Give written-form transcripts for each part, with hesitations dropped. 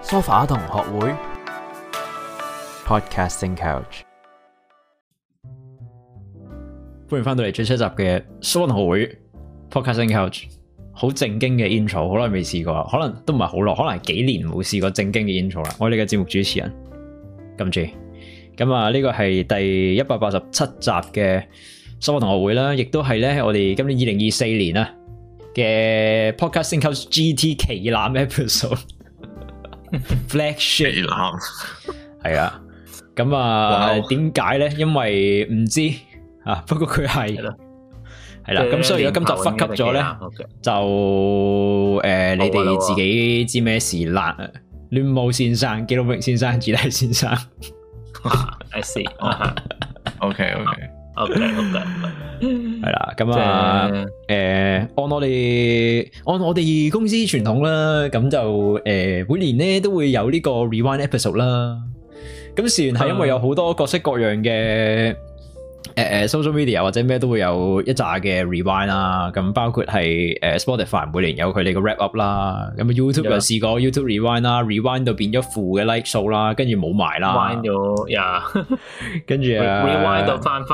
梳化同學會 Podcasting Couch， 歡迎翻到嚟最新一集嘅梳化同學會 Podcasting Couch。好正經嘅 intro， 好耐未試過，可能都唔係好耐，可能係幾年冇試過正經嘅 intro 啦。我哋嘅節目主持人金 J， 咁啊呢個係第187集嘅梳化同學會啦，亦都係咧我哋今年2024年啊嘅 Podcasting Couch GT 旗艦 episode。Flagship 旗艦係啊，咁啊點解咧？因為唔知啊，不過佢係係啦，咁所以如果今集忽級咗咧，就你哋自己知咩事啦。亂舞先生、紀錄明先生、子弟先生 ，I see，OK， 係啦，咁啊，按我哋公司傳統啦，咁就每年咧都會有呢個 rewind episode 啦。咁事緣係因為有好多各式各樣嘅social media 或者咩都會有一紮嘅 rewind 啦。咁包括係Spotify 每年有佢哋嘅 wrap up 啦。咁 YouTube 又試過 YouTube rewind 啦，rewind 到變咗負嘅 like 數啦，跟住冇埋啦。 rewind 到跟住 rewind 到翻去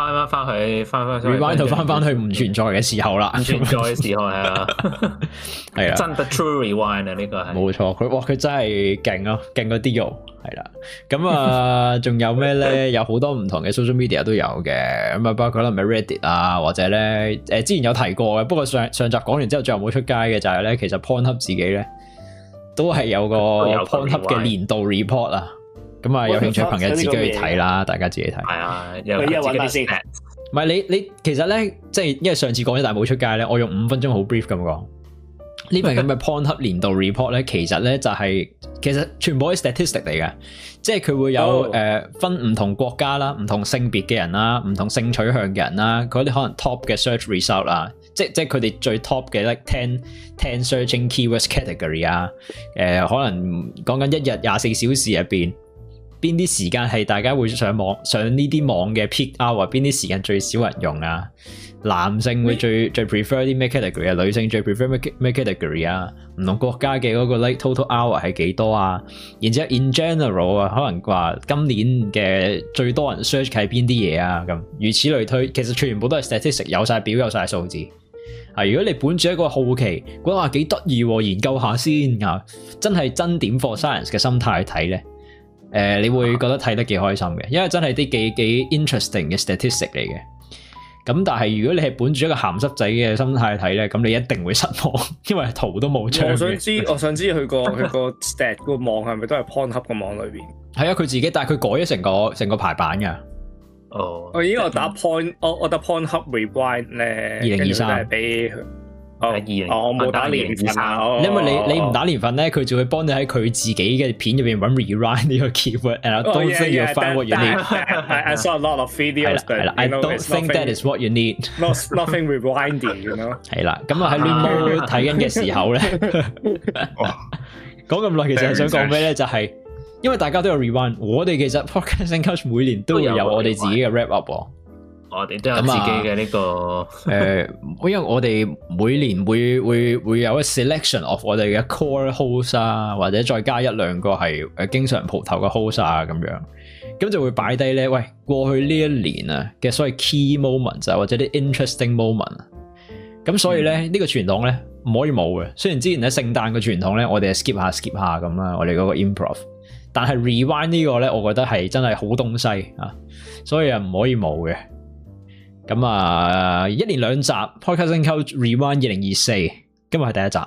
rewind 到翻去唔存在嘅時候啦， 唔存在嘅時候係啊， 係啊， 真的 true rewind 啊，呢個係冇錯，佢真係勁咯，勁過啲肉係啦。咁啊，仲有咩咧？有好多唔同嘅 social media 都有嘅，咁啊，包括可能 Reddit 啊，或者咧之前有提過嘅，不過上集講完之後最後冇出街嘅就係咧，其實 Pornhub 自己咧都係有個 Pornhub 嘅年度 report 啊。咁啊，有興趣朋友自己去睇啦，大家自己睇。 係啊，有自己啲 stat。 唔係你其實咧，即係因為上次講咗但係冇出街咧，我用5分鐘好 brief 咁講。呢份咁嘅 Pornhub 年度 report 咧，其實咧就係其實全部係 statistic 嚟嘅，即係佢會有分唔同國家啦、唔同性別嘅人啦、唔同性取向嘅人啦，嗰啲可能 top 嘅 search result 啦，即係佢哋最 top 嘅 like 10 searching keywords category 啊，可能講緊一日24小時入邊，邊啲時間係大家會上呢啲網嘅 peak hour， 邊啲時間最少人用啊？男性會最 prefer 啲咩 category 啊？女性最 prefer 咩 category 啊？唔同國家嘅嗰個 like total hour 係幾多啊？然之後 in general 啊，可能話今年嘅最多人 search 係邊啲嘢啊？咁如此類推，其實全部都係 statistic， 有晒表有晒數字。啊，如果你本住一個好奇，覺得話幾得意，研究下先啊，真係真點 for science 嘅心態去睇咧。你會覺得睇得幾開心嘅，因為真係啲幾 interesting 嘅 statistic 嚟嘅。咁但係如果你係本住一個鹹濕仔嘅心態睇咧，咁你一定會失望，因為圖都冇出。 我想知佢個 stat 個網係咪都係 Pornhub 個網裏邊？ 係啊，佢自己，但係佢改咗成個排版噶。 哦，我打 我打 Pornhub rewind 咧，2023係俾。我冇打年份啊， 因為你唔打年份咧，佢就會幫你喺佢自己嘅片入邊揾 rewind 呢個 keyword。And I don't think you'll find what you need. I saw a lot of videos. I don't think that is what you need. Nothing rewinding, you know. 係啦，咁啊喺亂舞睇緊嘅時候咧，講咁耐其實係想講咩咧？就係因為大家都有 rewind， 我哋其實 Podcasting Couch 每年都會有我哋自己嘅 wrap up。 我哋都有自己嘅呢個因為我哋每年會有一 selection of 我哋嘅 core host 啊，或者再加一兩個係經常蒲頭嘅 host 啊咁樣，咁就會擺低咧。喂，過去呢一年啊嘅所謂 key moments 啊，或者啲 interesting moment 啊，咁所以咧呢個傳統咧唔可以冇嘅。雖然之前喺聖誕嘅傳統咧，我哋係 skip 下咁啦，我哋嗰個 improv， 但係 rewind 呢個咧，我覺得係真係好東西啊，所以啊唔可以冇嘅。咁啊，一連2集 Podcasting Couch Rewind 2024，今日係第一集。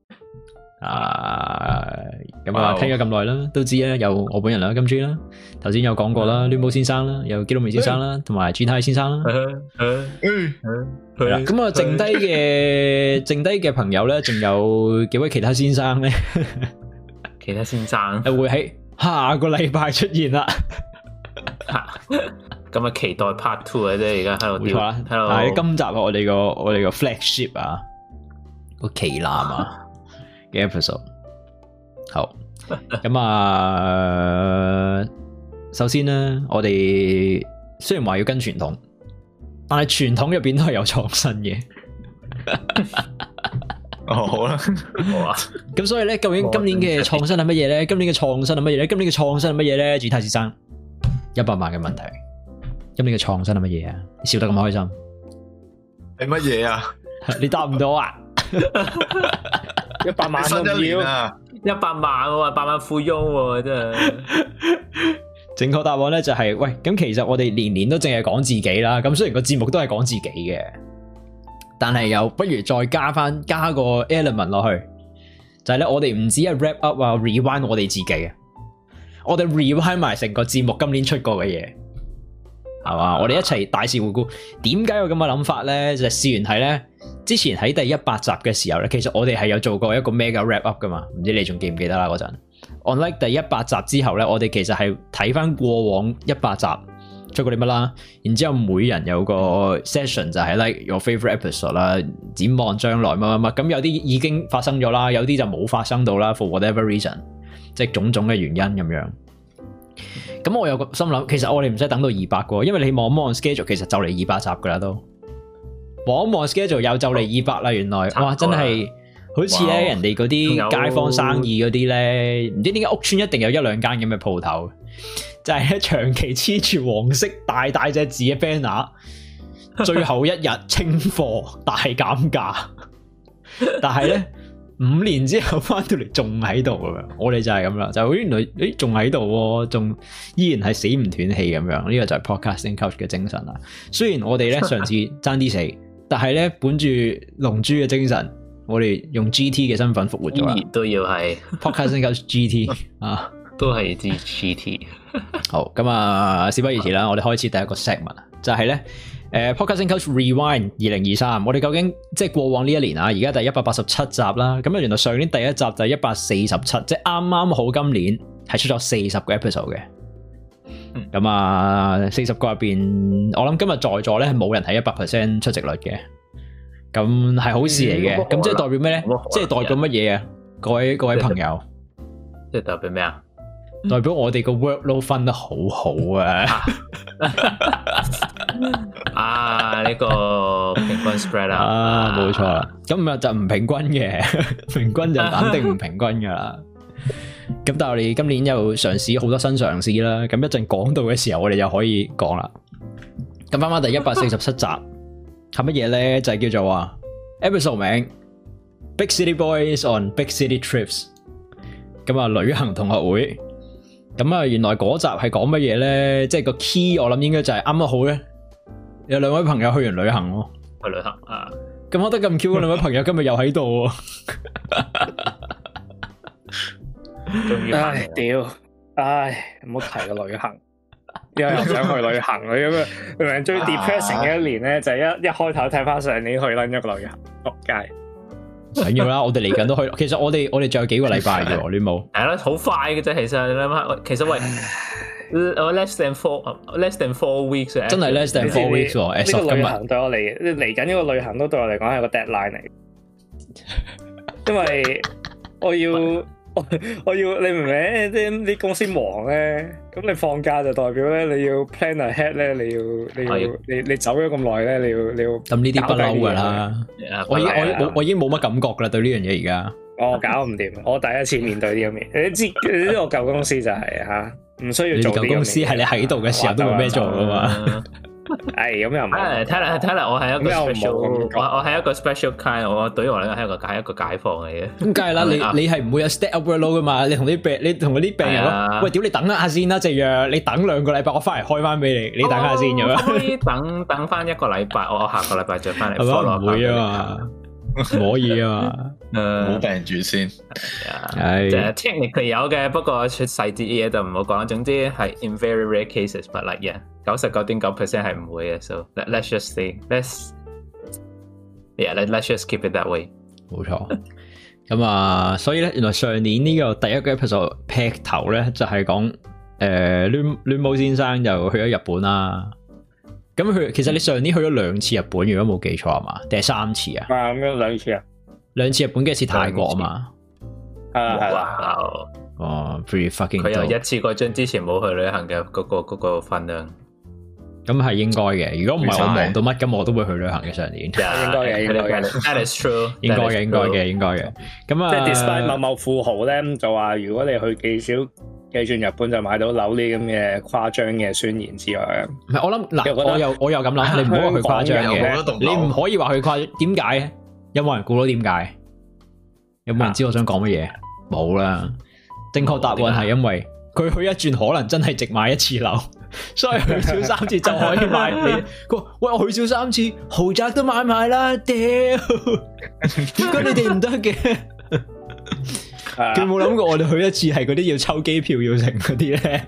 咁啊，聽咗咁耐啦，都知啦，有我本人啦，金 J 啦，頭先有講過啦，亂舞先生啦，有紀錄明先生啦，同埋 GT 先生啦。係啦，咁啊，剩低嘅朋友咧，仲有幾位其他先生咧， 其他先生會喺下個禮拜出現啦。 咁啊，期待 Part 2啊，即係而家喺度。冇錯啦， 但係今集我哋個 flagship 啊，個旗艦啊嘅 episode。好，咁啊，首先咧，我哋雖然話要跟傳統，但係傳統入邊都係有創新嘅。 好啦， 好啊。 咁所以咧，究竟今年嘅創新係乜嘢咧？今年嘅創新係乜嘢咧？今年嘅創新係乜嘢咧？Gtai先生，100萬嘅問題，今年嘅創新係乜嘢啊？你笑得咁開心， 係乜嘢啊？ 你答唔到啊 ？100萬都唔要 ，100萬喎，100萬富翁喎，真係。 正確答案咧就係，喂，咁其實我哋年年都淨係講自己啦。咁雖然個節目都係講自己嘅，但係又不如再加個 element 落去，就係咧，我哋唔止係 wrap up 啊 rewind 我哋自己啊，我哋 rewind 埋成個節目今年出過嘅嘢，係嘛？我哋一齊大事回顧。點解有咁嘅諗法咧？就係試完睇咧，之前喺第100集嘅時候咧，其實我哋係有做過一個 mega wrap up 噶嘛，唔知你仲記唔記得啦嗰陣。On-like 第100集之後咧，我哋其實係睇翻過往100集出過啲乜啦，然之後每人有個 session 就係 like your favorite episode 啦，展望將來乜乜乜，咁有啲已經發生咗啦，有啲就冇發生到啦 for whatever reason， 即係種種嘅原因咁樣。咁我有個心諗，其實我哋唔使等到200個，因為你望一望 schedule， 其實就嚟200集噶啦都。望一望 schedule 又就嚟200啦，原來哇真係〜好似咧，人哋嗰啲街坊生意嗰啲咧，唔知點解屋村一定有1-2間咁嘅鋪頭，就係咧長期黐住黃色大隻字嘅 banner， 最後一日清貨大減價，但係咧5年之後翻到嚟仲喺度咁樣，我哋就係咁啦，就原來仲喺度，仲依然係死唔斷氣咁樣，呢個就係 podcasting coach 嘅精神啦。雖然我哋咧上次爭啲死，但係咧本住龍珠嘅精神。我哋用 GT 嘅身份復活咗啦， 都要係 Podcasting Coach GT 啊， 都係支 GT。 好，咁啊，事不宜遲啦，我哋開始第一個 segment 就係咧，Podcasting Coach Rewind 2023。我哋究竟即係過往呢一年啊，而家第187集啦，咁啊，原來上年第一集就係147，即係啱啱好今年係出咗40個 episode 嘅。咁啊，40個入邊，我諗今日在座咧係冇人係100% 出席率嘅。咁係好事嚟嘅，咁即係代表咩咧？即係代表乜嘢啊？各位朋友， 即係代表咩啊？ 代表我哋個 workload 分得好好啊！ 呢個平均 spread 啊，冇錯啦。今日就唔平均嘅，平均就肯定唔平均噶啦。咁但係我哋今年又嘗試好多新嘗試啦。咁一陣講到嘅時候，我哋又可以講啦。咁翻翻第147集。係乜嘢咧？就係叫做啊 episode 名 Big City Boys on Big City Trips。咁啊，旅行同學會。咁啊，原來嗰集係講乜嘢咧？即係個 key，我諗應該就係啱啱好咧。有2位朋友去完旅行咯， 去旅行啊！ 咁我得咁 Q， 2位朋友今日又喺度。 唉，屌！唉，唔好提個旅行。又想去旅行咁樣，明明最 depressing 嘅一年咧，就係一開頭睇翻上年去撚一個旅行，仆街。 緊要啦，我哋嚟緊都去。其實我哋仲有幾個禮拜嘅喎，你冇？ 係咯，好快嘅啫。其實你諗下，其實喂，less than 4 weeks， 真係 less than 4 weeks 喎。 呢個旅行對我嚟緊呢個旅行都對我嚟講係個 deadline 嚟，因為我要你明唔明？啲公司忙咧，咁你放假就代表咧你要 plan ahead 咧，你走咗咁耐咧，你要咁呢啲不嬲噶啦。我已經冇乜感覺噶啦，對呢樣嘢而家。 我搞唔掂，我第一次面對呢樣嘢。你知我舊公司就係吓，唔需要做。舊公司係你喺度嘅時候都冇咩做噶嘛。 係咁又唔係， 睇嚟我係一個 special， 我係一個 special kind， 我對於我嚟講係一個解放嚟嘅。咁梗係啦， 你係唔會有 step up workload 噶嘛？你同嗰啲病人咯，喂，屌你等一下先啦，隻藥你等2個禮拜，我翻嚟開翻俾你，你等下先咁樣。可以等翻1個禮拜，我下個禮拜再翻嚟。係咪唔會啊嘛？唔可以啊嘛。 冇病住先。 係。technically 有嘅，不過細節嘅嘢就唔好講。總之係 in very rare cases，but like yeah。99.9% 係唔會嘅 ，so let's just say，let's just keep it that way。 冇錯。咁啊，所以咧，原來上年呢個第一個 episode 劈頭咧，就係講亂舞先生就去咗日本啦。咁其實你上年去咗2次日本，如果冇記錯係嘛？定係3次啊？ 咁樣2次啊 ？2次日本，幾次泰國啊嘛？ 係啦。 哦 ，pretty fucking。 佢又一次過將之前冇去旅行嘅嗰個分量。 咁係應該嘅。如果唔係我忙到乜咁，我都會去旅行嘅上年。 應該嘅，應該嘅。 That is true。 應該嘅，應該嘅，應該嘅。咁啊， 即係 despite 某某富豪咧就話，如果你去寄轉日本就買到樓呢咁嘅誇張嘅宣言之外， 唔係我諗嗱，我又咁諗，你唔好話佢誇張嘅，你唔可以話佢誇張。點解？有冇人估到點解？有冇人知我想講乜嘢？冇啦。正確答案係因為佢去一轉可能真係值買一次樓，所以去少3次就可以買。佢話喂，我去少3次，豪宅都買埋啦，屌！點解你哋唔得嘅？佢冇諗過我哋去一次係嗰啲要抽機票要成嗰啲咧，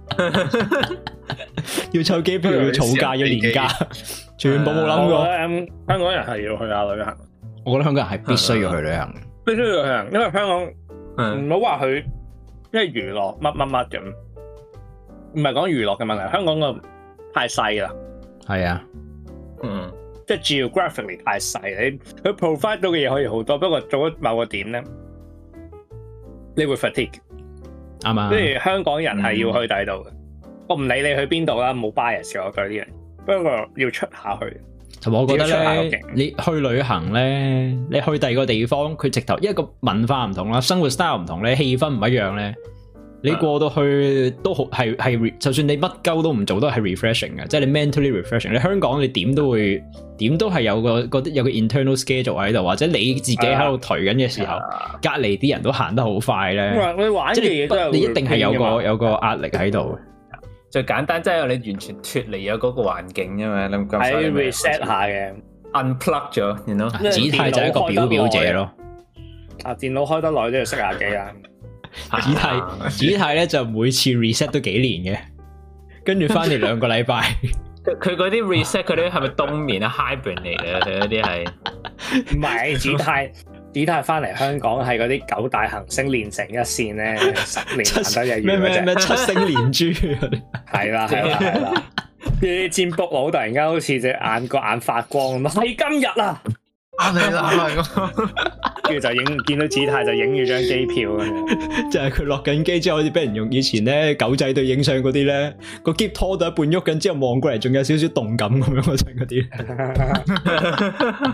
要抽機票要儲價要年假，全部冇諗過。 香港人係要去下旅行， 我覺得香港人係必須要去旅行， 必須要去旅行，因為香港唔好話去，因為娛樂乜乜乜咁，唔係講娛樂嘅問題，香港個太細啦。係啊，即係 geographically 太細，你佢 provide 到嘅嘢可以好多，不過做咗某個點咧。你會 fatigue 啱啊！即係香港人係要去第度嘅，我唔理你去邊度啦，冇 bias 嘅我對呢樣，不過要出下去。同埋我覺得咧，你去旅行咧，你去第二個地方，佢直頭因為個文化唔同啦，生活 style 唔同咧，氣氛唔一樣咧，你過到去都好係，就算你乜鳩都唔做都係 refreshing 嘅，即係你 mentally refreshing。你香港你點都係有個 internal schedule 喺度，或者你自己喺度頹緊嘅時候，隔離啲人都行得好快咧。你玩嘅嘢都你一定係有個壓力喺度。 最簡單即係你完全脫離咗嗰個環境啫嘛，你喺 reset 下嘅 unplug 咗，然後子泰就係一個表者咯。 電腦開得耐都要熄下機啊！ 子泰咧就每次 reset 都幾年嘅，跟住翻嚟2個禮拜。 佢嗰啲 reset 佢啲係咪冬眠啊 hibernate 嚟嘅？佢嗰啲係唔係子泰翻嚟香港係嗰啲9大行星連成一線咧，10年行得一月嗰隻咩7星連珠？係啦，啲占卜佬突然間好似隻個眼發光咁，係今日啊！ 係啦， 跟住就見到子泰就影住張機票咁樣， 就係佢落緊機之後，好似俾人用以前咧狗仔隊影相嗰啲咧，個篋拖到一半喐緊之後望過嚟，仲有少少動感咁樣嗰陣嗰啲。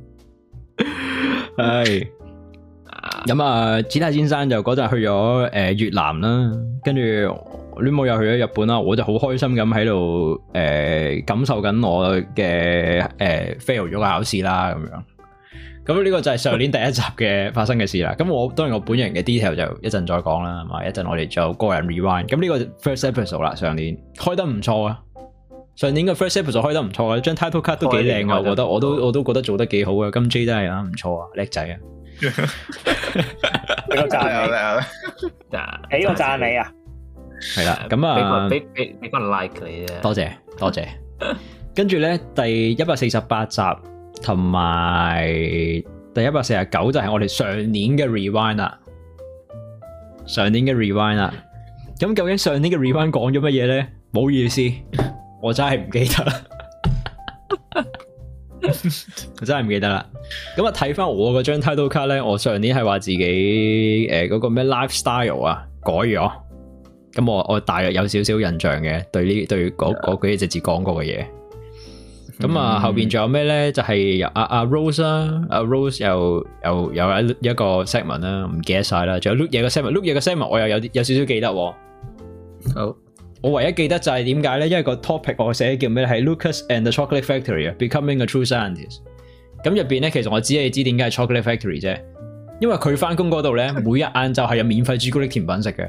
係咁啊！子泰先生就嗰陣去咗越南啦，跟住戀母又去咗日本啦，我就好開心咁喺度感受緊我嘅fail 咗個考試啦咁樣。咁呢個就係上年第一集嘅發生嘅事啦。咁我當然我本人嘅 detail 就一陣再講啦，係嘛？一陣我哋就個人 rewind。咁呢個 first episode 啦，上年開得唔錯啊！上年嘅 first episode 開得唔錯啊，張 title card 都幾靚啊，我覺得我都覺得做得幾好啊。金 J 都係啊，唔錯啊，叻仔啊！ 俾個讚你，俾個讚你啊！ 係啦，咁啊， 俾個 like 你啊！ 多謝。跟住咧，第148集同埋第149就係我哋上年嘅 rewind 啦。咁究竟上年嘅 rewind 講咗乜嘢咧？唔好意思，我真係唔記得啦。我真係唔記得啦。咁啊，睇翻我嗰張 title card 咧，我上年係話自己嗰個咩 lifestyle 啊改咗。咁我大約有少少印象嘅，對嗰幾隻字講過嘅嘢。咁啊，後邊仲有咩咧？就係阿 Rose 啦，阿 Rose 又有一個 segment 啦，唔記得晒啦。仲有 Look 嘢嘅 segment，Look 嘢嘅 segment 我又有少少記得。好，我唯一記得就係點解咧？因為個 topic 我寫叫咩？係 Lucas and the Chocolate Factory 啊 ，Becoming a True Scientist。咁入邊咧，其實我只係知點解係 Chocolate Factory 啫，因為佢翻工嗰度咧，每日晏晝係有免費朱古力甜品食嘅。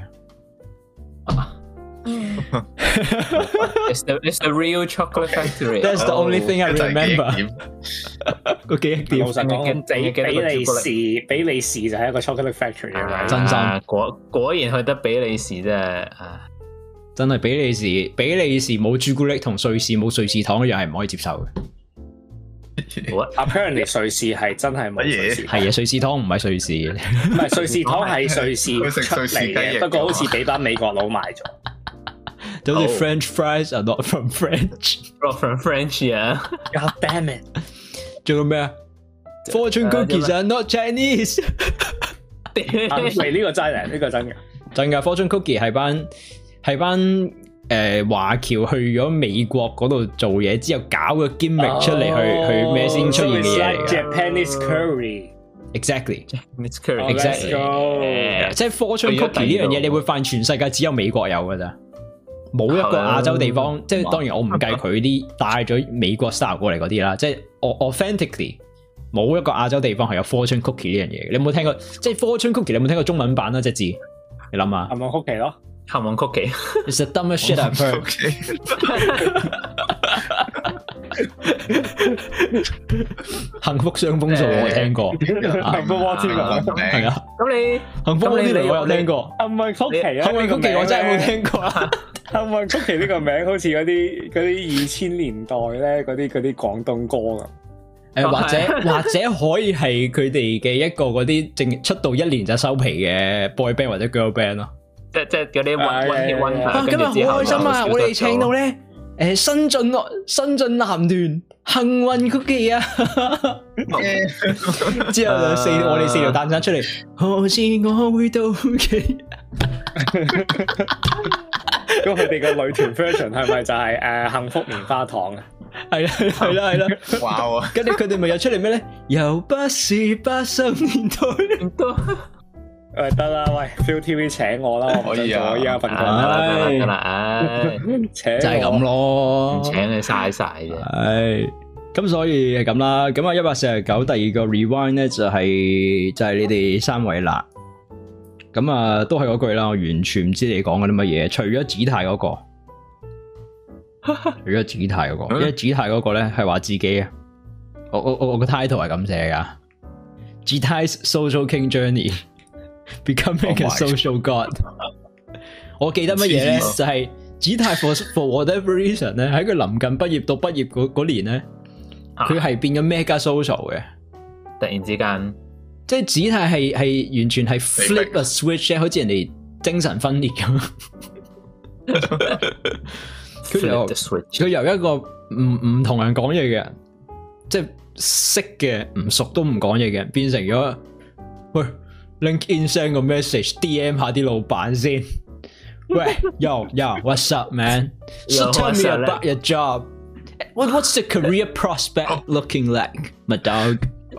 It's the real chocolate factory. That's the only thing I remember. 個記憶點， 老實講，比利時就係一個 chocolate factory 啊！ 真心果然去得比利時啫， 真係比利時冇朱古力同瑞士冇瑞士糖一樣係唔可以接受嘅。 Apparently 瑞士係真係冇瑞士糖， 係啊，瑞士糖唔係瑞士嘅， 唔係瑞士糖係瑞士出嚟嘅，不過好似俾班美國佬買咗。 就好似 French fries are not from French，not from French 啊 ！God damn it！ 仲有咩啊 ？Fortune cookies are not Chinese。 係呢個真嘅，呢個真嘅， 真噶 Fortune cookie 係班華僑去咗美國嗰度做嘢之後，搞個 gimmick 出嚟去咩先出現嘅嘢嚟嘅。 Japanese curry，exactly，Japanese curry， 即係 fortune cookie 呢樣嘢，你會發現全世界只有美國有㗎咋，冇一個亞洲地方。即係當然我唔計佢啲帶咗美國 style 過嚟嗰啲啦，即係 authentically 冇一個亞洲地方係有 fortune cookie 呢樣嘢。你有冇聽過？即係 fortune cookie，你有冇聽過中文版啊？隻字，你諗下。 幸運曲奇咯。 幸運曲奇 ，It's the dumbest shit I've heard。幸福雙豐數我聽過， 幸福摩天輪係啊。 咁你幸福摩天輪我有聽過， 幸運曲奇啊， 幸運曲奇我真係冇聽過。 幸運曲奇呢個名好似嗰啲2000年代咧嗰啲廣東歌咁。 或者可以係佢哋嘅一個嗰啲正出道1年就收皮嘅 boy band 或者 girl band 咯。 即係嗰啲溫今日好開心啊！我哋請到咧新晉男團幸運曲奇啊！之後我哋4條蛋散出嚟，何時我會到期？ 咁佢哋個女團 version 係咪就係幸福棉花糖啊？ 係啦，哇！跟住佢哋咪又出嚟咩咧？又不是80年代。 得啦，喂 ，ViuTV 請我啦，我唔想做依家份工啦，請就係咁咯， 唔請你嘥晒嘅。 係，咁所以係咁啦。咁啊149第二個 rewind 咧就係你哋3位啦。咁啊都係嗰句啦，我完全唔知你講緊啲乜嘢，除咗子泰嗰個，因為子泰嗰個咧係話自己啊，我個 title 係咁寫噶 ，Gtai's Social King Journey。Becoming a social god，我記得乜嘢咧？就係子泰 for whatever reason 咧，喺佢臨近畢業到畢業嗰年咧，佢係變咗 mega social 嘅。 突然之間， 即係子泰係完全係 flip a switch 咧，好似人哋精神分裂咁。佢由一個唔同人講嘢嘅人，即係識嘅唔熟都唔講嘢嘅人，變成咗喂。LinkedIn send 個 message，DM 下啲老闆先。喂 ，Yo，what's up, man? So tell me about your job. What's the career prospect looking like, my dog?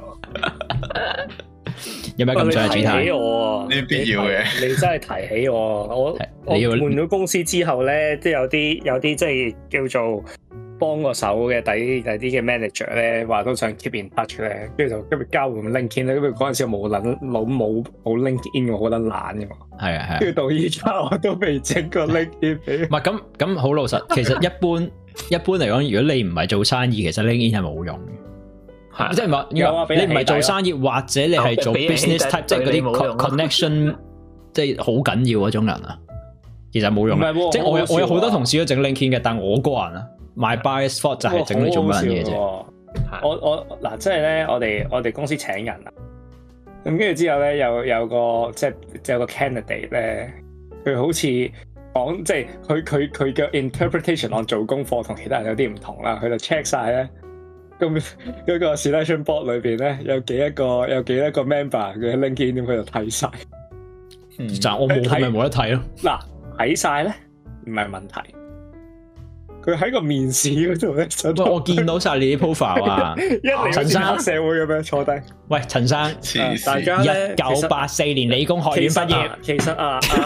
有咩咁想提起我？呢必要嘅。 你真係提起我，我換咗公司之後咧，都有啲即係叫做幫個手嘅第啲嘅 manager 咧，話都想 keep in touch 咧，跟住就今日交換 LinkedIn 咧，因為嗰陣時冇 LinkedIn，我覺得懶嘅嘛。係啊， 跟住到依家我都未整過 LinkedIn 俾。 唔係咁好老實，其實一般嚟講，如果你唔係做生意，其實 LinkedIn 係冇用嘅。即係你唔係做生意，或者你係做 business type， 即係嗰啲 connection， 即係好緊要嗰種人啊，其實冇用。即係我有好多同事都整 LinkedIn 嘅，但我個人啊。My bias thought 就係整你做乜嘢啫？ 我嗱，即係咧，我哋公司請人啊，咁跟住之後咧，有個即係有個 candidate 咧，佢好似講即係佢嘅 interpretation on 做功課同其他人有啲唔同啦，佢就 check 晒咧，咁嗰個 selection board 裏邊咧有幾多個 member 嘅 LinkedIn， 咁佢就睇晒。 但我冇睇咪冇得睇咯。 嗱，睇晒咧唔係問題。佢喺個面試嗰度咧， 我見到晒你啲 profile 啊！陳生黑社會咁樣坐低。喂， 陳生， 大家咧 1984年理工學院畢業。 其實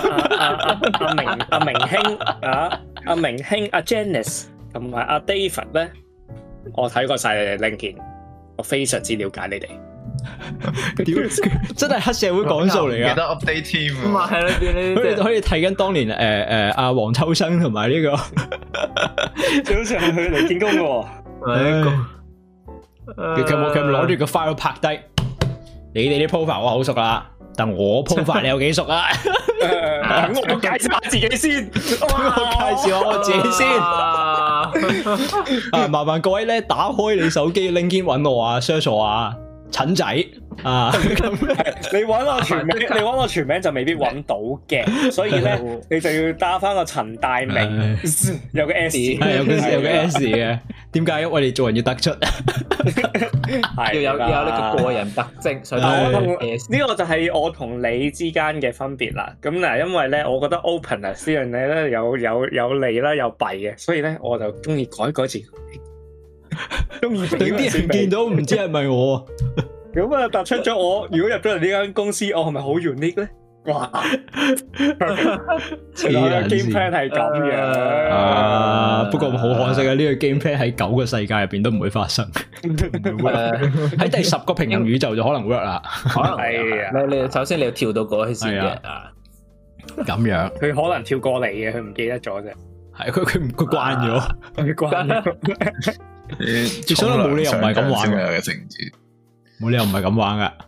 阿明興阿 Janice 同埋阿 David 咧，我睇過晒你哋 LinkedIn， 我非常之了解你哋。 真係黑社會講數嚟噶， 記得 update team。 咁啊係啦， 佢哋可以睇緊當年阿黃秋生同埋呢個， 好似係佢嚟見工嘅。 佢有冇攞住個 file 拍低？你哋啲 profile 我好熟啦，但我 profile 你有幾熟啊？ 我介紹下自己先， 我介紹下我自己先。麻煩各位咧，打開你手機 LinkedIn 搵我啊 ，search 我啊。陳仔啊，你揾我全名，你揾我全名就未必揾到嘅，所以咧你就要打翻個陳大明，有個 S， 係有個 S 嘅。點解？因為我哋做人要突出， 要有呢個個人特徵。所以呢個就係我同你之間嘅分別啦。咁嗱，因為咧，我覺得 openness 呢樣嘢咧有利啦，有弊嘅，所以咧我就中意改字。中意俾啲人見到唔知係咪我。 咁啊，突出咗我。如果入咗嚟呢間公司，我係咪好 unique 咧？哇！原來 game plan 係咁樣啊！不過好可惜啊，呢個 game plan 喺9個世界入邊都唔會發生。喺第10個平行宇宙就可能 work 啦。 可能係啊！你首先你要跳到過去先嘅啊。 咁樣， 佢可能跳過嚟嘅，佢唔記得咗啫。 係佢慣咗， 佢慣咗。 所以冇理由唔係咁玩嘅情節。 冇理由唔係咁玩噶，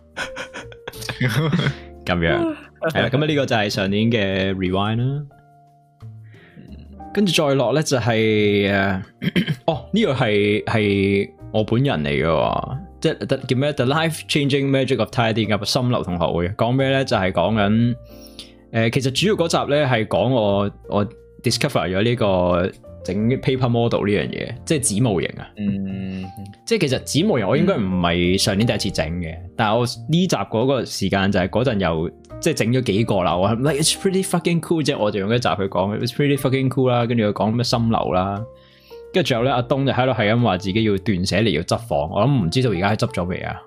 咁樣係啦。咁呢個就係上年嘅 Rewind 啦，跟住再落咧就係呢個係我本人嚟嘅，即係叫咩 The Life Changing Magic of Tidying Up 心流同學會，講咩咧？就係講緊其實主要嗰集咧係講我 discover 咗呢個整 paper model 呢樣嘢，即係紙模型啊。即係其實紙模型我應該唔係上年第一次整嘅，但係我呢集嗰個時間就係嗰陣又即係整咗幾個啦。我係 like it's pretty fucking cool 啫，我就用一集去講 it's pretty fucking cool 啦，跟住佢講咩心流啦，跟住最後咧阿東就喺度係咁話自己要斷捨離要執房，我諗唔知道而家係執咗未啊？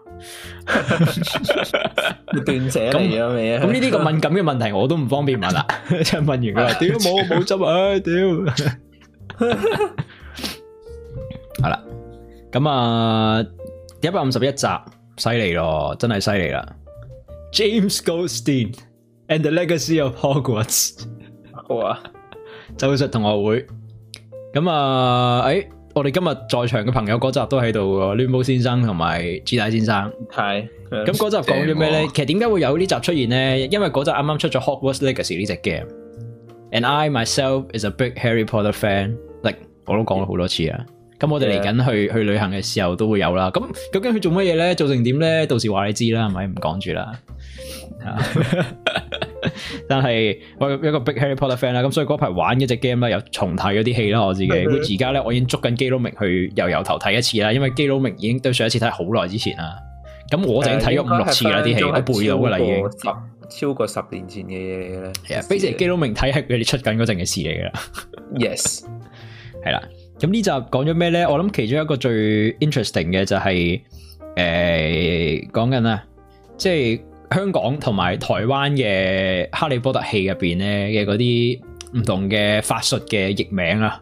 斷捨離咗未啊？ 咁呢啲咁敏感嘅問題我都唔方便問啦，即係問完佢話屌冇執啊，屌係啦。咁啊，151集，犀利咯，真係犀利啦 ！James Goldstein and the Legacy of Hogwarts， 哇！ 咒術同學會。咁啊，我哋今日在場嘅朋友嗰集都喺度喎，亂舞先生同埋 G 大先生。 係。 咁嗰集講咗咩咧？其實點解會有呢集出現咧？因為嗰集啱啱出咗 Hogwarts Legacy 呢隻 game，and I myself is a big Harry Potter fan，like 我都講咗好多次啊。咁我哋嚟緊去旅行嘅時候都會有啦。咁究竟佢做乜嘢咧？做成點咧？到時話你知啦，係咪？唔講住啦。但係我一個 big Harry Potter fan 啦，咁所以嗰排玩一隻 game 啦，又重睇咗啲戲啦，我自己。而家咧，我已經捉緊基佬明去由頭睇一次啦，因為基佬明已經對上一次睇好耐之前啦。咁我就已經睇咗5-6次啦，啲戲我背到噶啦，已經超過10年前嘅嘢咧。 係啊，basically基佬明睇係佢哋出緊嗰陣嘅事嚟噶啦。 Yes， 係啦。咁呢集講咗咩咧？我諗其中一個最 interesting 嘅就係講緊啊，即係香港同埋台灣嘅哈利波特戲入邊咧嘅嗰啲唔同嘅法術嘅譯名啊，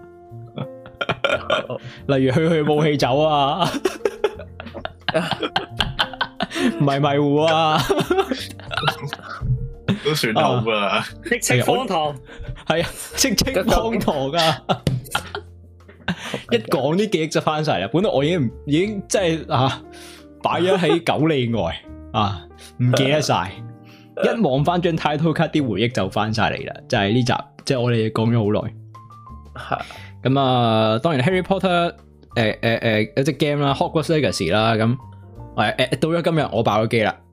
例如去武器走啊，迷糊啊， 都算好噶， 戚荒唐係啊，戚荒唐啊！一講啲記憶就翻晒啦，本來我已經真係擺咗喺9里外啊，唔記得晒，一望翻張 title card 啲回憶就翻晒嚟啦，就係呢集，即係我哋講咗好耐。咁啊，當然 Harry Potter 有隻 game 啦 ，Hogwarts Legacy 啦，咁到咗今日我爆咗機啦，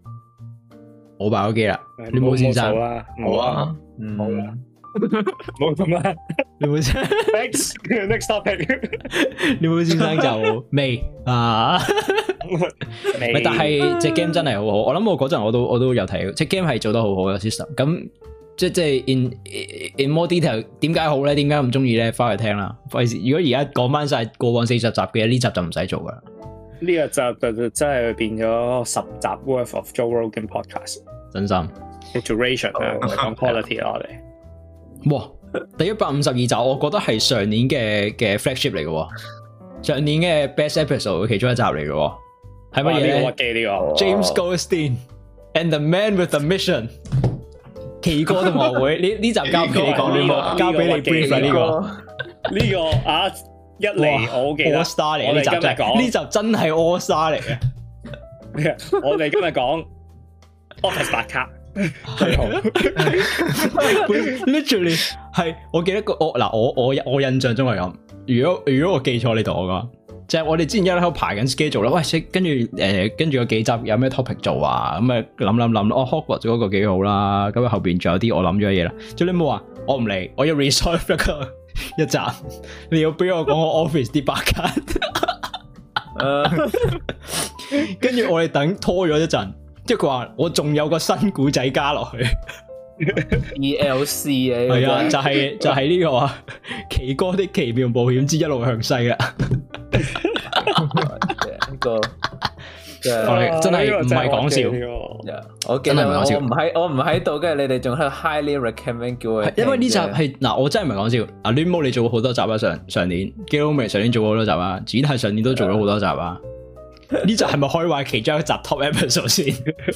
你冇先生冇啊，冇咁啦， 你冇先 Next topic， 你冇先生就未啊？未，但係隻 game 真係好好，我諗我嗰陣我都有睇，隻 game 係做得好好嘅 system。咁即係 in more detail， 點解好咧？點解咁中意咧？翻去聽啦。費事，如果而家講翻晒過往40集嘅，呢集就唔使做噶啦。 呢個集就真係變咗10集 worth of Joe Rogan podcast。真心 iteration 啊，講 quality 啦我哋。 哇！第152集，我覺得係上年嘅 flagship 嚟嘅，上年嘅 best episode 其中一集嚟嘅，係乜嘢咧？James Goldstein and the Man with the Mission， 奇哥同學會呢集交俾你講，交俾你 brief 啦呢個啊一嚟我好記得 All Star 嚟，呢集真係呢集真係 All Star 嚟嘅。 我哋今日講 Office 打卡。 literally 係，我記得我印象中係咁。如果我記錯，你同我講。 就係我哋之前一喺度排緊 schedule 啦，喂，跟住有幾集有咩 topic 做啊？咁啊諗，Hogwarts 嗰個幾好啦，咁後邊仲有啲我諗咗嘅嘢啦。最你冇話我唔嚟，我要 resolve 一集，你要俾我講我 office 啲白卡，跟住我哋等拖咗一陣，即係佢話我仲有個新古仔加落去。 ELC 係啊，就係呢個啊，奇哥的奇妙冒險之一路向西啦。 呢個真係唔係講笑。 我記得我唔喺度，跟住你哋仲喺度 highly recommend 叫我。 因為呢集係嗱，我真係唔係講笑。阿 Limo 你做過好多集啊，上年 Gilmy 上年做過好多集啊，展係上年都做咗好多集啊。呢集係咪可以話其中一集 top episode 先？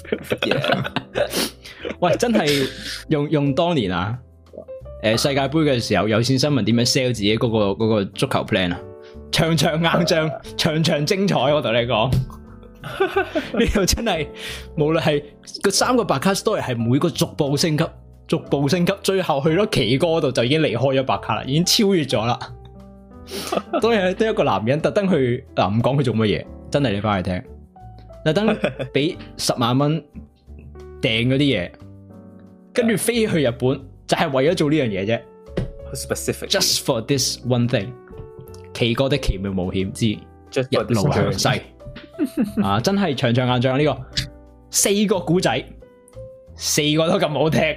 喂，真係用當年啊，世界盃嘅時候有線新聞點樣 sell 自己嗰個足球 plan 啊？場場硬仗，場場精彩，我同你講，呢度真係無論係個3個白卡 story 係每個逐步升級，最後去咗奇哥度就已經離開咗白卡啦，已經超越咗啦。當然得一個男人特登去唔講佢做乜嘢，真係你翻去聽，特登俾10萬蚊訂嗰啲嘢，跟住飛去日本就係為咗做呢樣嘢啫。Just for this one thing， 奇哥的奇妙冒險之一路向西啊！真係場場硬仗呢個4個古仔，4個都咁好聽。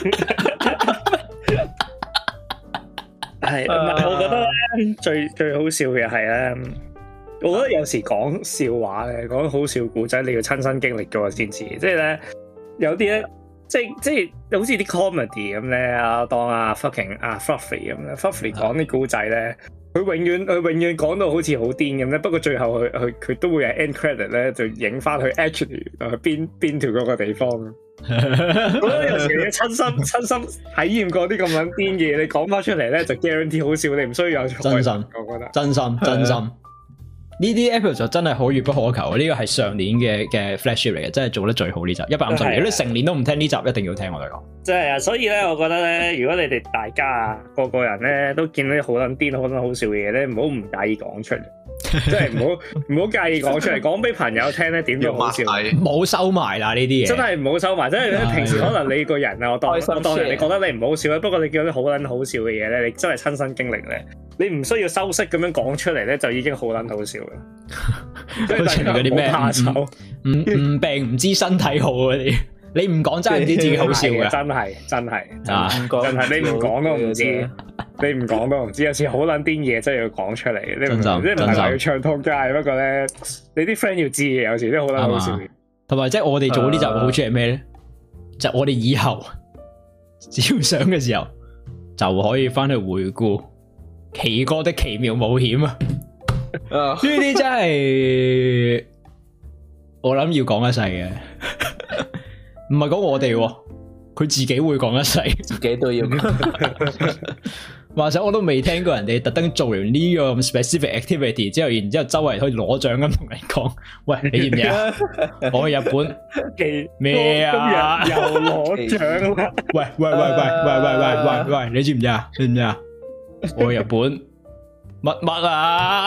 係，我覺得咧最好笑嘅係咧，我覺得有時講笑話咧，講好笑古仔，你要親身經歷咗先知。即係咧，有啲咧，即係好似啲 comedy 咁咧，當fucking Fluffy 咁咧 ，Fluffy 講啲古仔咧，佢永遠講到好似好癲咁咧。不過最後佢都會係 end credit 咧，就影翻去 actually 去邊條嗰個地方。我覺得有時你親身體驗過啲咁樣癲嘅嘢，你講翻出嚟咧就 guarantee 好笑，你唔需要有真心。 我覺得真心呢啲 episode 真係可遇不可求。呢個係上年嘅 flagship 嚟嘅，真係做得最好呢集150年。如果你成年都唔聽呢集，一定要聽我哋講。 真係啊！所以咧，我覺得咧，如果你哋大家啊個人咧都見到啲好撚癲、好撚好笑嘅嘢咧，唔好唔介意講出嚟。即係唔好介意講出嚟，講俾朋友聽咧，點都好笑。 冇收埋啦呢啲嘢，真係唔好收埋。即係咧，平時可能你個人啊，我當人你覺得你唔好笑咧，不過你見到啲好撚好笑嘅嘢咧，你真係親身經歷咧，你唔需要修飾咁樣講出嚟咧，就已經好撚好笑啦。即係嗰啲咩怕醜，唔病唔知身體好嗰啲。你唔講真係唔知自己好笑嘅，真係你唔講都唔知，你唔講都唔知。有時好撚癲嘢真係要講出嚟，你唔係話要唱通街，不過咧你啲 friend 要知嘅，有時都好撚好笑。 同埋即係我哋做呢集嘅好處係咩咧？就我哋以後只要想嘅時候就可以翻去回顧奇哥的奇妙冒險啊！呢啲真係我諗要講一世嘅。唔係講我哋，佢自己會講一世， 自己都要。 話實我都未聽過人哋特登做完呢個咁 specific activity 之後，然之後周圍可以攞獎咁同你講，喂，你知唔知啊？我去日本咩啊？ 又攞獎啦！ 喂，你知唔知啊？知唔知啊？我去日本乜啊？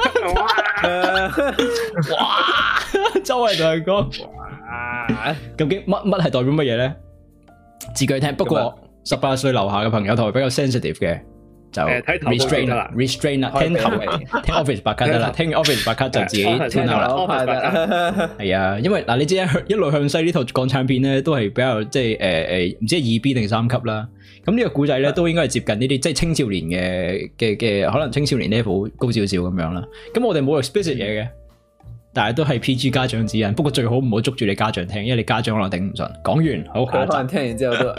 哇！周圍同人講。究竟乜係代表乜嘢咧？自己聽。不過18歲樓下嘅朋友同埋比較 sensitive 嘅就 restrain 啦，聽 office 白卡得啦，聽 office 白卡就自己聽啦。係啊，因為嗱，你知一路向西呢套港產片咧，都係比較即係唔知係2B 定3級啦。咁呢個古仔咧，都應該係接近呢啲即係青少年嘅可能青少年 level 高少少咁樣啦。咁我哋冇 explicit 嘢嘅。但係都係 PG 家長指引，不過最好唔好捉住你家長聽，因為你家長可能頂唔順。講完，好，下一集。可能聽完之後都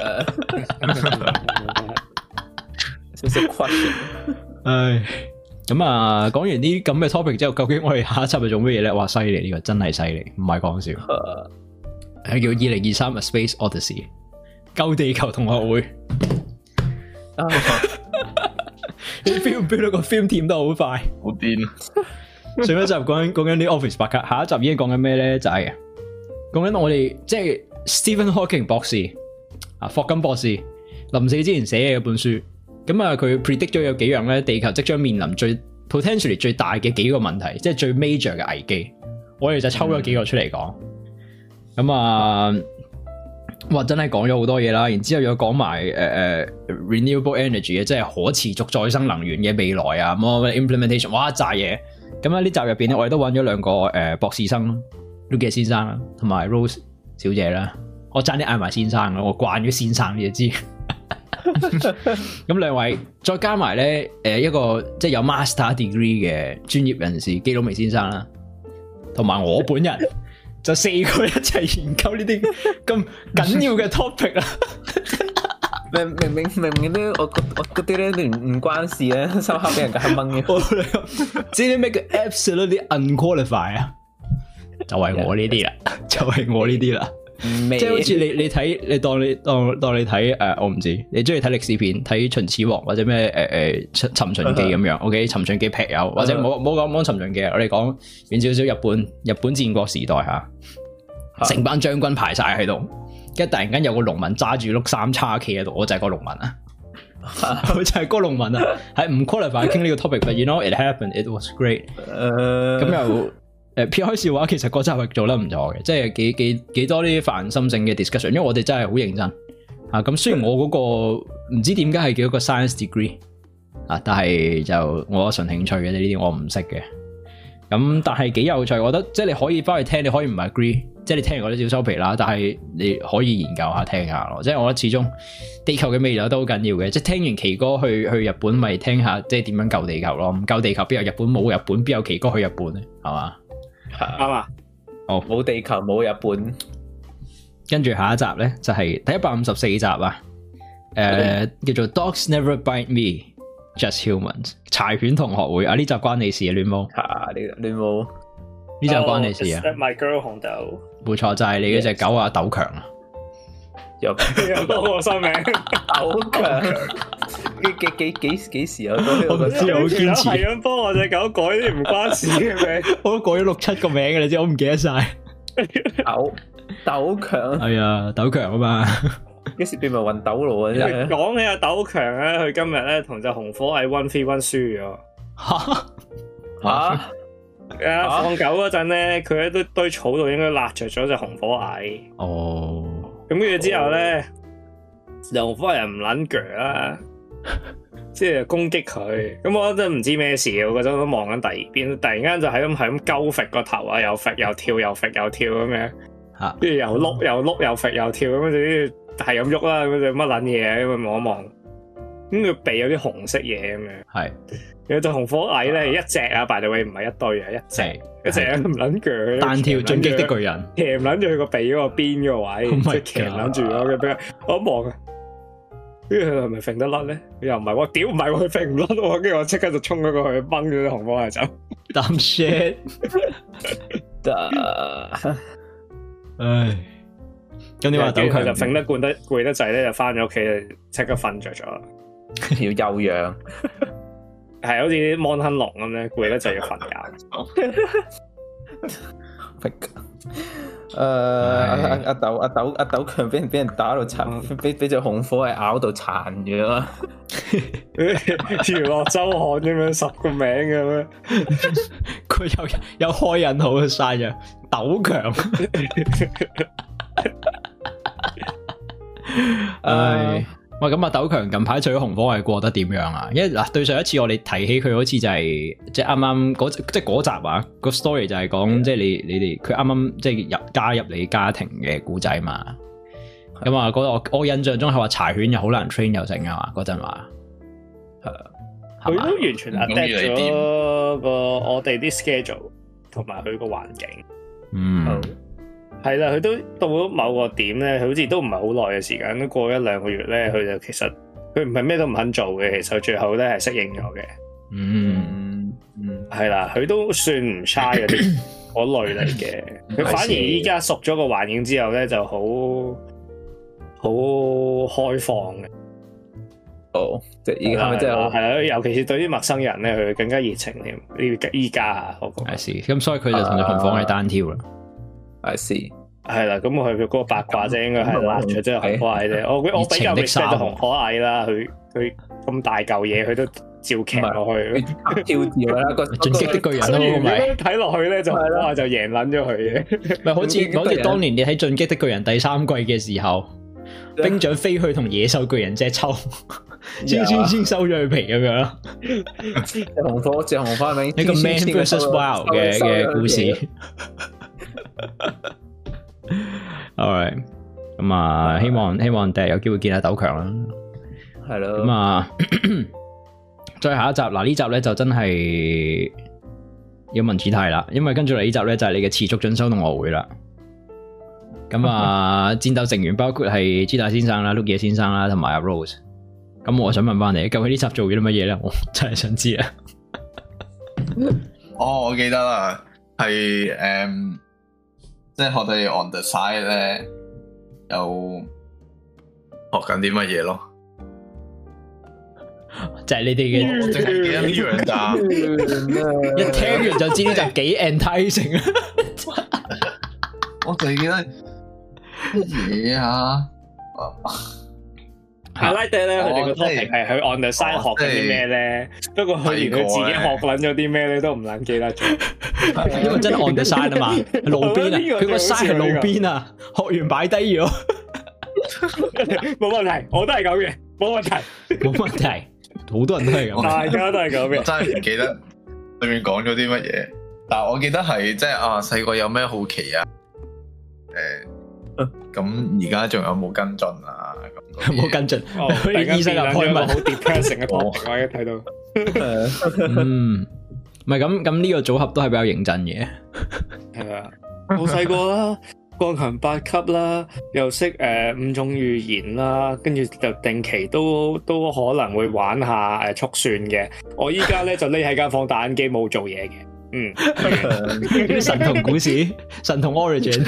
少少 question。唉，咁啊，講完啲咁嘅 topic 之後，究竟我哋下一集係做乜嘢咧？哇，犀利，呢個真係犀利，唔係講笑。係叫2023 A Space Odyssey， 救地球同學會。你 feel 到個 film team 都好快， 好癲。 上一集講緊啲 office 白卡，下一集已經講緊咩咧？就係講緊我哋即係 Stephen Hawking 博士啊，霍金博士臨死之前寫嘅一本書。咁啊，佢 predict 咗有幾樣咧，地球即將面臨最 potentially 最大嘅幾個問題，即係最 major 嘅危機，我哋就抽咗幾個出嚟講。咁啊，哇，真係講咗好多嘢啦。然之後又講埋renewable energy 嘅，即係可持續再生能源嘅未來啊，咁 implementation， 哇，一紮嘢。咁喺呢集入邊咧，我哋都揾咗兩個博士生 Lukas 先生啦，同埋 Rose 小姐啦。我爭啲嗌埋先生啦，我慣咗先生你就知。咁兩位再加埋咧，一個即係有 master degree 嘅專業人士基佬微先生啦，同埋我本人就四個一齊研究呢啲咁緊要嘅 topic 啦。 明咧，我嗰啲咧唔關事咧，收刻俾人夾掹嘅。 知唔知咩叫 absolutely unqualified 啊？就係我呢啲啦，就係我呢啲啦。即係好似你睇，你當你睇我唔知你中意睇歷史片，睇秦始皇或者咩尋秦記咁樣。OK， 尋秦記劈友，或者冇講尋秦記，我哋講遠少少日本戰國時代吓，成班將軍排晒喺度，跟住突然間有個農民揸住碌三叉企喺度，我就係個農民啊，我就係個農民啊，係唔 qualify 傾呢個 topic，but you know it happened, it was great。咁又。撇開笑話，其實嗰集係做得唔錯嘅，即係幾多啲發人心性嘅 discussion， 因為我哋真係好認真啊。咁雖然我嗰個唔知點解係叫一個 science degree 啊，但係就我純興趣嘅呢啲我唔識嘅。咁但係幾有趣，我覺得即係你可以翻去聽，你可以唔 agree， 即係你聽完嗰啲小收皮啦，但係你可以研究下聽下咯。即係我覺得始終地球嘅未來都好緊要嘅，即係聽完奇哥去日本咪聽下，即係點樣救地球咯？唔救地球邊有日本，冇日本邊有奇哥去日本咧？係嘛？ 啱啊！ 哦，冇地球冇日本， 跟住下一集咧就係第154集啊，叫做 Dogs Never Bite Me, Just Humans 柴犬同學會啊，呢集關你事啊，亂毛亂毛呢集關你事啊 My Girl 紅豆， 冇錯就係你嗰隻狗啊，豆強啊， 有多個新名豆強。幾時啊？ 我唔知，我好堅持係咁幫我隻狗改啲唔關事嘅名， 我都改咗6-7個名嘅，你知我唔記得晒。 豆強係啊，豆強啊嘛， 幾時變埋運豆路啊？真係講起阿豆強咧，佢今日咧同隻紅火蟻 1v1 輸咗。吓放狗嗰陣咧，佢喺堆草度應該辣着咗隻紅火蟻。 哦， 咁跟住之後咧，紅火蟻唔撚鋸啦。即係攻擊佢，咁我真係唔知咩事，我嗰陣都望緊第二邊，突然間就係咁鳩揈個頭啊，又揈又跳，又揈又跳咁樣，跟住又碌又碌又揈又跳咁樣，係咁喐啦，咁就乜撚嘢咁望一望，咁佢鼻有啲紅色嘢咁樣，係有隻紅火蟻咧，一隻啊 by the way 唔係一堆啊，一隻唔撚鋸，單挑進擊的巨人，騎唔撚住佢個鼻嗰個邊個位，即係騎唔撚住咗嘅，我一望啊。跟住佢係咪揈得甩咧？佢又唔係，我屌唔係，佢揈唔甩喎。跟住我即刻就衝咗過去，掹咗啲紅火蟻走。Dumb shit！唉，咁點話？豆強就揈得攰得滯咧，就翻咗屋企，即刻瞓着咗。要休養，係好似啲摩亨龍咁咧，攰得滯要瞓覺。阿豆強俾人打到殘，俾隻紅火蟻咬到殘咗，娛樂周刊咁樣10個名咁樣，佢有開引號晒嘅豆強，唉。喂，咁啊，豆強近排除咗紅火蟻過得點樣啊？因為嗱，對上一次我哋提起佢，好似就係即係啱啱嗰集啊，個 story 就係講即係你哋佢啱啱即係加入你家庭嘅故仔嘛。咁啊，我印象中係話柴犬又好難 train 又成啊嘛，嗰陣話係佢都完全 adapt 咗個我哋啲 schedule 同埋佢個環境。係啦，佢都到咗某個點咧，佢好似都唔係好耐嘅時間，都過1-2個月咧，佢就其實佢唔係咩都唔肯做嘅，其實最後咧係適應咗嘅。係啦，佢都算唔差嗰啲嗰類嚟嘅。佢反而依家熟咗個環境之後咧，就好開放嘅。即係依家咪即係係啦，尤其是對啲陌生人咧，佢更加熱情添。依家啊，我覺得係咁，所以佢就同隻紅火蟻單挑啦。I see， 係啦，咁佢嗰個八卦啫，應該係辣咗，即係紅火蟻啫。我比較 respect 紅火蟻啦，佢咁大嚿嘢，佢都照劇落去， 跳跳啦個進擊的巨人咯，咪睇落去咧就哇就贏撚咗佢嘅。 咪好似當年你睇進擊的巨人第3季嘅時候，兵長飛去同野獸巨人隻抽，先收咗佢皮咁樣咯。 隻紅花名一個 Man vs Wild 嘅故事。Alright， 咁啊，希望第日有機會見下鬥強啦。 係咯。 咁啊，再下一集嗱，呢集咧就真係要問主題啦，因為跟住嚟呢集咧就係你嘅持續進修同學會啦。咁啊，戰鬥成員包括係朱大先生啦、碌野先生啦，同埋阿 Rose。咁我想問翻你，究竟呢集做咗啲乜嘢咧？我真係想知啊！ 我記得啦，係即係我哋 on the side 咧，有學緊啲乜嘢咯？ 就係你哋嘅， 我淨係記得呢樣咋， 一聽完就知呢集幾 enticing 啊！ 我淨係記得乜嘢啊？ 阿拉爹咧，佢哋個 topic 係去 on the side 學緊啲咩咧？不過佢連佢自己學撚咗啲咩咧都唔撚記得咗， 因為真係 on the side 啊嘛，路邊啊，佢個 side 係路邊啊，學完擺低咗， 冇問題，我都係咁嘅，冇問題， 冇問題，好多人都係咁， 大家都係咁嘅。 我真係唔記得裏面講咗啲乜嘢，但係我記得係即係啊，細個有咩好奇啊？咁而家仲有冇跟進啊？ 有冇跟進？醫生又開問， 好 depressing 嘅 topic，我一睇到。 唔係咁呢個組合都係比較認真嘅。 係啊，好細個啦，鋼琴8級啦，又識5種語言啦，跟住就定期都可能會玩下速算嘅。我依家咧就匿喺間房打緊機，冇做嘢嘅。 神童故事，神童 origin。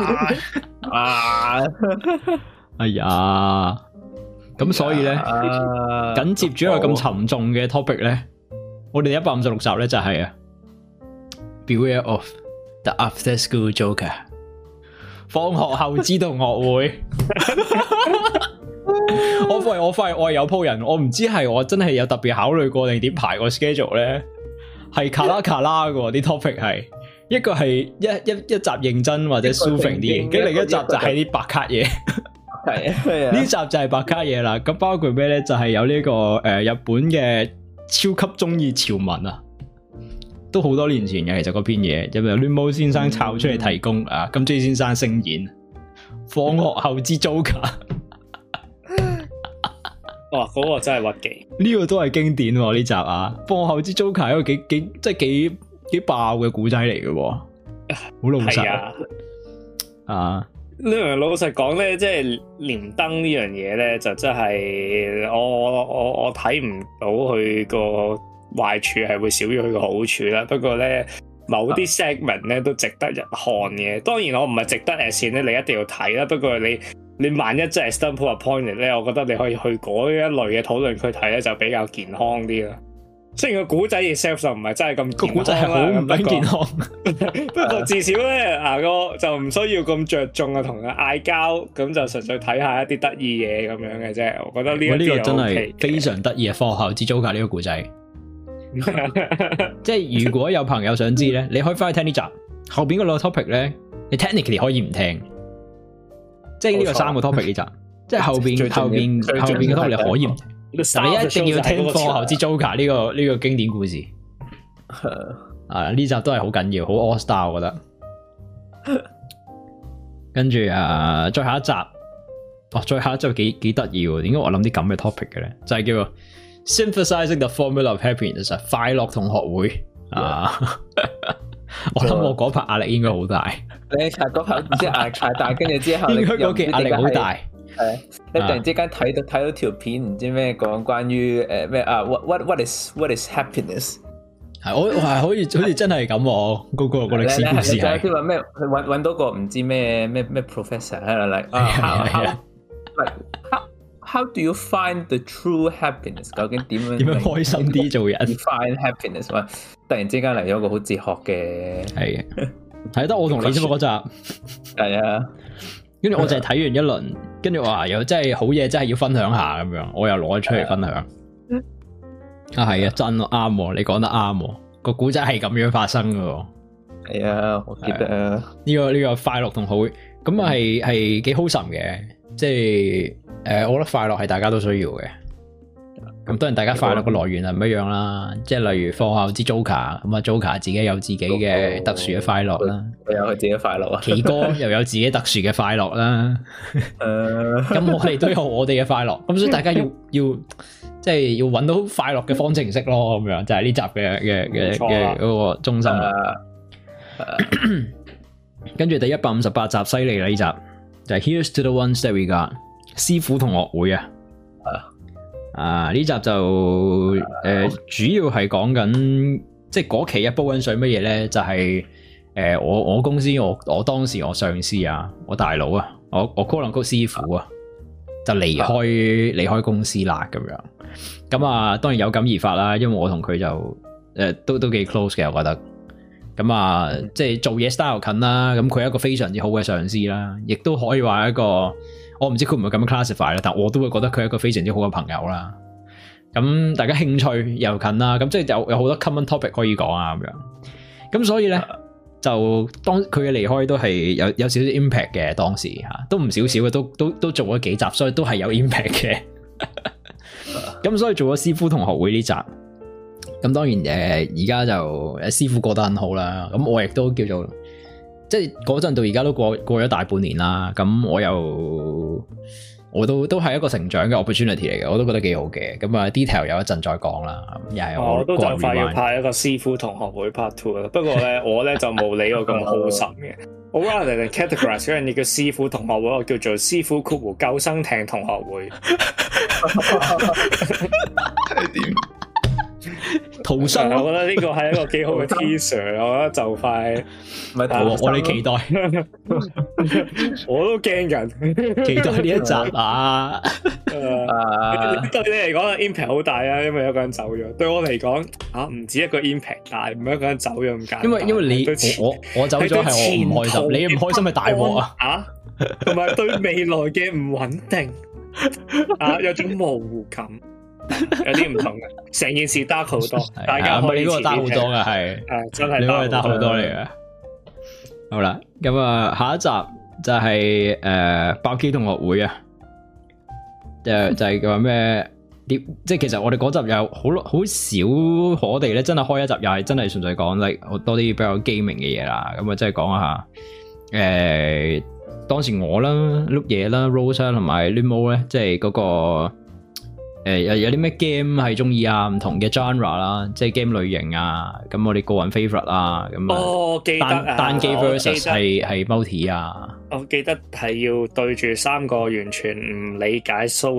哎呀，咁所以咧，緊接住一個咁沉重嘅 topic 咧，我哋156集咧就係Beware of the After School Joker， 放學後之同學會。我發現我係有鋪人，我唔知係我真係有特別考慮過定點排個 schedule 咧。係卡拉嘅啲 topic 係一個係一集認真或者 soothing 啲，跟另一集就係啲白卡嘢。係呢集就係白卡嘢啦。咁包括咩咧？就係有呢個日本嘅超級中意潮文啊，都好多年前嘅。其實嗰篇嘢就由亂毛先生抄出嚟提供啊，金 J 先生聲演放學後之 Joker。 哇！嗰個真係屈機， 呢個都係經典喎呢集啊！放學後之 Joker 一個幾爆嘅古仔嚟嘅，好老實啊！ 呢樣老實講咧，即係連登呢樣嘢咧，就真係我睇唔到佢個壞處係會少於佢個好處啦。不過咧，某啲 segment 咧都值得一看嘅。當然我唔係值得線咧，你一定要睇啦。不過你萬一真係 stumble upon it 咧，我覺得你可以去嗰一類嘅討論區睇咧，就比較健康啲啦。雖然個古仔 itself 就唔係真係咁健康啦，個古仔係好唔健康。不過至少咧，牙哥就唔需要咁着重啊，同佢嗌交，咁就純粹睇下一啲得意嘢咁樣嘅啫。我覺得呢個真係非常得意啊！放學後之 Joker 呢個古仔，即係如果有朋友想知咧，你可以翻去聽呢集後邊嗰兩個 topic 咧，你 technically 可以唔聽。即係呢個3個 topic 呢集，即係後邊嘅 topic 你可以唔聽，但你一定要聽放學後之 Joker 呢個經典故事。啊，呢集都係好緊要，好 all star 我覺得。跟住再下一集，再下一集幾得意喎？點解我諗啲咁嘅 topic 嘅咧？就係叫做 Synthesizing the Formula of Happiness， 快樂同學會啊。我諗我嗰排壓力應該好大。 你嗰排唔知壓力太大，跟住之後應該嗰期壓力好大。 係你突然之間睇到條片，唔知咩講關於咩啊 what is happiness？ 係我係好似真係咁喎，嗰個歷史故事係。 即係話咩？揾到個唔知咩 professor 喺度like how do you find the true happiness？ 究竟點樣開心啲做人 ？Find happiness？ 突然之間嚟咗個好哲學嘅， 係睇得我同你啫嘛嗰集。 係啊， 跟住我就係睇完一輪，跟住話又真係好嘢，真係要分享下咁樣，我又攞咗出嚟分享。 啊係啊，真啱，你講得啱，個古仔係咁樣發生噶。 係啊，我記得啊。 呢個快樂同好，咁啊係幾好神嘅，即係我覺得快樂係大家都需要嘅。咁當然大家快樂嘅來源係唔一樣啦，即係例如放下支 Joker， 咁啊 Joker 自己有自己嘅特殊嘅快樂啦， 有佢自己快樂啊。 奇哥又有自己特殊嘅快樂啦。咁我哋都有我哋嘅快樂，咁所以大家要即係要揾到快樂嘅方程式咯，咁樣就係呢集嘅嗰個中心啦。跟住第158集犀利啦，呢集就係 Here's to the ones that we got 師傅同學會啊，呢集就主要係講緊即係嗰期一煲緊水乜嘢咧，就係我公司我當時我上司啊，我大佬啊，我 call 兩個師傅啊，就離開公司啦咁樣。咁啊，當然有感而發啦，因為我同佢就都幾 close 嘅，我覺得。咁啊，即係做嘢 style 近啦，咁佢係一個非常之好嘅上司啦，亦都可以話一個，我唔知佢唔會咁樣 classify 啦，但我都會覺得佢係一個非常之好嘅朋友啦。咁大家興趣又近啦，咁即係有好多 common topic 可以講啊咁樣。咁所以咧，就當佢嘅離開都係有少少 impact 嘅，當時吓都唔少少嘅，都做咗幾集，所以都係有 impact 嘅。咁所以做咗師傅同學會呢集。咁當然而家就師傅過得很好啦，咁我亦都叫做即係嗰陣到而家都過咗大半年啦，咁我都係一個成長嘅 opportunity 嚟嘅，我都覺得幾好嘅。咁啊 detail 有一陣再講啦，又係我都就快要拍一個師傅同學會 part 2啦。不過咧我咧就冇理我咁好神嘅，我 rather than categorize 嗰樣嘢叫師傅同學會，我叫做師傅括弧救生艇同學會。 係點？ 逃生， 我覺得呢個係一個幾好嘅 teaser， 我覺得就快， 唔係我哋期待， 我都驚緊， 期待呢一集啊！ 對你嚟講 impact 好大啊，因為有個人走咗。對我嚟講唔止一個 impact 大，唔係一個人走咗咁簡單。 因為你我走咗係我唔開心，你唔開心係大鑊啊！同埋對未來嘅唔穩定有種模糊感。有啲唔同嘅，成件事 dark 好多，大家可以遲啲聽。dark 好多嘅係，真係 dark 好多嚟嘅。 好啦，咁啊，下一集就係爆 K 同學會啊，就係話咩？即係其實我哋嗰集有好少，我哋咧真係開一集又係真係純粹講like好多啲比較 gaming 嘅嘢啦。咁啊，即係講下當時我啦、碌嘢啦、Rose 啦同埋 Limo 咧，即係嗰個。有啲咩 game 係中意啊？唔同嘅 genre 啦，即係 game 類型啊。咁我哋個人 favorite 啊，咁記得單機 versus 係 multi 啊。 我記得係要對住3個完全唔理解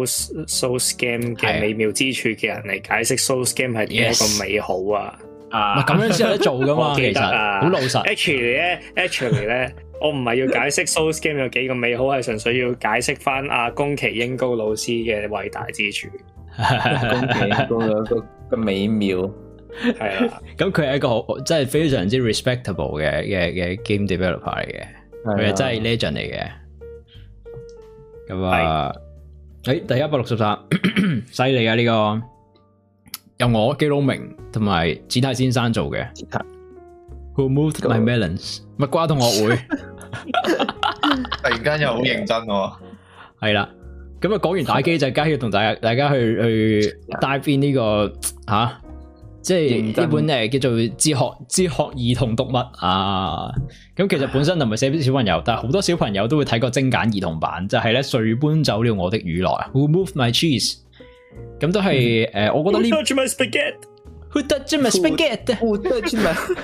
Souls game 嘅美妙之處嘅人嚟解釋 Souls game 係點一個美好啊！ 咁樣先有得做噶嘛？其實好老實。 Actually 咧，我唔係要解釋 Souls game 有幾個美好，係純粹要解釋翻阿宮崎英高老師嘅偉大之處。 宮崎英高有個美妙係啦。 咁佢係一個好真係非常之 respectable 嘅 game developer 嚟嘅，佢係真係 legend 嚟嘅。咁啊，第163犀利啊！呢個由我基隆明同埋子泰先生做嘅。Who moved my melons？ 蜜瓜同學會。 突然間又好認真喎。係啦。咁啊，講完打機就梗係要同大家去 dive in 呢個即係呢本叫做哲學兒童讀物啊。咁其實本身就唔係寫俾小朋友，但係好多小朋友都會睇過精簡兒童版，就係咧誰搬走了我的乳酪 Who moved my cheese？ 咁都係我覺得呢 Who touched my spaghetti？Who touched my spaghetti？Who touched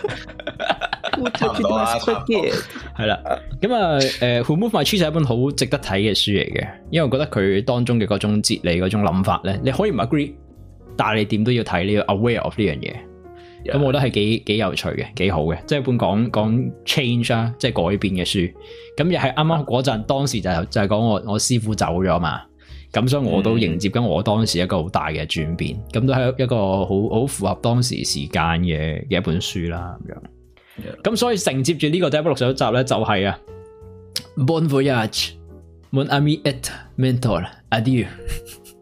my spaghetti？ 係啦，咁啊，Who Moved My Cheese 係一本好值得睇嘅書嚟嘅，因為我覺得佢當中嘅嗰種哲理、嗰種諗法咧，你可以唔 agree， 但係你點都要睇，你要 aware of 呢樣嘢。咁我覺得係幾有趣嘅，幾好嘅，即係一本講 change 啊，即係改變嘅書。咁又係啱啱嗰陣，當時就係講我師傅走咗嘛。咁所以我都迎接緊我當時一個好大嘅轉變，咁都係一個好符合當時時間嘅一本書啦咁樣。咁所以承接住呢個第161集咧，就係Bon voyage, mon ami et mentor, adieu。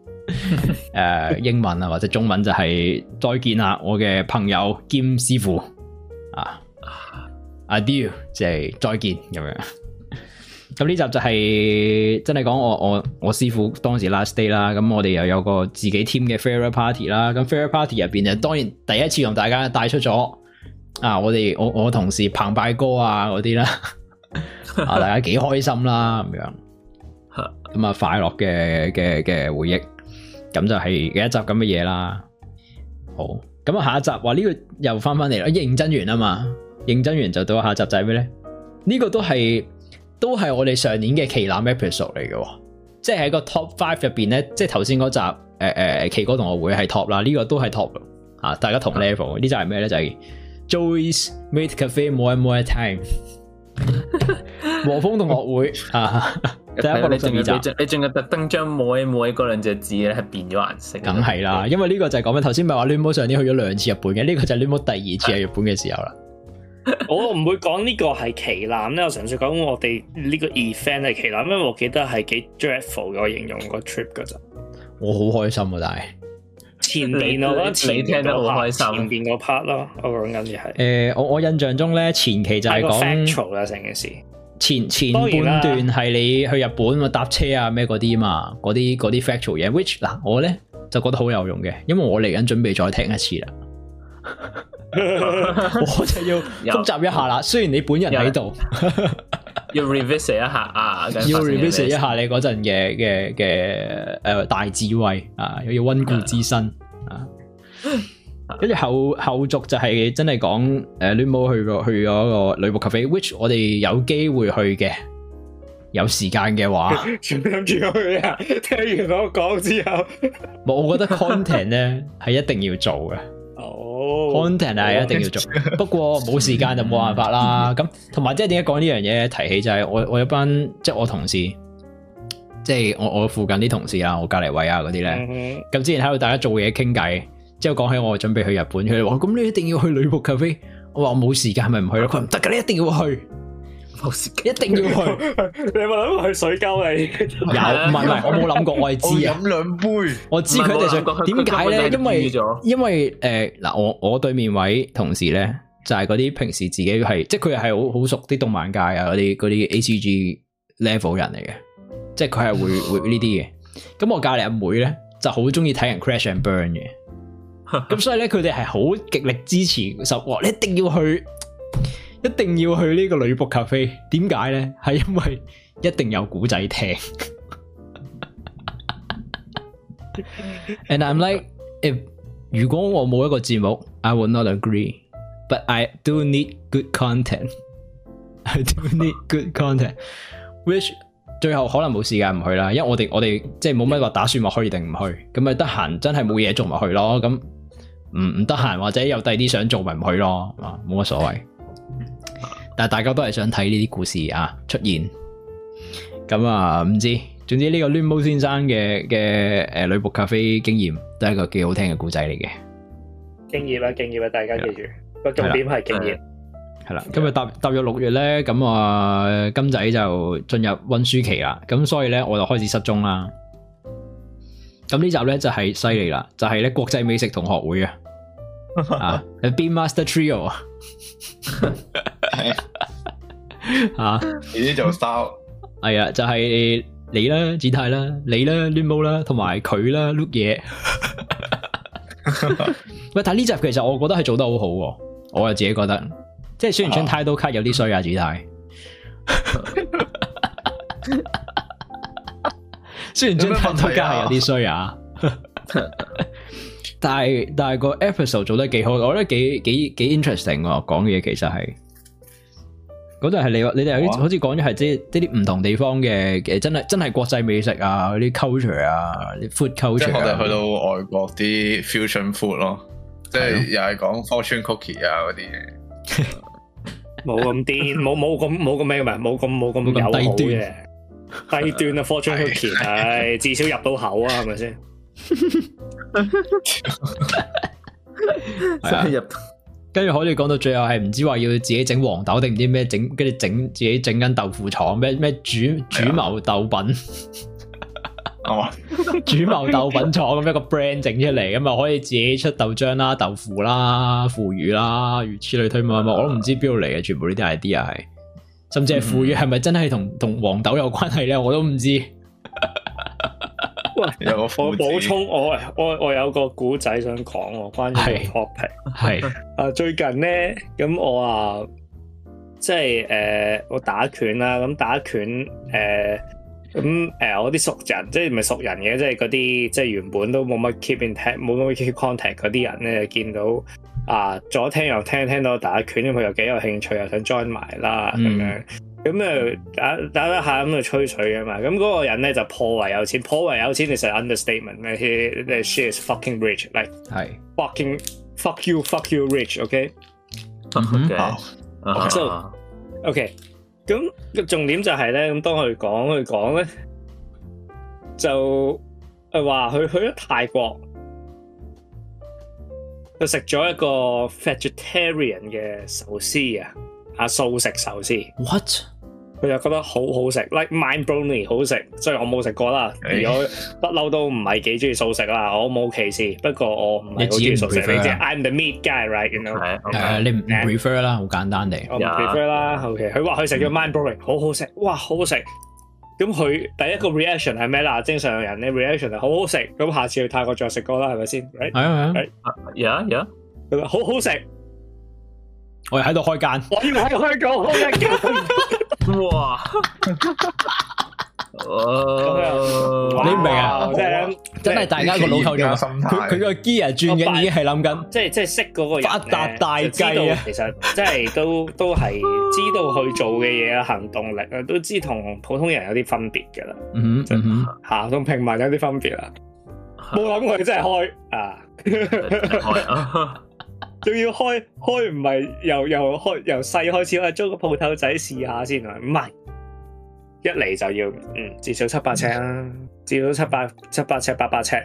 英文啊或者中文就係再見啦，我嘅朋友兼師傅啊 ，adieu 即係再見咁樣。咁呢集就係真係講我師傅當時 last day 啦，咁我哋又有個自己 team 嘅 farewell party 啦，咁 farewell party 入邊就當然第一次同大家帶出咗啊，我同事澎湃哥啊嗰啲啦，啊大家幾開心啦咁樣，咁啊快樂嘅回憶，咁就係一集咁嘅嘢啦。好，咁啊下一集話呢個又翻嚟啦，認真完啊嘛，認真完就到下集就係咩咧？呢個都係我哋上年嘅旗艦 episode 嚟嘅，即係喺個 top 5入邊咧，即係頭先嗰集奇哥同學會係 top 啦，呢個都係 top 啊，大家同 level。呢集係咩咧？就係 Joey's Made Cafe More and More Time 和風同學會啊，第162集。 你仲要特登將 More and More 嗰兩隻字咧係變咗顏色。梗係啦，因為呢個就係講緊頭先咪話 Lunmo 上年去咗2次日本嘅，呢個就係 Lunmo 第2次喺日本嘅時候啦。 我唔會講呢個係旗艦咧，我純粹講我哋呢個 event 係旗艦，因為我記得係幾 dreadful 嘅，我形容個 trip 噶咋。 我好開心啊，但係前面我覺得前聽得好開心， 前邊個 part 咯，我講緊嘅係我印象中咧前期就係講 factual 啦，成件事前半段係你去日本搭車啊咩嗰啲嘛，嗰啲 factual 嘢 ，which 嗱我咧就覺得好有用嘅，因為我嚟緊準備再聽一次啦。我就要複習一下啦。雖然你本人喺度， 要 revisit 一下啊， 要 revisit 一下你嗰陣嘅大智慧啊，又要溫故知新啊。跟住後續就係真係講Lunmo去咗個女僕 cafe，which 我哋有機會去嘅，有時間嘅話， 全部諗住去啊！聽完我講之後， 我覺得 content 咧係一定要做嘅。content 係一定要做，不過冇時間就冇辦法啦。咁同埋即係點解講呢樣嘢？提起就係我有班即係我同事，即係我附近啲同事啊，我隔籬位啊嗰啲咧。咁之前喺度大家做嘢傾偈，之後講起我準備去日本，佢哋話咁你一定要去女僕 cafe。我話我冇時間，係咪唔去咯？佢唔得噶，你一定要去。一定要去， 你有冇諗過去水溝你？ 有，唔係，我冇諗過，我係知啊。 飲兩杯， 我知佢哋想點解咧？因為嗱，我對面位同事咧，就係嗰啲平時自己係，即係佢係好熟啲動漫界啊，嗰啲 ACG level 人嚟嘅，即係佢係會呢啲嘅。咁我隔籬阿妹咧，就好中意睇人 crash and burn 嘅，咁所以咧佢哋係好極力支持，你一定要去。一定要去呢個女僕 cafe， 點解咧？係因為一定有古仔聽。And I'm like, if 如果我冇一個節目 ，I would not agree. But I do need good content. I do need good content. Which 最後可能冇時間唔去啦，因為我哋即係冇乜話打算話去定唔去，咁咪得閒真係冇嘢做咪去咯。咁唔得閒或者有第啲想做咪唔去咯，冇乜所謂。但係大家都係想睇呢啲故事啊出現，咁啊唔知，總之呢個 Lunmo 先生嘅女僕 cafe 經驗都係一個幾好聽嘅故仔嚟嘅。敬業啊！大家記住個重點係敬業。係啦，今日踏入6月咧，咁啊金仔就進入溫書期啦，咁所以咧我就開始失蹤啦。咁呢集咧就係犀利啦，就係咧國際美食同學會啊，啊 Bean Master Trio 啊。啊！ 你啲做 style 係啊，就係你啦，子泰啦，你啦，Lunmo啦，同埋佢啦，Look 嘢。喂，但係呢集其實我覺得係做得好好，我又自己覺得，即係雖然張 title card 有啲衰啊，子泰。雖然張 title card 係有啲衰啊，但係個 episode 做得幾好，我覺得幾 interesting 喎，講嘅嘢其實係。嗰度係你哋好似講咗係即係啲唔同地方嘅真係國際美食啊，嗰啲 culture 啊，啲 food culture。即係我哋去到外國啲 fusion food 咯，即係又係講 fortune cookie 啊嗰啲嘢。 冇咁癲，冇咁咩嘅，冇咁友好嘅，低端啊 fortune cookie，係至少入到口啊，係咪先？ 真係入。 跟住可以講到最後係唔知話要自己整黃豆定唔知咩整，跟住自己整緊豆腐廠咩煮謀豆品。 主謀豆品廠咁一個 brand 整出嚟，咁啊可以自己出豆漿啦、豆腐啦、腐乳啦，如此類推嘛，我都唔知邊度嚟嘅，全部呢啲 idea 係，甚至係腐乳係咪真係同黃豆有關係咧？我都唔知。 有個我補充，我有個古仔想講喎，關於個 topic 係最近咧，咁我即係我打拳啦，咁打拳我啲熟人，即係唔係熟人嘅，即係嗰啲即係原本都冇乜 keep in touch 冇乜 keep contact 嗰啲人咧，見到左聽右聽到我打拳，咁佢又幾有興趣，又想 join 埋啦咁樣。咁打得下咁就吹水啊嘛，咁嗰個人咧就頗為有錢，頗為有錢其實係 understatement 咩 ？She is fucking rich，like 係 fucking fuck you rich，OK？ So OK， 咁個重點就係咧，咁當佢講咧，就話佢去咗泰國，佢食咗一個 vegetarian 嘅壽司素食壽司 ，what？ 佢就覺得好好食 ，like mind-blowing 好食。雖然我冇食過啦，如果不嬲都唔係幾中意素食啦，我冇歧視。不過我唔係好中意素食，你知 I'm the meat guy，right？ 你唔 prefer 啦，好簡單地。 我唔 prefer 啦。OK， 佢話佢食咗 mind-blowing 好好食，哇，好好食。咁佢第一個 reaction 係咩啦？正常人咧 reaction 係好好食。咁下次去泰國再食過啦，係咪先？ 係啊 ，yeah。 佢話好好食。 我喺度開間， 我要喺度開一間。哇！ 你唔明啊？真係大家個腦構造，佢個 gear 轉緊已經係諗緊， 即係識嗰個人發達大計啊！ 其實即係都係知道佢做嘅嘢啊，行動力啊，都知同普通人有啲分別噶啦。同平民有啲分別啦。冇諗過佢真係開啊！仲要開唔係由細開始，我租個鋪頭仔試下先啊！唔係一嚟就要至少700尺啦，至少700尺800尺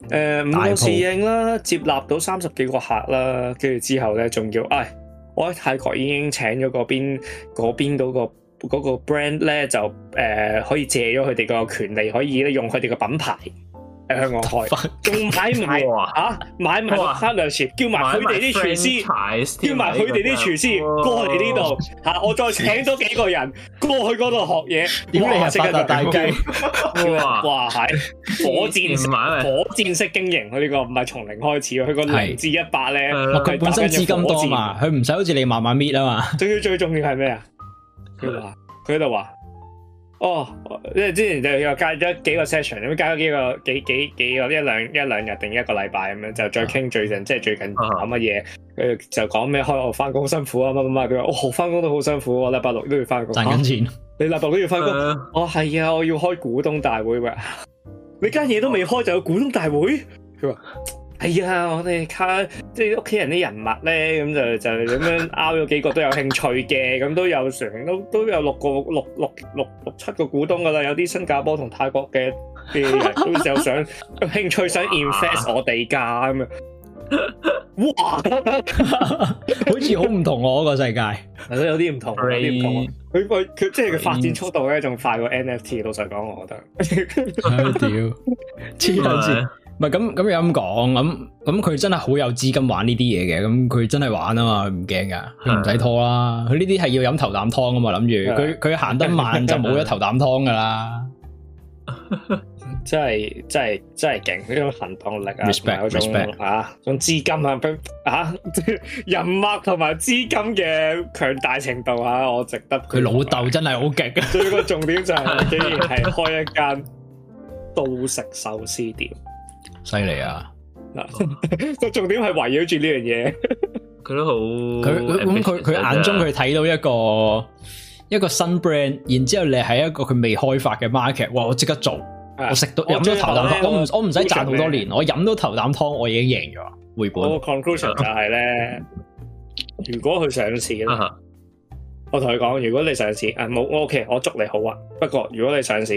5個侍應啦，接納到30幾個客啦，跟住之後咧仲要我喺泰國已經請咗嗰邊嗰個 brand 咧就可以借咗佢哋個權利，可以咧用佢哋個品牌喺香港開，仲買埋 partnership， 叫埋佢哋啲廚師，叫埋佢哋啲廚師過嚟呢度我再請多幾個人過去嗰度學嘢，點你係發達大雞？哇係火箭式經營，佢呢個唔係從零開始，佢個0至100咧， 佢本身資金多嘛，佢唔使好似你慢慢搣啊嘛。仲要最重要係咩啊？佢喺度話。因為之前就又加咗幾個 session， 咁加咗幾個一兩日定一個禮拜咁樣，就再傾最近即係最近搞乜嘢，佢就講咩開學翻工辛苦啊乜，佢話翻工都好辛苦，我禮拜六都要翻工， 賺緊錢， 你禮拜六都要翻工，係啊，我要開股東大會喎，你間嘢都未開就有股東大會，佢話。係啊，我哋即係屋企人啲人物咧，咁就咁樣拗咗幾個都有興趣嘅，咁都有都有六七個股東噶啦，有啲新加坡同泰國嘅人都有有興趣想 invest 我哋噶咁樣。哇， 好似好唔同我嗰個世界， 係咯，有啲唔同，佢即係佢發展速度咧，仲快過 NFT。老實講，我覺得。 屌，黐撚線。唔係咁樣講，咁佢真係好有資金玩呢啲嘢嘅，咁佢真係玩啊嘛，佢唔驚噶，佢唔使拖啦，佢呢啲係要飲頭啖湯啊嘛，諗住佢行得慢就冇咗頭啖湯噶啦，真係勁呢種行動力啊 ，respect 種資金人脈同埋資金嘅強大程度我值得。 佢老豆真係好勁， 最個重點就係竟然係開一間素食壽司店。 犀利啊！ 個重點係圍繞住呢樣嘢， 佢都好。 佢眼中佢睇到一個新 brand， 然之後你係一個佢未開發嘅 market， 哇！我即刻做，我食到飲咗頭啖湯，我唔使賺好多年，我飲到頭啖湯，我已經贏咗回本。 我個 conclusion 就係咧，如果佢上市咧，我同佢講，如果你上市，冇我 OK，我祝你好啊。不過如果你上市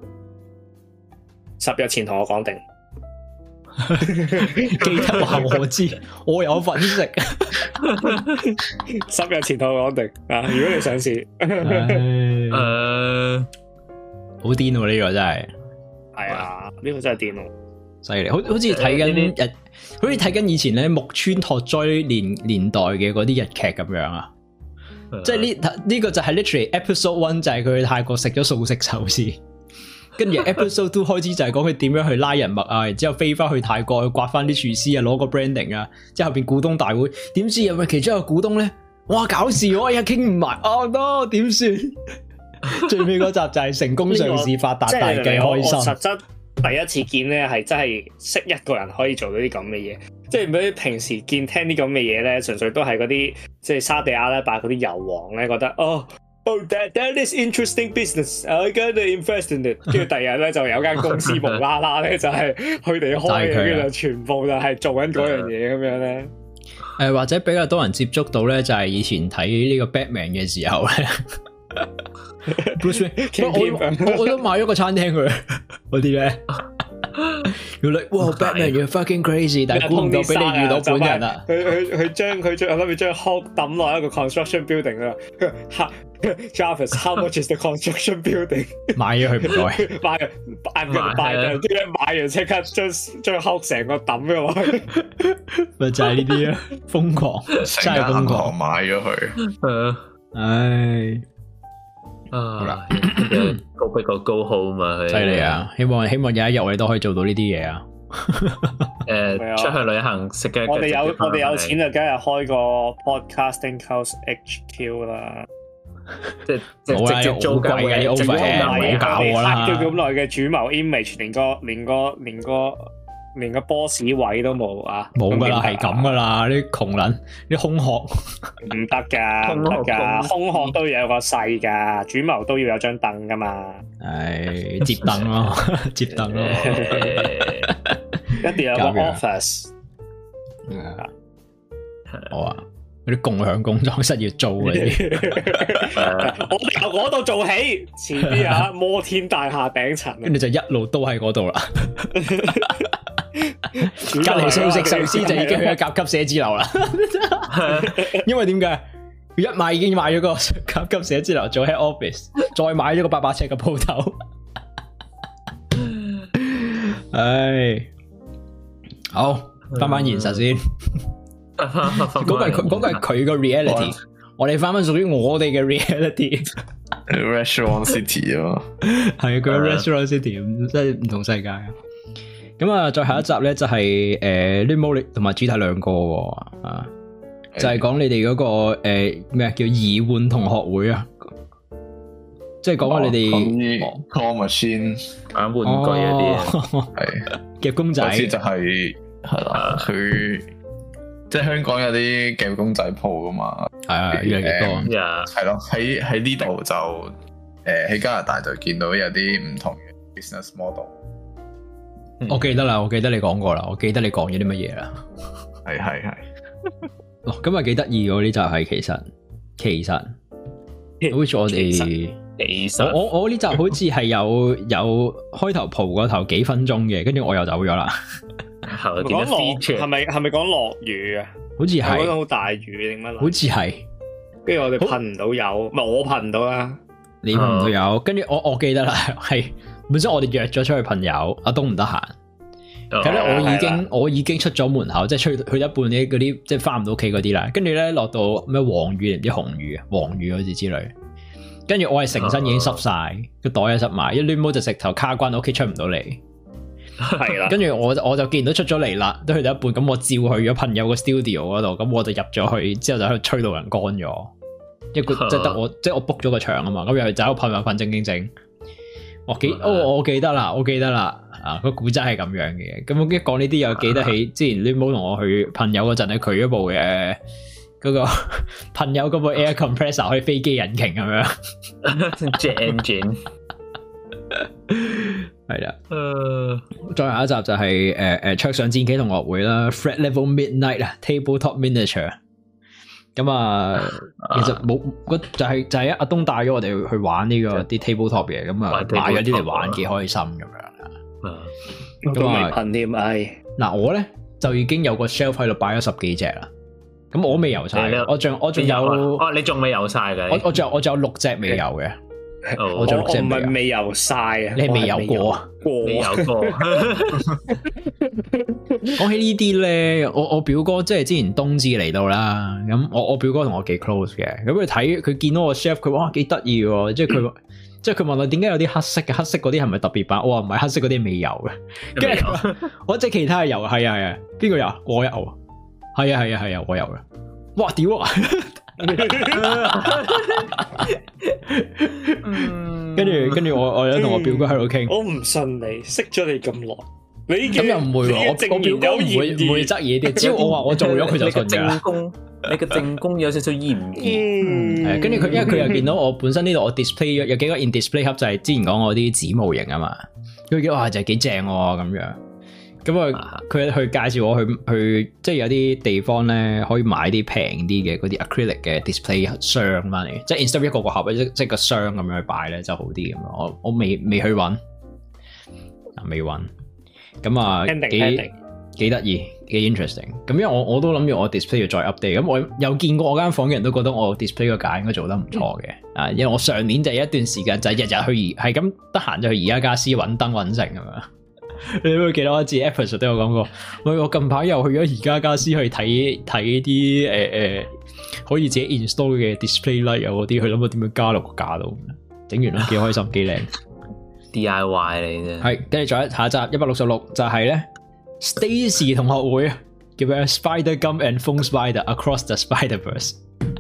，10日前同我講定。 記得話我知，我有份食。 10日前同我講定如果你上市， 好癲喎呢個真係。 係啊，呢個真係癲咯， 犀利，好似睇緊好似睇緊以前咧木村拓哉年代嘅嗰啲日劇咁樣啊，即係呢個就係 literally episode 1就係佢去泰國食咗素食壽司，跟住 episode 2開始就係講佢點樣去拉人脈啊，然之後飛翻去泰國去刮翻啲廚師啊，攞個 branding 啊，之後後邊股東大會，點知有咪其中一個股東咧，哇搞事我又傾唔埋，哦 no 點算？最尾嗰集就係成功上市發達大計開心。 實質第一次見咧係真係識一個人可以做到啲咁嘅嘢，即係唔比平時聽啲咁嘅嘢咧，純粹都係嗰啲即係沙地阿拉伯嗰啲油王咧覺得that is interesting business, I gotta invest in it。跟住第二日咧就有間公司無啦啦咧就係佢哋開嘅，跟住就全部就係做緊嗰樣嘢咁樣咧。 或者比較多人接觸到咧，就係以前睇呢個 Batman 嘅時候咧。Bruce Wayne， 我都買咗個餐廳佢嗰啲咧，要你哇 Batman，you're fucking crazy， 但係估唔到俾你遇到本人啊！ 佢將我諗住將 Hulk 抌落一個 construction building 啦。Jarvis，how much is the construction building？ 買咗佢唔該，買完即刻將 Hulk 成個抌咗落去， 咪就係呢啲啊！瘋狂，真係瘋狂， 買咗佢， 唉。 好啦，高逼個高號嘛， 犀利啊！希望有一日我哋都可以做到呢啲嘢啊！ 出去旅行食嘅， 我哋有錢就梗係開個 podcasting house HQ 啦，即係直接租貴嘅，直接唔搞我啦！叫咁耐嘅主謀 image， 連個 boss 位都冇啊！ 冇噶啦，係咁噶啦，啲窮人，啲空殼唔得噶，空殼都要有個勢噶，主謀都要有張凳噶嘛。 係接凳咯，接凳咯， 一定要有個 office。 好啊，嗰啲共享工作室要租嗰啲， 我由嗰度做起，前啲啊摩天大廈頂層， 跟住就一路都喺嗰度啦。隔籬素食壽司就已經去咗甲級寫字樓啦，因為點解？佢一買已經買咗個甲級寫字樓做喺 office， 再買咗個800尺嘅鋪頭。唉，好翻翻現實先，嗰個係佢個 reality， 我哋翻翻屬於我哋嘅 reality。Restaurant City 啊， 係佢 Restaurant City， 真係唔同世界啊！咁啊，再下一集咧就係Limolic 同埋主題兩個啊，就係講你哋嗰個咩叫移換同學會啊，即係講下你哋 call machine 玩玩具嗰啲， 係夾公仔， 就係啦，佢即係香港有啲夾公仔鋪噶嘛， 係啊，越嚟越多， 係咯，喺呢度就喺加拿大就見到有啲唔同嘅 business model。 我記得啦，我記得你講過啦，我記得你講咗啲乜嘢啦， 係， 哦，咁啊幾得意嗰啲就係其實，好似我哋，我呢集好似係有開頭蒲過頭幾分鐘嘅，跟住我又走咗啦。 係咪講落雨啊？ 好似係， 講好大雨定乜？ 好似係， 跟住我哋噴唔到油，唔係我噴唔到啦， 你噴唔到油，跟住我記得啦，係。本身我哋約咗出去朋友，阿東唔得閒，咁咧我已經出咗門口，即係去一半啲嗰啲，即係翻唔到屋企嗰啲啦。跟住咧落到咩黃雨唔知紅雨啊，黃雨好似之類。跟住我係成身已經濕晒，個袋又濕埋，一攣毛就直頭卡關喺屋企出唔到嚟。係啦，跟住我就見到出咗嚟啦，都去到一半，咁我照去咗朋友個 studio 嗰度，咁我就入咗去，之後就喺度吹到人乾咗。即係得我，即係我 book 咗個場啊嘛，咁入去就喺度噴正經整。我記得啦，啊個古仔係咁樣嘅，咁我一講呢啲又記得起之前 Limo 同我去朋友嗰陣咧，佢嗰部嘅嗰個朋友嗰部 air compressor 可以飛機引擎咁樣 ，jet engine 係啦，再下一集就係桌上戰棋同學會啦 ，Fred Level Midnight 啊 ，Tabletop Miniature。咁啊，其實冇就係阿東帶咗我哋去玩呢個啲 tabletop 嘢，咁啊買咗啲嚟玩，幾開心咁樣啊。 咁未噴添， 嗱我咧就已經有個 shelf 喺度擺咗10幾隻啦。咁我未游晒，我仲有， 你仲未游晒嘅？ 我仲有6隻未游嘅。 我唔係未游晒啊， 你係未游過啊？ 未游過。 講起呢啲咧，我表哥即係之前冬至嚟到啦，咁我表哥同我幾 close 嘅，咁佢見到我 chef， 佢哇幾得意喎，即係佢問我點解有啲黑色嘅，黑色嗰啲係咪特別版？我話唔係，黑色嗰啲未游嘅，跟住我即係其他係游，係啊，邊個游？我游，係啊，我游嘅，哇屌啊！跟住我有同我表哥喺度傾， 我唔信你識咗你咁耐，你咁又唔會喎，我表哥唔會質疑啲，只要我話我做咗佢就信㗎。 你嘅正宮有少少厭惡， 跟住佢因為佢又見到我本身呢度我 display 有幾個 in display 盒，就係之前講我啲紙模型啊嘛，佢見哇就係幾正喎咁樣。咁啊，佢去介紹我去即係有啲地方咧可以買啲平啲嘅嗰啲 acrylic 嘅 display 箱翻嚟，即係 instead 一個盒即係個箱咁樣去擺咧就好啲咁樣。我未去揾，未揾。咁啊幾得意，幾 interesting。咁因為我都諗住我 display 要再 update。咁我有見過我間房嘅人都覺得我 display 個架應該做得唔錯嘅。因為我上年就有一段時間就係日日去係咁得閒就去宜家家私揾燈揾成咁樣。你會記得我之前 episode 都有講過，我近排又去咗宜家家私去睇啲可以自己 install 嘅 display light 啊嗰啲，去諗下點樣加落個架度，整完啦幾開心幾靚。 DIY 嚟啫。係， 跟住再下一集166就係咧 Stacy 同學會啊，叫咩 Spider Gum and Foam Spider Across the Spider-Verse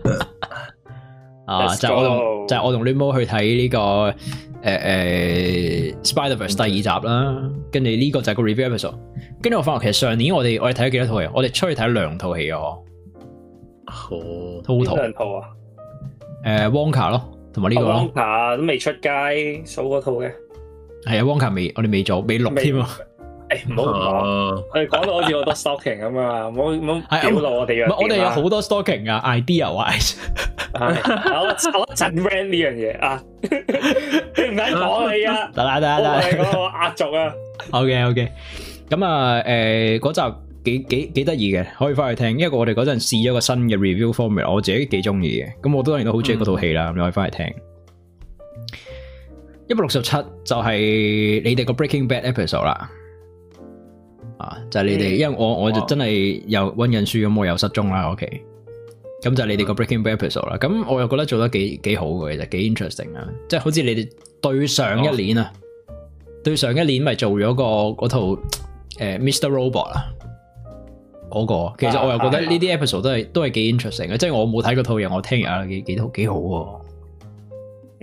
啊，就係我同 Limo 去睇呢個。Spider-Verse 第2集啦，跟住呢個就係個 review episode。跟住我發覺其實上年我哋睇咗幾多套戲，我哋出去睇2套戲啊。total 兩套啊 ？Wonka 咯，同埋呢個咯。 Wonka 都未出街，數嗰套嘅。 係啊 Wonka 我哋未做，未錄添啊。 唔好講，我哋講到好似好多 stalking 咁啊，唔好表露我哋嘅。 我哋有好多 stalking 啊 ，idea wise。 我一陣 rant 呢樣嘢啊，你唔使講你啊，得，我係嗰個壓軸啊。 OK， 咁啊，嗰集幾得意嘅，可以翻去聽，因為我哋嗰陣試咗個新嘅 review formula， 我自己幾中意嘅，咁我當然都好中意嗰套戲啦，咁你可以翻去聽。167就係你哋個 Breaking Bad episode 啦。就係你哋，因為我就真係又溫緊書咁，我又失蹤啦。OK，咁就係你哋個 Breaking Bad episode 啦。咁我又覺得做得幾好嘅，其實幾 interesting 啊。即係好似你哋對上一年啊，對上一年咪做咗嗰套Mr. Robot 啊，嗰個。其實我又覺得呢啲 episode 都係幾 interesting 嘅。即係我冇睇嗰套嘢，我聽完幾好喎。 我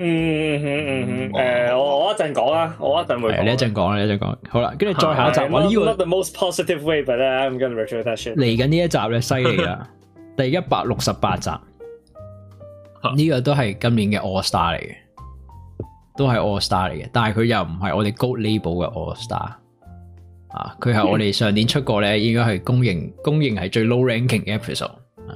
一陣講啦，我一陣會講。 你一陣講，好啦，跟住再下一集。我呢個 not the most positive way, but I'm gonna retro that shit。 嚟緊呢一集咧，犀利啦，第168集，呢個都係今年嘅 All Star 嚟嘅，都係 All Star 嚟嘅，但係佢又唔係我哋 Gold Label 嘅 All Star 啊，佢係我哋上年出過咧，應該係公認係最 low ranking 嘅 episode。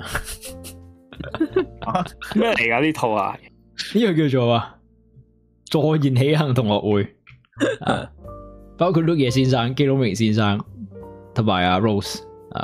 咩嚟噶呢套啊？ 呢個叫做坐言起行同學會，包括 Luke 野先生、基隆明先生同埋阿 Rose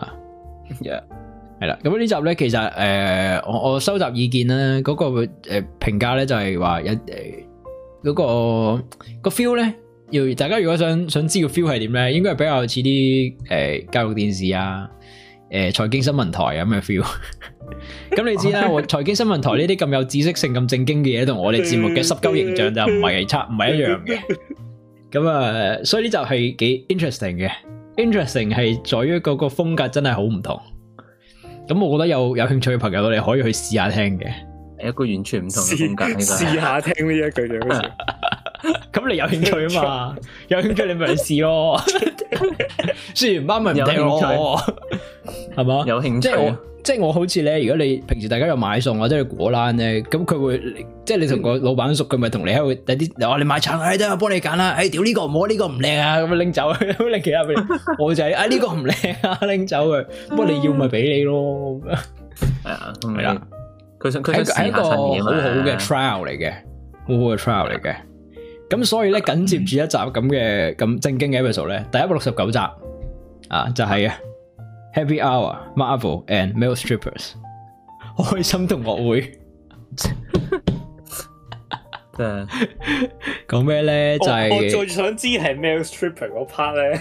係啦。咁呢集咧，其實我收集意見咧，嗰個評價咧就係話有嗰個 feel 咧，要大家如果想知個 feel 係點咧，應該係比較似啲教育電視啊。財經新聞台咁嘅 feel， 咁你知啦，我財經新聞台呢啲咁有知識性、咁正經嘅嘢，同我哋節目嘅濕鳩形象就唔係一樣嘅。咁所以呢集係幾 interesting 嘅。interesting 係在於嗰個風格真係好唔同。咁我覺得有興趣嘅朋友，我哋可以去試下聽嘅。 一個完全唔同嘅風格， 試下聽呢一句就好似。 咁你有興趣啊嘛？有興趣你咪去試咯。試完班咪唔聽咯，係嘛？ 有興趣， 即係我好似咧，如果你平時大家有買餸或者去果欄咧，咁佢會即係你同個老闆熟，佢咪同你喺度有啲話你買橙，得我幫你揀啦。屌呢個唔好，呢個唔靚啊，咁樣拎走，拎其他俾你。我就係呢個唔靚啊，拎走佢。不過你要咪俾你咯。 係啊， 係啦。 佢係一個好好嘅 trial 嚟嘅，好好嘅 trial 嚟嘅。咁所以咧，緊接住一集咁正經嘅 episode 咧，第169集就係Happy Hour Marvel and Male Strippers 開心同學會。 講咩咧？就係我最想知係 male stripper 嗰 part 咧，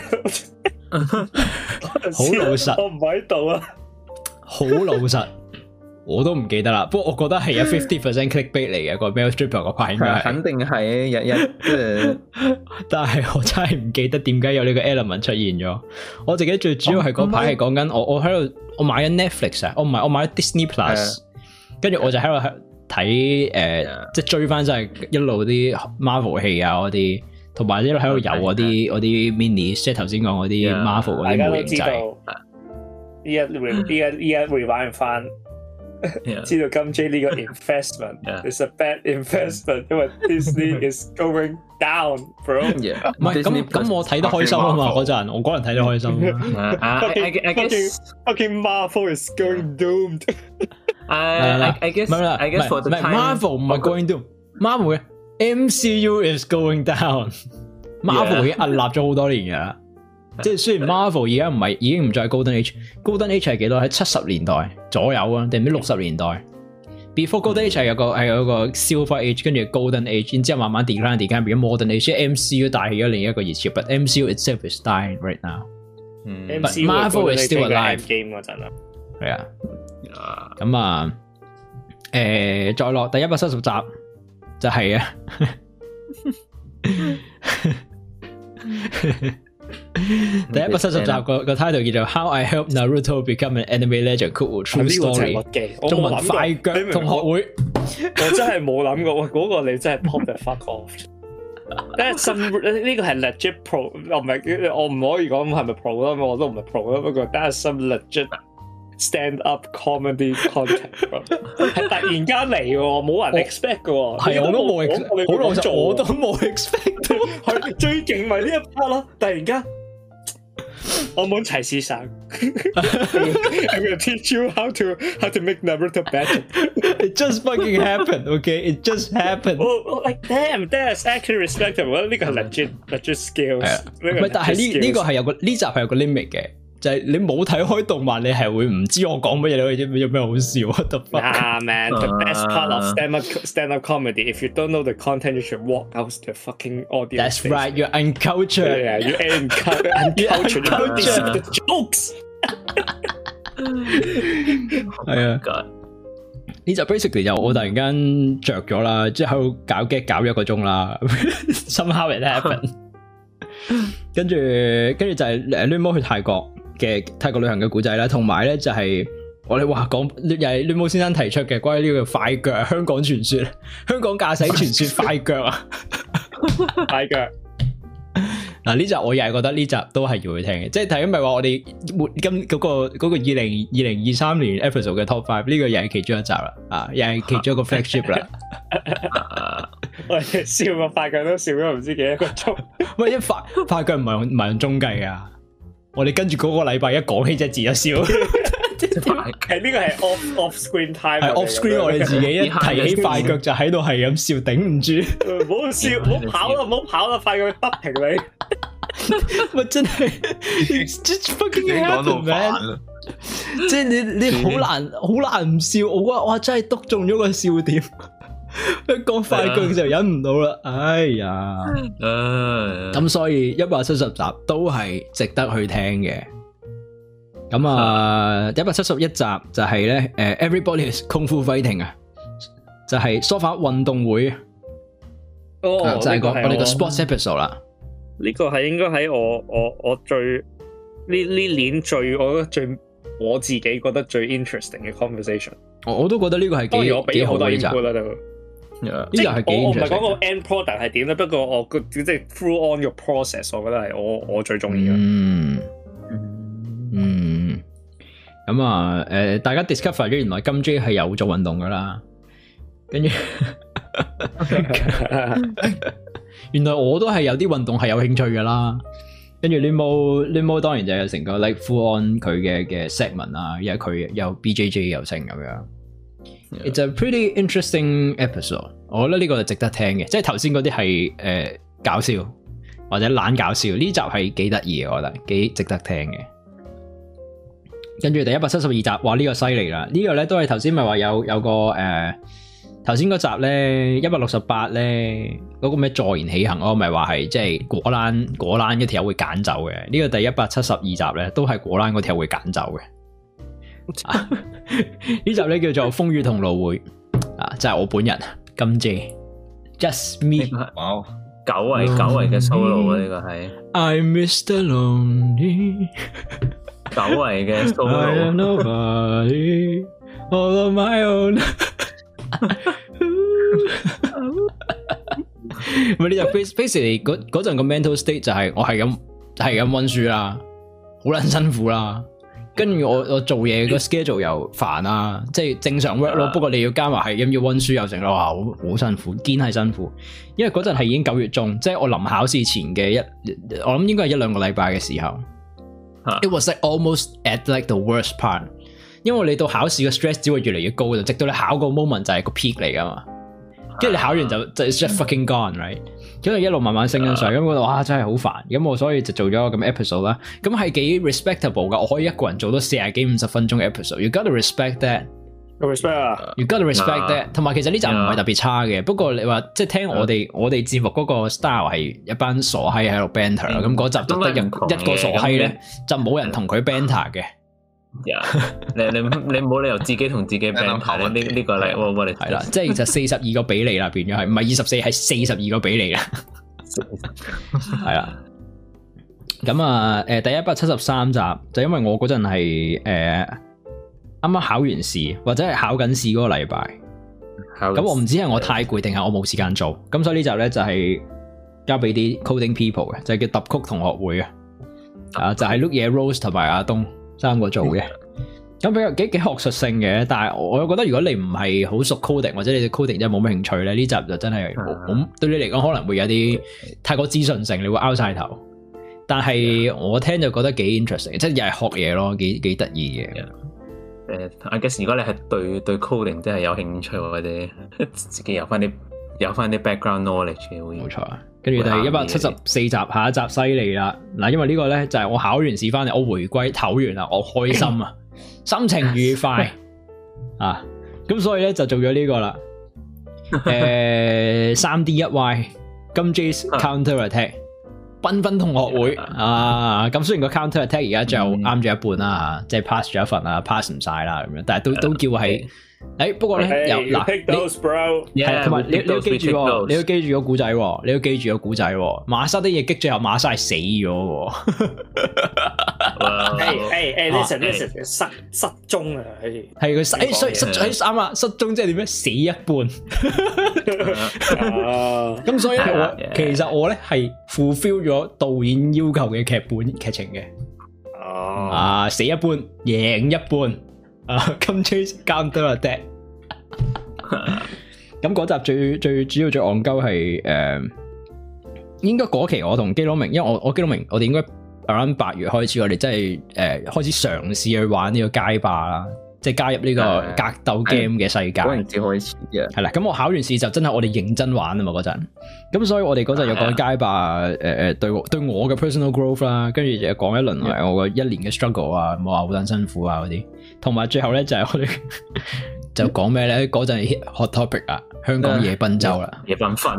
好老實， 我唔喺度啊， 好老實，我都唔記得啦。不過我覺得係有 50% clickbait 嚟嘅個 male stripper 嗰 part 應該係， 肯定係日但係我真係唔記得點解有呢個 element 出現咗。我自己最主要係嗰排係講緊我喺度，我買緊 Netflix 啊，我買咗 Disney Plus， 跟住我就喺度睇即係追翻真係一路啲 Marvel 戲啊嗰啲，同埋一路喺度有嗰啲 mini， 即係頭先講嗰啲 Marvel 嗰啲模型仔。 依家 rewind 翻，知道金 J 呢個 investment is a bad investment， 因為 Disney is going down bro。 唔係咁我睇得開心啊嘛嗰陣，我嗰陣睇得開心。 I guess fucking Marvel is going doomed。 I guess for the time Marvel 唔係 going down，Marvel 嘅 MCU is going down。Marvel 已經屹立咗好多年噶啦，即係雖然 Marvel 而家已經唔再係 Golden Age，Golden Age 係幾多？喺70年代左右啊，定唔知60年代 ？Before Golden Age 係有個 Silver Age， 跟住 Golden Age， 然之後慢慢 decline 變咗 Modern Age， 即係 MCU 帶起咗另一個熱潮 ，but MCU itself is dying right now。But Marvel is still alive。 game 嗰陣啊， 係啊。咁啊，再落第170集就係啊，第170集個 title 叫做 How I Helped Naruto Become an Anime Legend Cool True Story， 中文快腳同學會， 我真係冇諗過，喂，嗰個你真係 pop the fuck off。呢個係 legit pro， 我唔可以講係咪 pro 啦，我都唔係 pro 啦，不過 that's some legit stand up comedy content， 係突然間嚟嘅，冇人 expect 嘅， 係我都冇 expect， 好老實，我都冇 expect， 係最勁咪呢一 part 咯，突然間我冇齊師生 ，I'm gonna teach you how to make Naruto better。 It just fucking happened, okay? It just happened. Like damn, that's actually respectable。呢個係 legit skills。 唔係，但係呢個係有個呢集係有個 limit 嘅。就係你冇睇開動漫，你係會唔知我講乜嘢，你有咩好笑啊？得翻。 Nah man, the best part of stand up comedy. If you don't know the content, you should walk out to the fucking audience. That's right, you're uncultured. Yeah, you're uncultured. You don't listen to the jokes. 係啊，呢就 basically 就我突然間着咗啦，即係喺度搞1個鐘啦。Somehow it happened. 跟住就係亂毛去泰國旅行嘅故仔啦，同埋咧就係我哋話講又係亂毛先生提出嘅關於呢個快腳香港傳說，香港駕駛傳說快腳啊， 快腳。 嗱呢集我又係覺得呢集都係要去聽嘅，即係睇緊咪話我哋今嗰個2023年 episode 嘅 top 5呢個又係其中一集啦，啊又係其中一個 flagship 啦。 我哋笑個快腳都笑咗唔知幾多個鐘。 喂，一快腳唔係用鐘計啊！我哋跟住嗰個禮拜一講起隻字就笑。 係呢個係 off screen time， 係 off screen， 我哋自己一提起快腳就喺度係咁笑，頂唔住。 唔好笑，唔好跑啦！快腳不停你。 喂，真係 just fucking happen man！ 即係你好難唔笑，我覺得哇真係篤中咗個笑點。一講快腳就忍唔到啦，哎呀！咁所以170集都係值得去聽嘅。咁啊，171集就係咧，Everybody is Kung Fu Fighting 啊，就係梳化運動會。哦，就係我哋個 sports episode 啦。 呢個係應該喺我最呢年最我自己覺得最 interesting 嘅 conversation。 我都覺得呢個係幾好嘅集。即係我唔係講個 end product 係點咧，不過我即係 through on your process， 我覺得係我最中意嘅。 咁啊，大家 discover 咗原來金 J 係有做運動噶啦，跟住原來我都係有啲運動係有興趣噶啦，跟住 Limo 當然就有成個 like full on 佢嘅 segment 啊，因為佢有 BJJ 又成咁樣。It's a pretty interesting episode， 我覺得呢個係值得聽嘅，即係頭先嗰啲係搞笑或者懶搞笑，呢集係幾得意嘅，我覺得幾值得聽嘅。跟住第172集，哇呢個犀利啦！呢個咧都係頭先咪話有個頭先嗰集咧168咧嗰個咩坐言起行，我咪話係即係果欄嗰條友會揀走嘅。呢個第172集咧都係果欄嗰條友會揀走嘅。呢集咧叫做風雨同路會啊，就係我本人金 J Just Me。 哇，久違嘅 solo 啊，呢個係 I'm Mr. Lonely。 久違嘅 solo。I am nobody, all on my own。咪呢就 basically 嗰陣個 mental state 就係我係咁溫書啦，好撚辛苦啦，跟住我做嘢個 schedule 又煩啦，即係正常 work 咯，不過你要加埋係咁要溫書又成咯，哇，好辛苦，堅係辛苦。因為嗰陣係已經9月中，即係我臨考試前嘅我諗應該係1-2個禮拜嘅時候。It was like almost at like the worst part。因為你到考試嘅 stress 只會越嚟越高，就直到你考個 moment 就係個 peak 嚟噶嘛，跟住你考完就 just fucking gone，right？ 跟住一路慢慢升緊上，咁我哇真係好煩，咁我所以就做咗個咁 episode 啦，咁係幾 respectable 噶，我可以一個人做到40幾50分鐘嘅 episode，you gotta respect that，you gotta respect that， 同埋其實呢集唔係特別差嘅，不過你話即係聽我哋節目嗰個 style 係一班傻閪喺度 banter 啦，咁嗰集就得一個傻閪咧，就冇人同佢 banter 嘅。 你冇理由自己同自己 banter 呢個嚟，我哋係啦，即係就42個比例啦，變咗係唔係24係42個比例啦，係啦。咁啊，第173集就因為我嗰陣係啱啱考完試或者係考緊試嗰個禮拜，咁我唔知係我太攰定係我冇時間做，咁所以呢集咧就係交俾啲 coding people 嘅，就係叫揼曲同學會啊，就係 Luke 嘢 Rose 同埋阿東3個做嘅，咁比較幾學術性嘅，但係我又覺得如果你唔係好熟 coding 或者你對 coding 真係冇乜興趣咧，呢集就真係對你嚟講可能會有啲太過資訊性，你會拗晒頭。但係我聽就覺得幾 interesting， 即係又係學嘢咯，幾得意嘅。 I guess 如果你係對 coding 真係有興趣或者自己有翻啲 background knowledge 嘅，冇錯啊。跟住第174集，下一集犀利啦！嗱，因為呢個咧就係我考完試翻嚟，我回歸唞完啦，我開心啊，心情愉快啊，咁所以咧就做咗呢個啦。3D1Y 金 J's Counter Attack 繽紛同學會啊，咁雖然個 Counter Attack 而家就啱咗一半啦，即係 pass 咗一份啦，pass 唔晒啦咁樣，但係都叫係。不過咧又嗱，係同埋你要記住喎，你要記住個古仔喎，你要記住個古仔喎。馬莎的嘢擊最後馬莎係死咗喎。 listen 失蹤啊， 係佢啱啊，失蹤即係點樣？死一半。咁所以其實我咧係 fulfill 咗導演要求嘅劇情嘅。死一半，贏一半。金 Chase Counter Attack 咁嗰集最主要最戇鳩係應該嗰期我同基佬明，因為我基佬明我哋應該 around 8月開始，我哋真係開始嘗試去玩呢個街霸啦，即係加入呢個格鬥 game 嘅世界。嗰陣時開始嘅係啦，咁我考完試就真係我哋認真玩啊嘛嗰陣，咁所以我哋嗰陣又講街霸對我嘅 personal growth 啦，跟住就講一輪我個1年嘅 struggle 啊，冇話好撚辛苦啊嗰啲。同埋最後咧就係我哋就講咩咧？嗰陣 hot topic 啊，香港夜賓州啦， 夜繽紛。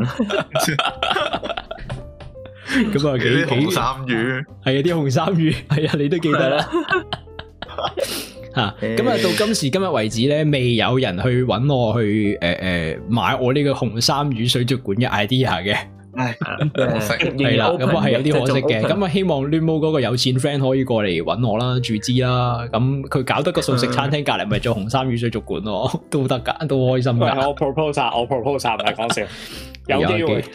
咁啊，幾紅衫魚係啊，啲紅衫魚係啊，你都記得啦。吓咁啊，到今時今日為止咧，未有人去搵我去買我呢個紅衫魚水族館嘅 idea 嘅。可惜係啦，咁啊係有啲可惜嘅，咁啊希望亂毛嗰個有錢 friend 可以過嚟搵我啦，注資啦，咁佢搞得個素食餐廳隔籬咪做紅衫魚水族館咯，都得噶，都開心噶。 我 propose 唔係講笑，有機會。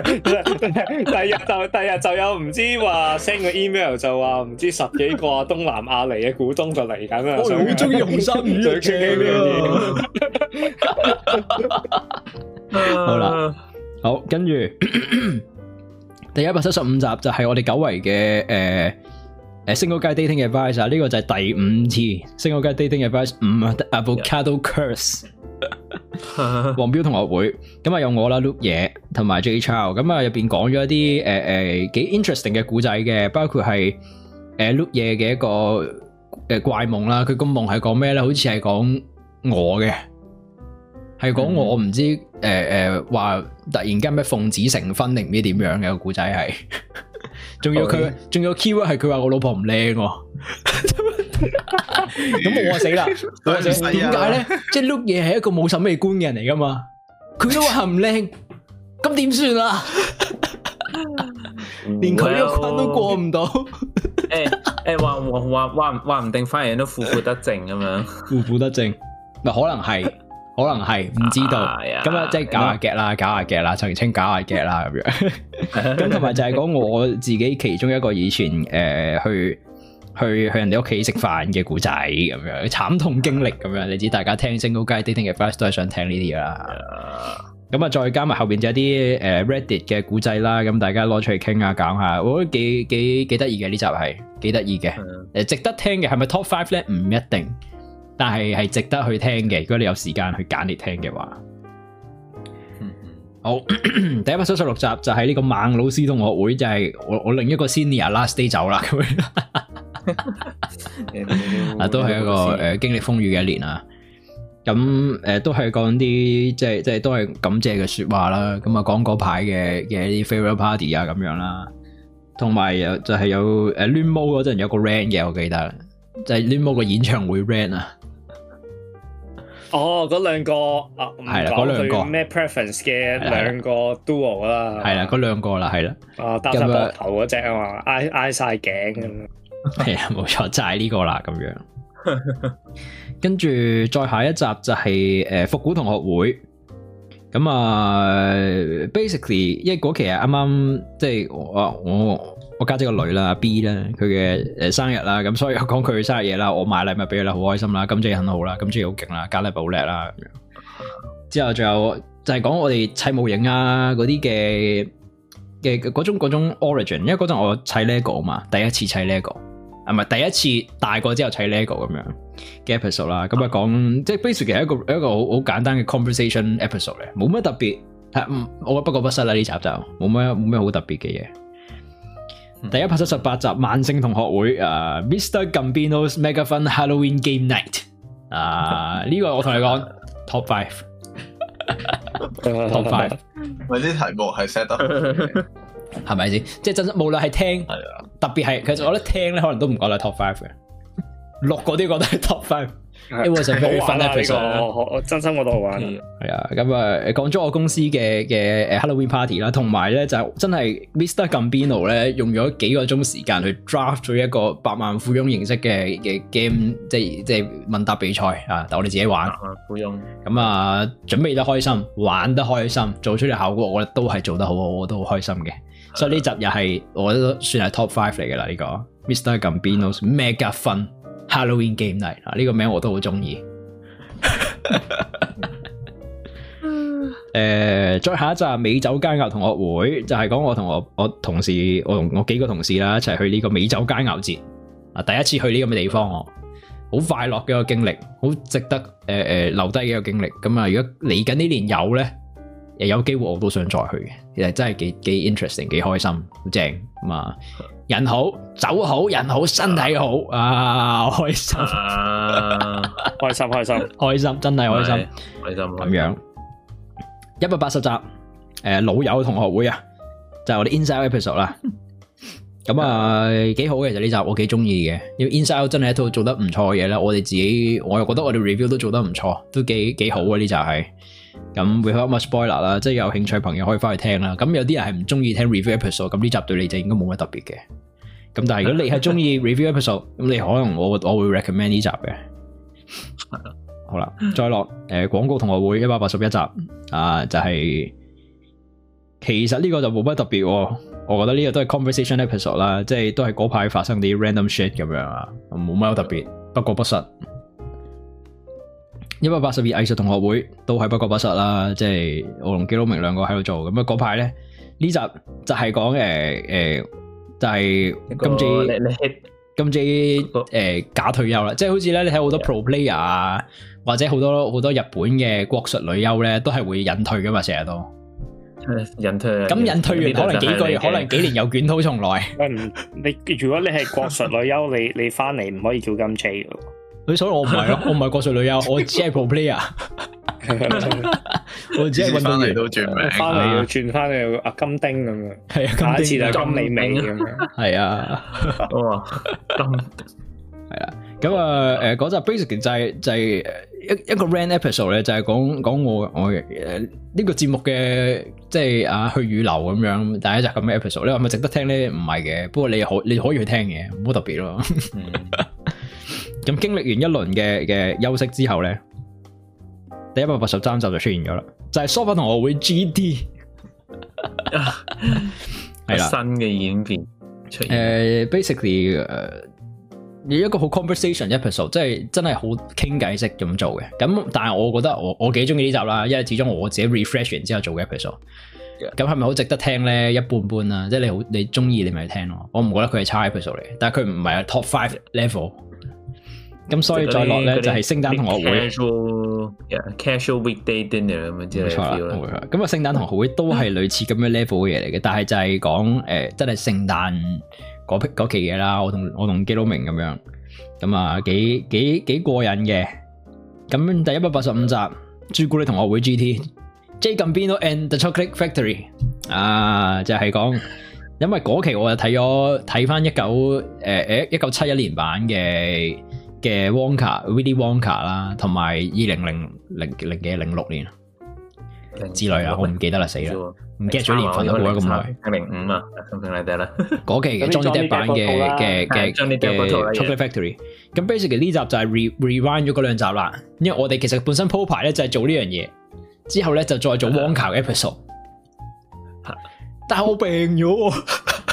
第日就有唔知話 send 個 email 就話唔知10幾個東南亞嚟嘅股東就嚟緊啦。我好中意紅衫魚嘅。好啦。好，跟住第175集就係我哋久違嘅Single Guy Dating Advice 啊，呢個就係第5次 Single Guy Dating Advice 5 Avocado Curse 黃標同學會，咁啊有我啦 Luke 嘢同埋 J Chow，咁啊入邊講咗一啲幾 interesting 嘅故仔嘅，包括係Luke 嘢嘅一個怪夢啦，佢個夢係講咩咧？好似係講我嘅。 係講我唔知話突然間咩奉子成婚定唔知點樣嘅個故仔係，仲有 keyword 係佢話我老婆唔靚喎，咁我死啦！點解咧？即係 look 嘢係一個冇審美觀嘅人嚟噶嘛？佢都話唔靚，咁點算啊？連佢個關都過唔到。 話唔定反而都負負得正咁樣， 負負得正，咪可能係唔知道。咁啊，即係搞下劇啦，澄清搞下劇啦咁樣。咁同埋就係講我自己其中一個以前去人哋屋企食飯嘅故仔咁樣，慘痛經歷咁樣。你知大家聽 Single Guy Dating Advice 都係想聽呢啲啦。咁啊，再加埋後邊就有啲Reddit 嘅故仔啦，咁大家攞出嚟傾下講下，我覺得幾得意嘅，呢集係幾得意嘅，值得聽嘅。係咪 Top 5咧？唔一定，但係值得去聽嘅。如果你有時間去揀嚟聽嘅話，好第176集就係呢個孟老師同學會，就係我另一個 senior last day 走啦咁樣，都係一個經歷風雨嘅一年啊。咁都係講啲即係都係感謝嘅說話啦。咁啊講嗰排嘅一啲 farewell party 啊咁樣啦，同埋就係有Lunmo 嗰陣有個 rant 嘅，我記得就係 Lunmo 個演唱會 rant 啊。 哦，嗰兩個係啦，嗰兩個咩 preference 嘅兩個 duo 啦， 係啦，嗰兩個啦，係啦。 搭晒膊頭嗰隻啊嘛，挨晒頸咁樣。 係啊，冇錯，就係呢個啦，咁樣。跟住再下一集就係復古同學會，咁啊 basically 因為嗰期係啱啱即係我家姐個女啦 B 啦，佢嘅生日啦，咁所以我講佢生日嘢啦，我買禮物俾佢啦，好開心啦，金姐很好啦，金姐好勁啦，加禮物好叻啦咁樣。之後仲有就係講我哋砌模型啊嗰啲嘅嗰種 origin， 因為嗰陣我砌 Lego 啊嘛，第一次砌 Lego。唔係第一次大個之後砌 Lego 咁樣嘅 episode 啦，咁啊講即係 basically 係一個好簡單嘅 conversation episode 嚟，冇乜特別，我不過不失啦，呢集就冇咩好特別嘅嘢。第178集萬聖同學會Mr. Gambino's Mega Fun Halloween Game Night 呢個我同你講 Top 5 Top 5， 喂啲題目係 set 得係咪先？即係真無論係聽，特別係其實我覺得聽咧，可能都唔覺得 top 5嘅，錄嗰啲覺得係 top 5。It was a very fun episode。 我真心覺得好玩。 係啊，咁啊講咗我公司嘅Halloween party 啦，同埋咧就真係 Mr. Gambino 咧用咗幾個鐘時間去 draft 咗一個百萬富翁形式嘅 game， 即係問答比賽啊！但我哋自己玩。百萬富翁。咁啊，準備得開心，玩得開心，做出嚟效果，我覺得都係做得好，我都好開心嘅。所以呢集又係我覺得算係 top 5嚟嘅啦，呢個 Mr. Gambino's Mega Fun Halloween Game Night 呢個名我都好中意。再下一集美酒佳肴同學會就係講我同我同事，我同我幾個同事啦一齊去呢個美酒佳肴節啊，第一次去呢咁嘅地方，我好快樂嘅一個經歷，好值得留低嘅一個經歷。咁啊，如果嚟緊呢年有咧，有機會我都想再去嘅，其實真係幾 interesting， 幾開心，好正咁啊！人好，酒好，人好，身體好啊，開心， 開心， 開心，真係開心，咁樣。180集，老友同學會啊，就係我哋 Inside Episode 啦。咁啊，幾好嘅，就呢集我幾中意嘅，因為 Inside 真係一套做得唔錯嘅嘢啦。我哋自己，我又覺得我哋 review 都做得唔錯，都幾好啊呢集係。咁 without much spoiler 啦，即係有興趣朋友可以翻去聽啦。咁有啲人係唔中意聽 review episode， 咁呢集對你就應該冇乜特別嘅。咁但係如果你係中意 review episode， 咁你可能我會 recommend 呢集嘅。好啦，再落廣告同學會181集就係其實呢個就冇乜特別，我覺得呢個都係 conversation episode 啦，即係都係嗰排發生啲 random shit 咁樣啊，冇乜特別，不過不失。182藝術同學會都係不過不失啦，即係我同基佬明兩個喺度做，咁啊嗰排咧呢集就係講就係今次假退休啦，即係好似咧你睇好多 pro player 啊，或者好多日本嘅國術女優咧，都係會隱退噶嘛，成日都隱退。咁隱退完可能幾個月，可能幾年又捲土重來。 你如果你係國術女優，你翻嚟唔可以叫金 J 噶。 所以我唔係咯，我唔係國稅女優，我只係 pro player， 我只係運動員都轉名， 翻嚟要轉翻去阿金丁咁樣， 係啊， 下一次就金美美咁樣， 係啊， 哇， 係啦，咁啊，嗰集 basically 就係一個 rant episode 咧，就係講我呢個節目嘅即係去與留咁樣，第一集咁嘅 episode，你話係咪值得聽咧？唔係嘅，不過你可以去聽嘅，唔好特別咯。咁經歷完一輪嘅休息之後咧，第183集就出現咗啦，就係梳化同學會 GT， 係啦， 新嘅演變出現。 basically 有一個好 conversation episode， 即係真係好傾偈式咁做嘅。咁但係我覺得我幾中意呢集啦，因為始終我自己 refresh 完之後做嘅 episode。咁係咪好值得聽咧？一般般啦，即係你中意你咪聽咯。我唔覺得佢係差 episode 嚟，但係佢唔係 top 5 level。咁所以再落咧就係聖誕同學會 casual weekday dinner 咁樣之類嘅。 咁啊聖誕同學會都係類似咁樣 level 嘅嘢嚟嘅，但係就係講真係聖誕嗰期嘢啦。我同基佬明咁樣，咁啊幾過癮嘅。咁第185集朱古力同學會 GT。Jay Gambino and the Chocolate Factory 就係講，因為嗰期我就睇翻1971年版嘅 Wonka、Willy Wonka 啦，同埋2006年之類啦，我唔記得啦，死啦，唔記得咗年份都過咗咁耐 ，05啊，something like that啦。 嗰期嘅 Johnny Depp 版嘅 Chocolate Factory， 咁 basically 呢集就係 rewind 咗嗰兩集啦，因為我哋其實本身鋪排咧就係做呢樣嘢。之後咧就再做 Wonka 嘅 episode， 但係我病咗，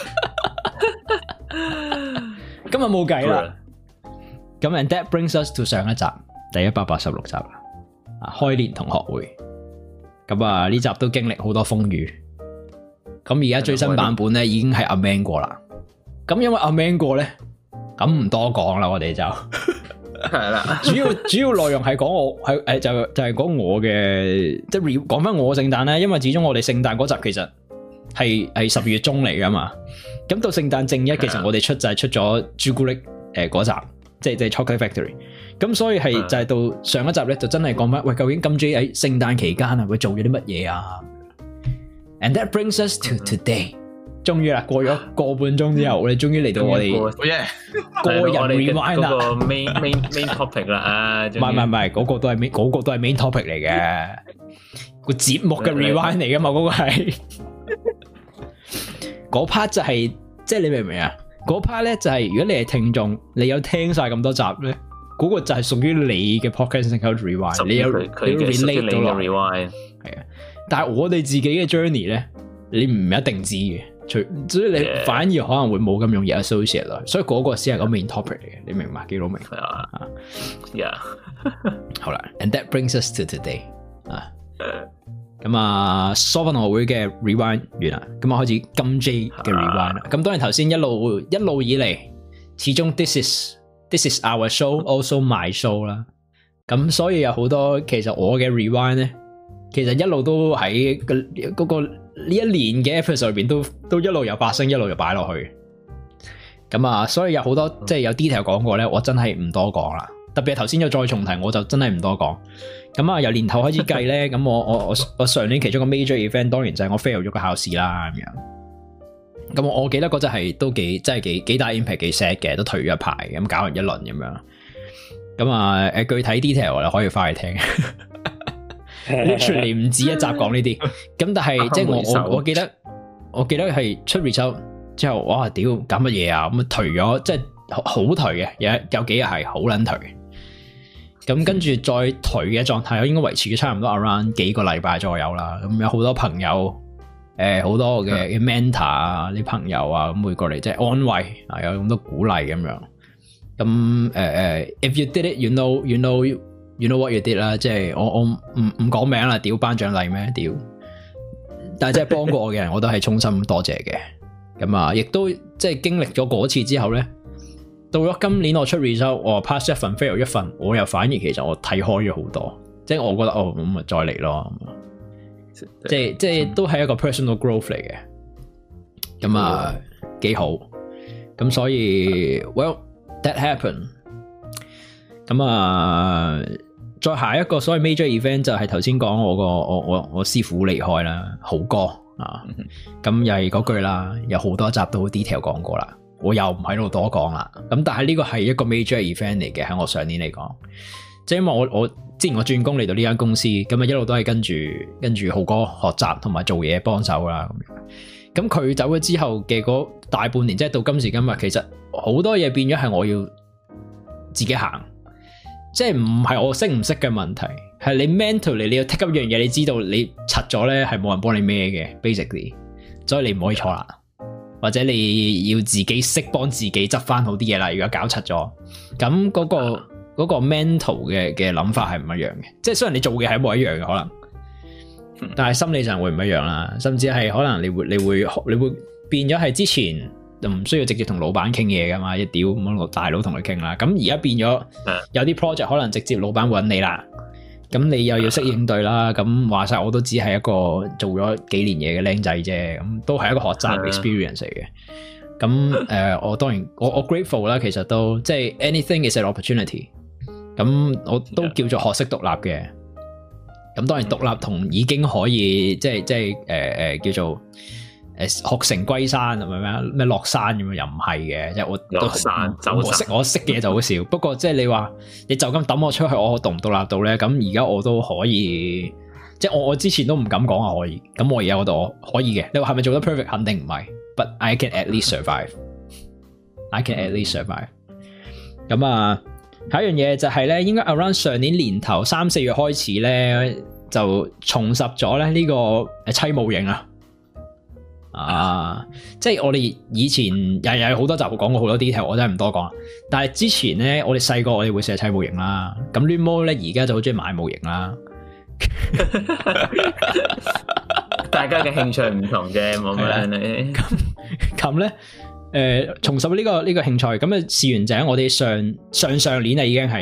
今日冇計啦。咁 and that brings us to 上一集第186集啦，開年同學會。咁啊呢集都經歷好多風雨。咁而家最新版本咧已經係 amend 過啦。咁因為 amend 過咧，咁唔多講啦，我哋就。係啦，主要內容係講我係就係講我嘅，即係講翻我聖誕咧，因為始終我哋聖誕嗰集其實係12月中嚟噶嘛，咁到聖誕正一其實我哋就係出咗朱古力嗰集，即係 Chocolate Factory， 咁所以係就係到上一集咧就真係講翻，喂，究竟金 J 喺聖誕期間啊會做咗啲乜嘢啊 ？And that brings us to today。終於啦，過咗個半鐘之後，我哋終於嚟到我哋個人 rewind 啦， 個 main topic 啦， 唔係，嗰個都係 main topic 嚟嘅，個節目嘅 rewind 嚟噶嘛，嗰個係嗰 part 就係，即係你明唔明啊？嗰 part 咧就係如果你係聽眾，你有聽晒咁多集咧，嗰個就係屬於你嘅 podcast rewind， 你有 relate 到落 rewind， 係啊，但係我哋自己嘅 journey 咧，你唔一定知嘅。所以你反而可能會冇咁容易 associate 咯，所以嗰個先係個 main topic 嚟嘅，你明嘛？基佬明啊，yeah， 好啦 ，and that brings us to today 咁啊，梳化同學會嘅 rewind 完啦，咁啊開始金 J 嘅 rewind 啦。咁當然頭先一路以嚟，始終 this is our show also my show 啦。咁所以有好多其實我嘅 rewind 咧，其實一路都喺嗰個呢一年嘅 episode 裏邊都一路有發生，一路又擺落去。咁啊，所以有好多即係有 detail 講過咧，我真係唔多講啦。特別係頭先又再重提，我就真係唔多講。咁啊，由年頭開始計咧，咁我上年其中個 major event 當然就係我 fail 咗個考試啦咁樣。咁我記得嗰陣係都幾大 impact 幾 sad 嘅，都退咗一排，咁搞完一輪咁樣。咁啊，具體 detail 我哋可以翻去聽。literally 唔止一集講呢啲，咁但係即係我記得係出 result 之後，哇屌搞乜嘢啊，咁頹咗，即係好頹嘅，有幾日係好撚頹。咁跟住再頹嘅狀態，應該維持咗差唔多 around 幾個禮拜左右啦。咁有好多朋友，好多嘅 mentor 啊，啲朋友啊，咁會過嚟即係安慰啊，有咁多鼓勵咁樣。咁if you did it, you know what you did 啦，即係我唔講名啦，屌頒獎禮咩屌？但係即係幫過我嘅人，我都係衷心多謝嘅。咁啊，亦都即係經歷咗嗰次之後咧，到咗今年我出 result， 我 pass 一份 fail 一份，我又反而其實我睇開咗好多，即係我覺得咁咪再嚟咯，即係都係一個 personal growth 嚟嘅。咁啊幾好，咁所以 well that happened。 咁啊，再下一個所謂 major event 就係頭先講我師傅離開啦，豪哥啊，咁又係嗰句啦，有好多集都好 detail 講過啦，我又唔喺度多講啦。咁但係呢個係一個 major event 嚟嘅，喺我上年嚟講，即係因為我之前我轉工嚟到呢間公司，咁啊一路都係跟住豪哥學習同埋做嘢幫手啦。咁佢走咗之後嘅嗰大半年，即係到今時今日，其實好多嘢變咗係我要自己行，即係唔係我識唔識嘅問題，係你 mentally 你要 take up 一樣嘢，你知道你柒咗咧係冇人幫你孭嘅 basically， 所以你唔可以錯啦，或者你要自己識幫自己執翻好啲嘢啦。如果搞柒咗，咁嗰個 mental 嘅諗法係唔一樣嘅，即係雖然你做嘅係一模一樣嘅可能。但係心理上會唔一樣啦，甚至係可能你會變咗係之前就唔需要直接同老闆傾嘢噶嘛，一屌咁個大佬同佢傾啦。咁而家變咗有啲 project 可能直接老闆揾你啦，咁你又要識應對啦。咁話晒我都只係一個做咗幾年嘢嘅僆仔啫，咁都係一個學習 experience 嚟嘅。咁我當然我 grateful 啦，其實都即係 anything is an opportunity。咁我都叫做學識獨立嘅。咁當然獨立同已經可以即係叫做學成歸山，係咪咩落山咁樣，又唔係嘅，即係我落山我識嘅嘢就好少。不過即係你話你就咁抌我出去，我獨唔獨立到咧？咁而家我都可以，即係我之前都唔敢講話可以。咁我而家嗰度我可以嘅。你話係咪做得 perfect？ 肯定唔係 ，but I can at least survive。I can at least survive。咁啊。下一樣嘢就係咧，應該 around 上年年頭3-4月開始咧，就重拾咗咧呢個砌模型啊！即係我哋以前又有好多集講過好多 detail，我真係唔多講。但係之前咧，我哋細個我哋會成日砌模型啦。咁亂毛咧而家就好中意買模型啦。 大家嘅興趣唔同啫，冇乜咧。 咁咧。重拾呢個興趣，咁啊試完就喺我哋上年啊，已經係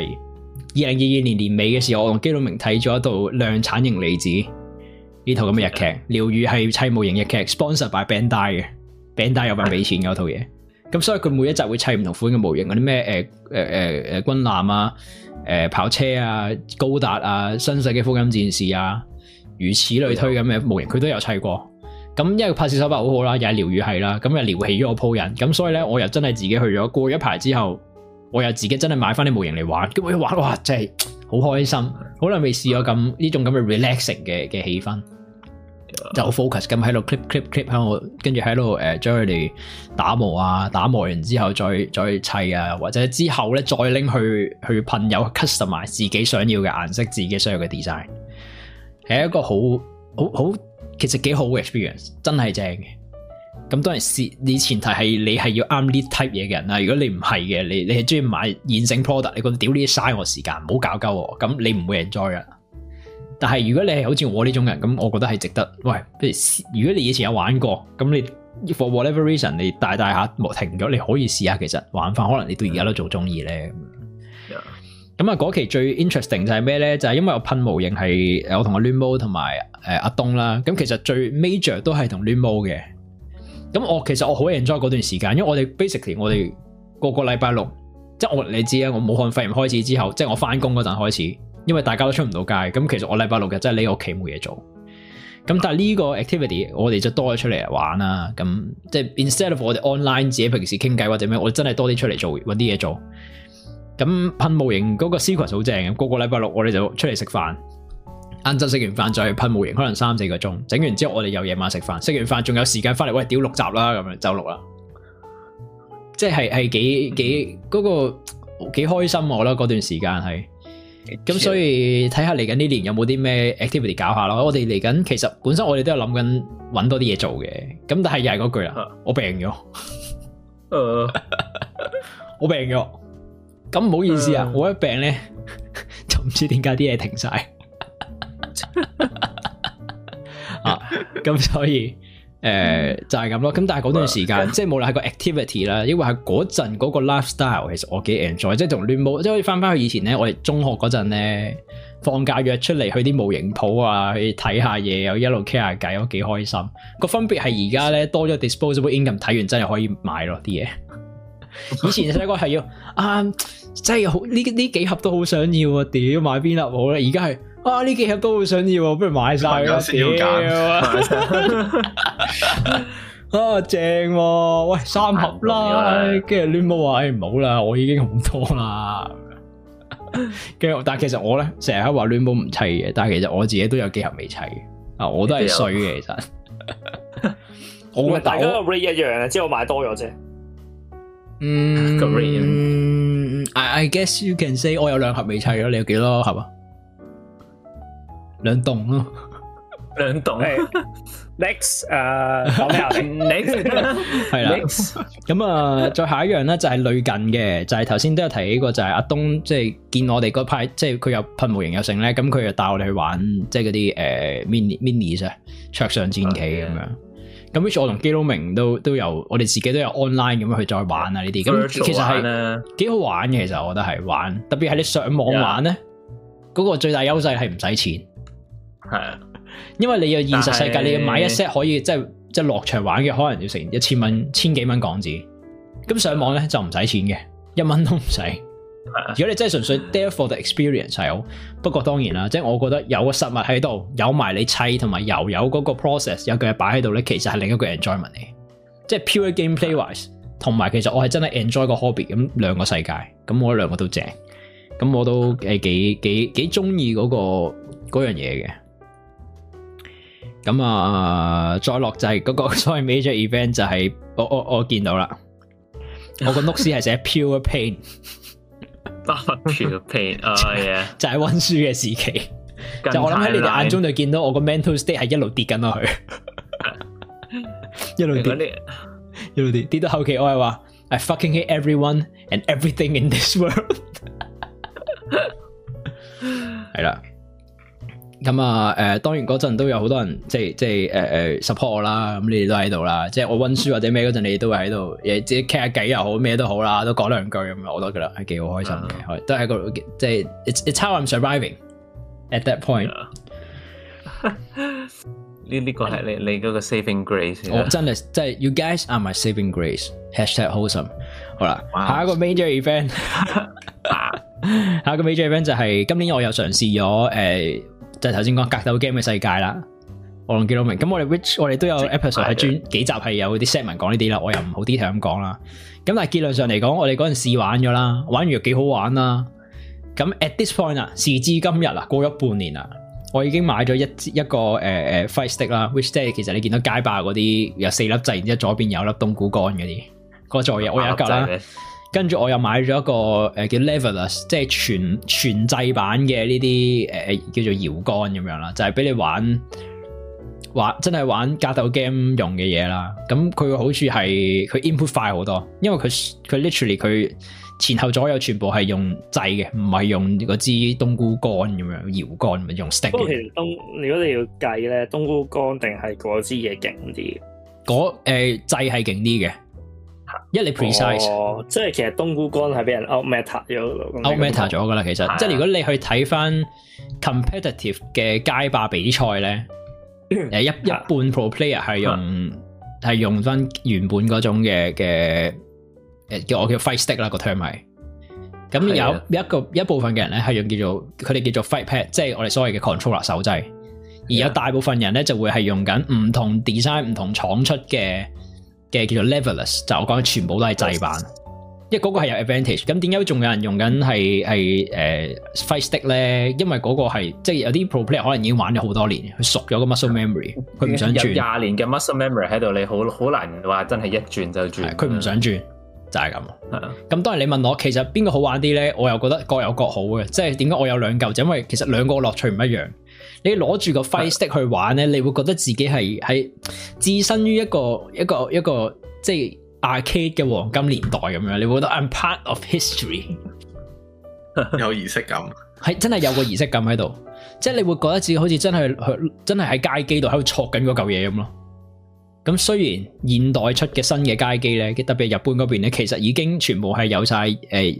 2022年年尾嘅時候，我同基佬明睇咗一套量產型離子呢套咁嘅日劇，療愈係砌模型日劇 ，sponsor by Bandai 嘅，Bandai 有份俾錢嘅嗰套嘢，咁所以佢每一集會砌唔同款嘅模型，嗰啲咩軍艦啊、跑車啊、高達啊、新世紀福音戰士啊，如此類推咁嘅模型，佢都有砌過。咁因為拍攝手法好好啦，又係療愈係啦，咁又撩起咗我鋪人，咁所以咧我又真係自己去咗，過一排之後，我又自己真係買翻啲模型嚟玩，咁我一玩哇，真係好開心，好耐未試過咁呢種咁嘅 relaxing 嘅氣氛，就好 focus 咁喺度 clip 喺度，跟住喺度將佢哋打磨啊，打磨完之後再砌啊，或者之後咧再拎去噴油 customize 自己想要嘅顏色，自己想要嘅 design， 係一個好。其實幾好嘅 experience， 真係正嘅。咁當然你前提係你係要啱呢 type 嘢嘅人啦。如果你唔係嘅，你係中意買現成 product， 你覺得屌呢啲嘥我時間，唔好搞鳩我，咁你唔會 enjoy 噶。但係如果你係好似我呢種人，咁我覺得係值得。喂，如果你以前有玩過，咁你 for whatever reason 你大下停咗，你可以試下，其實玩法可能你到而家都仲中意咧。咁啊，嗰期最 interesting 就係咩咧？就係因為我噴模型係我同阿亂毛同埋阿東啦。咁其實最 major 都係同亂毛嘅。咁其實我好 enjoy 嗰段時間，因為我哋 basically 我哋個禮拜六，即係你知啊，我武漢肺炎開始之後，即係我翻工嗰陣開始，因為大家都出唔到街，咁其實我禮拜六日真係匿屋企冇嘢做。咁但係呢個 activity 我哋就多咗出嚟玩啦。咁即係 instead of 我哋 online 自己平時傾偈或者咩，我真係多啲出嚟做，搵啲嘢做。咁噴模型嗰個 sequence 好正嘅，個禮拜六我哋就出嚟食飯，晏晝食完飯再去噴模型，可能3-4個鐘，整完之後我哋又夜晚食飯，食完飯仲有時間翻嚟，喂屌6集啦，咁樣就錄啦，即係幾嗰個幾開心，我覺得嗰段時間係，咁所以睇下嚟緊呢年有冇啲咩 activity 搞下咯。我哋嚟緊其實本身我哋都有諗緊搵多啲嘢做嘅，咁但係又係嗰句啦，我病咗，我病咗。咁唔好意思啊，我一病咧就唔知點解啲嘢停晒啊，咁所以就係咁咯。咁但係嗰段時間，即係無論係個 activity 啦，因為係嗰陣嗰個 lifestyle，其實我幾 enjoy，即係同亂毛，即係可以翻去以前咧，我哋中學嗰陣咧，放假約出嚟去啲模型鋪啊，去睇下嘢，又一路傾下偈，我幾開心。個分別係而家咧多咗 disposable income，睇完真係可以買咯啲嘢。 以前細個係要真係好呢幾盒都好想要啊！屌買邊粒好咧？而家係呢幾盒都好想要，不如買晒啦！屌正喎！喂3盒啦，跟住亂冇話唔好啦，我已經好多啦。跟住但係其實我咧成日喺話亂冇唔砌嘅，但係其實我自己都有幾盒未砌嘅，我都係衰嘅其實。 大家個 rate 一樣啊，即係我買多咗啫。 I guess you can say 我有2盒未砌咯，你有幾多盒啊？2棟咯 ，2棟。Next， 講咩啊 ？Next 係啦。咁再下一樣咧就係類近嘅，就係頭先都有提起過，就係阿東即係見我哋嗰派，即係佢有噴模型有成咧，咁佢就帶我哋去玩即係嗰啲minis 啊，桌上戰棋咁樣。咁 which 我同基佬明都有，我哋自己都有 online 咁樣去再玩啊呢啲。咁其實係幾好玩嘅，其實我覺得係玩，特別係你上網玩咧，嗰個最大優勢係唔使錢。係啊。因為你要現實世界，你要買一 set 可以即係落場玩嘅，可能要成1000蚊、1000幾蚊港紙。咁上網咧就唔使錢嘅，1蚊都唔使。如果你真係純粹 there for the experience 係好，不過當然啦，即係我覺得有個實物喺度，有埋你砌同埋有嗰個 process 有句嘢擺喺度咧，其實係另一個 enjoyment 嚟。即係 pure gameplay wise，同埋其實我係真係 enjoy 個 hobby 咁2個世界，咁我2個都正，咁我都幾中意嗰樣嘢嘅。咁再落就係嗰個所謂 major event 就係我見到啦，我個 notes 係寫 pure pain。Pure pain， 就係溫書嘅時期，就我諗喺你哋眼中就見到我個 mental state 係一路跌緊落去，一路跌到後期我係話 I fucking hate everyone and everything in this world。係啦，咁當然嗰陣都有好多人即係support 我啦，咁你哋都喺度啦，即係我溫書或者咩嗰陣，你哋都會喺度，自己傾下偈又好，咩都好啦，都講2句咁樣，我都覺得係幾好開心嘅，都係個即係 it's how I'm surviving at that point。 呢個係你嗰個 saving grace。 我真係 you guys are my saving grace。#wholesome。好啦，下一個 major event， 下一個 major event 就係今年我又嘗試咗就係頭先講格鬥 game 嘅世界啦，我同基佬明，咁我哋都有 episode 係專幾集係有啲 segment 講呢啲啦，我又唔好 detail 咁講啦。咁但係結論上嚟講，我哋嗰陣試玩咗啦，玩完又幾好玩啦。咁 at this point 啊，時至今日啊，過咗半年啦，我已經買咗一個fight stick 啦 ，which 即係其實你見到街霸嗰啲有4粒掣，然之後左邊有粒冬菇乾嗰啲，嗰座嘢我有一嚿啦。跟住我又買咗一個叫 Levelers， 即係全製版嘅呢啲叫做搖桿咁樣啦，就係俾你玩真係玩格鬥 game 用嘅嘢啦。咁佢個好處係佢 input 快好多，因為佢 literally 佢前後左右全部係用掣嘅，唔係用嗰支冬菇乾咁樣搖桿，唔係用 stick。不過其實如果你要計咧，冬菇乾定係嗰支嘢勁啲？ 掣係勁啲嘅。因為你 precise， 即係其實冬菇乾係俾人 out meta 咗㗎啦。其實即係如果你去睇翻 competitive 嘅街霸比賽咧，一半 pro player 係用翻原本嗰種嘅叫 fight stick 啦，個 term 係。咁有一部分嘅人咧係用佢哋叫做 fight pad， 即係我哋所謂嘅 controller 手掣，而有大部分人咧就會係用緊唔同 design 唔同廠出嘅叫做 Levelers， 就我講全部都係製版，因為嗰個係有 advantage。咁點解仲有人用緊係fight stick 咧？因為嗰個係即係有啲 pro player 可能已經玩咗好多年，佢熟咗個 muscle memory， 佢唔想轉。 有20年嘅 muscle memory 喺度，你好難話真係一轉就轉。 佢唔想轉，就係咁。咁當然你問我，其實邊個好玩啲咧？我又覺得各有各好嘅。即係點解我有2嚿？就因為其實2個樂趣唔一樣。你攞住個 fight stick 去玩咧，你會覺得自己係置身於一個即係 arcade 嘅黃金年代咁樣，你會覺得 I'm part of history， 有儀式感， 係真係有個儀式感喺度，即係你會覺得自己好似真係喺街機度喺度戳緊嗰嚿嘢咁咯。咁雖然現代出嘅新嘅街機咧，特別係日本嗰邊咧，其實已經全部係有晒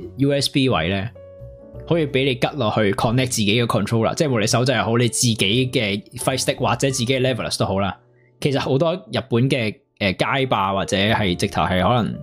USB 位咧。可以俾你吉落去 connect 自己嘅 controller， 即係無論手掣又好，你自己嘅 fight stick 或者自己嘅 levelers 都好啦。其實好多日本嘅街霸或者係直頭係可能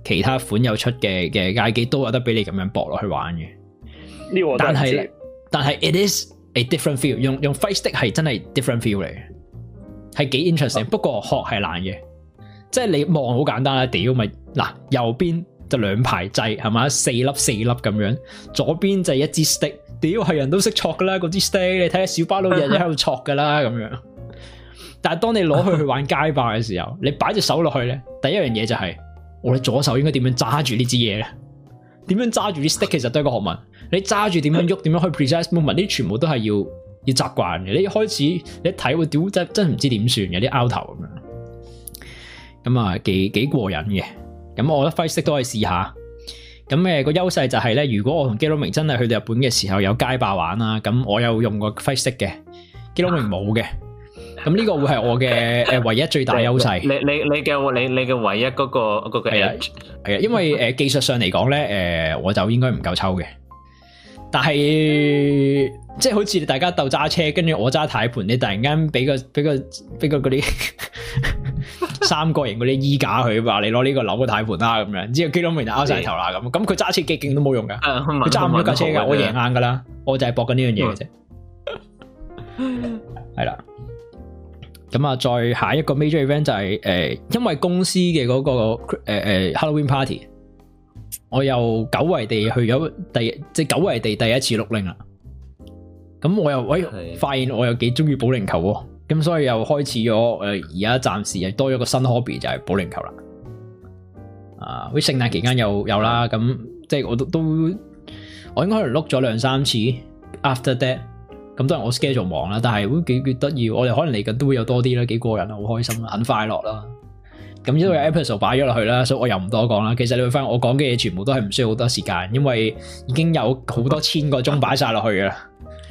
其他款有出嘅街機都有得俾你咁樣駁落去玩嘅。 呢個但係 it is a different feel， 用 Fight Stick 係真係 different feel 嚟嘅，係幾 interesting。不過學係難嘅，即係你望好簡單啦，屌咪嗱右邊就兩排掣係嘛，4粒咁樣，左邊就一支 stick， 屌係人都識戳噶啦，嗰支 stick 你睇下小巴佬日日喺度戳噶啦咁樣。但係當你攞去玩街霸嘅時候，你擺隻手落去咧，第一樣嘢就係我哋左手應該點樣揸住呢支嘢咧？點樣揸住啲 stick 其實都係一個學問。你揸住點樣喐，點樣去 precise movement，呢啲全部都係要習慣嘅。你一開始你一睇會屌真唔知點算嘅啲拗頭咁樣。咁啊幾過癮嘅。咁我覺得 Fight Stick 都可以試下。咁個優勢就係咧，如果我同基隆明真係去到日本嘅時候有街霸玩啦，咁我有用過 Fight Stick 嘅，基隆明冇嘅。咁呢個會係我嘅唯一最大優勢。你嘅唯一嗰個 edge 係啊，因為技術上嚟講咧，我就應該唔夠抽嘅。但係即係好似大家鬥揸車，跟住我揸軚盤，你突然間俾個嗰啲三角形嗰啲衣架佢話你攞呢個扭個軚盤啦咁樣，之後基隆明就拗晒頭啦咁佢揸車幾勁都冇用噶，佢揸唔到架車噶，我贏硬噶啦，我就係搏緊呢樣嘢嘅啫。係啦，咁啊，再下一個 major event 就係因為公司嘅嗰個Halloween party。我又久違地去咗久違地第一次碌鈴啦，咁我又發現我又幾中意保齡球喎，咁所以又開始咗而家暫時又多咗個新 hobby 就係保齡球啦。好似聖誕期間有啦，咁即係我應該可能碌咗2-3次 after that， 咁當然我 schedule 忙啦，但係都幾得意，我哋可能嚟緊都會有多啲啦，幾過癮啦，好開心啦，很快樂啦。咁呢度有 episode 擺咗落去啦，所以我又唔多講啦。其實你會發現我講嘅嘢全部都係唔需要好多時間，因為已經有好多千個鐘擺晒落去啦。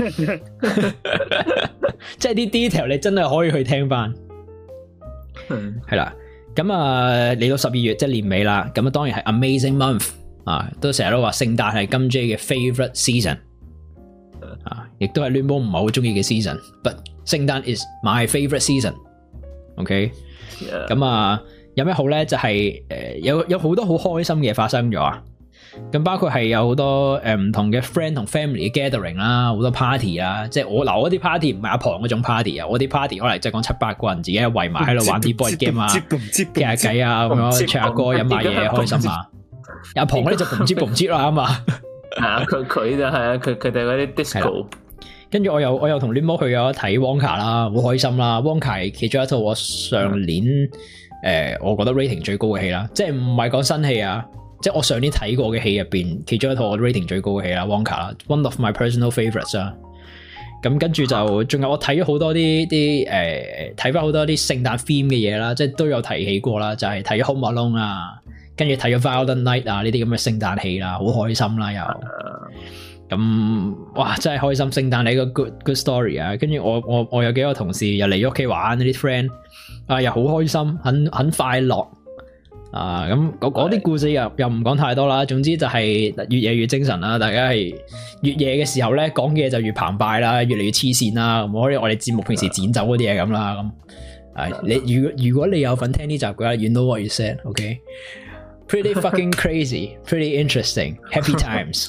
即係啲 detail 你真係可以去聽翻。係啦，咁啊嚟到12月即係年尾啦，咁啊當然係 amazing month 啊，都成日都話聖誕係金 J 嘅 favorite season 啊，亦都係亂波唔係好中意嘅 season，but 聖誕 is my favorite season。OK， 咁啊。有咩好咧？就係有好多好開心嘅嘢發生咗啊！咁包括係有好多唔同嘅 friend 同 family 嘅 gathering 啦，好多 party 啊！即係我嗰啲 party 唔係阿龐嗰種 party 啊，我啲 party 可能即係講7-8個人自己圍埋喺度玩啲 board game 啊，傾下偈啊，咁樣唱下歌飲下嘢開心啊！阿龐嗰啲就boom接啦嘛， 佢就係啊，佢哋嗰啲 disco。 跟住我又同 Limo 去咗睇 Wonka 啦，好開心啦 ！Wonka 係其中一套我上年。我覺得 rating 最高嘅戲啦，即係唔係講新戲啊，即係我上年睇過嘅戲入邊，其中一套我 rating 最高嘅戲啦 ，Wonka 啦 ，one of my personal favorites 啊。咁跟住就仲有我睇咗好多啲睇翻好多啲聖誕 theme 嘅嘢啦，即係都有提起過啦，就係睇咗 Home Alone 啊，跟住睇咗 Violent Night 啊呢啲咁嘅聖誕戲啦，好開心啦又。咁哇真係開心，聖誕係一個 good story 啊！跟住我有幾個同事又嚟咗屋企玩，啲 friend 啊又好開心，很快樂啊！咁嗰啲故事又唔講太多啦。總之就係越夜越精神啦，大家係越夜嘅時候咧講嘅嘢就越澎湃啦，越嚟越黐線啦。唔好似我哋節目平時剪走嗰啲嘢咁啦。咁你如果你有份聽呢集嘅話 ，you know what you said，OK？Pretty fucking crazy, pretty interesting, happy times.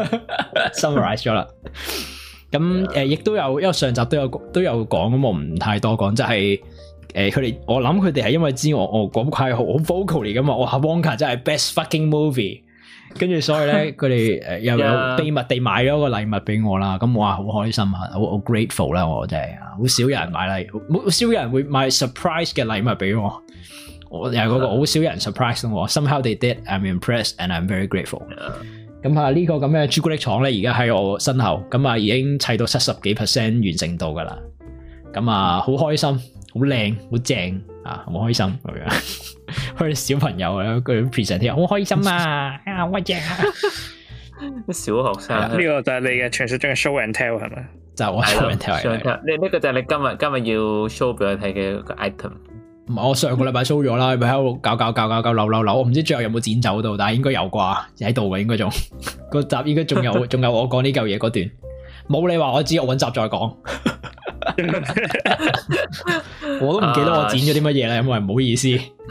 Summarize 咗啦。咁亦都有，因為上集都有講，咁我唔太多講，就係佢哋，我諗佢哋係因為知我講係好 vocal 嚟噶嘛，我話 Wonka 真係 best fucking movie， 跟住所以咧佢哋又有秘密地買咗個禮物俾我啦，咁我話好開心啊，好 grateful 啦，我真係好少有人買禮，好少有人會買 surprise 嘅禮物俾我。我又係嗰個好少人 surprise 我 ，somehow they did. I'm impressed and I'm very grateful. 咁啊呢個咁嘅朱古力廠咧，而家喺我身後，咁啊已經砌到70幾%完成度噶啦。咁啊好開心，好靚，好正啊，好開心咁樣。佢哋小朋友啊，佢 present 好開心啊，好正啊！ 小學生呢個就係你嘅傳說中嘅 show and tell 係咪？ 就係我 show and tell。 呢個就係你今日要 show 俾我睇嘅個 item。 唔係我上個禮拜 show 咗啦，咪喺度搞扭，我唔知最後有冇剪走到，但係應該有啩，喺度嘅應該仲個集應該仲有我講呢嚿嘢嗰段，冇你話我知，我搵集再講。我都唔記得我剪咗啲乜嘢啦，因為唔好意思。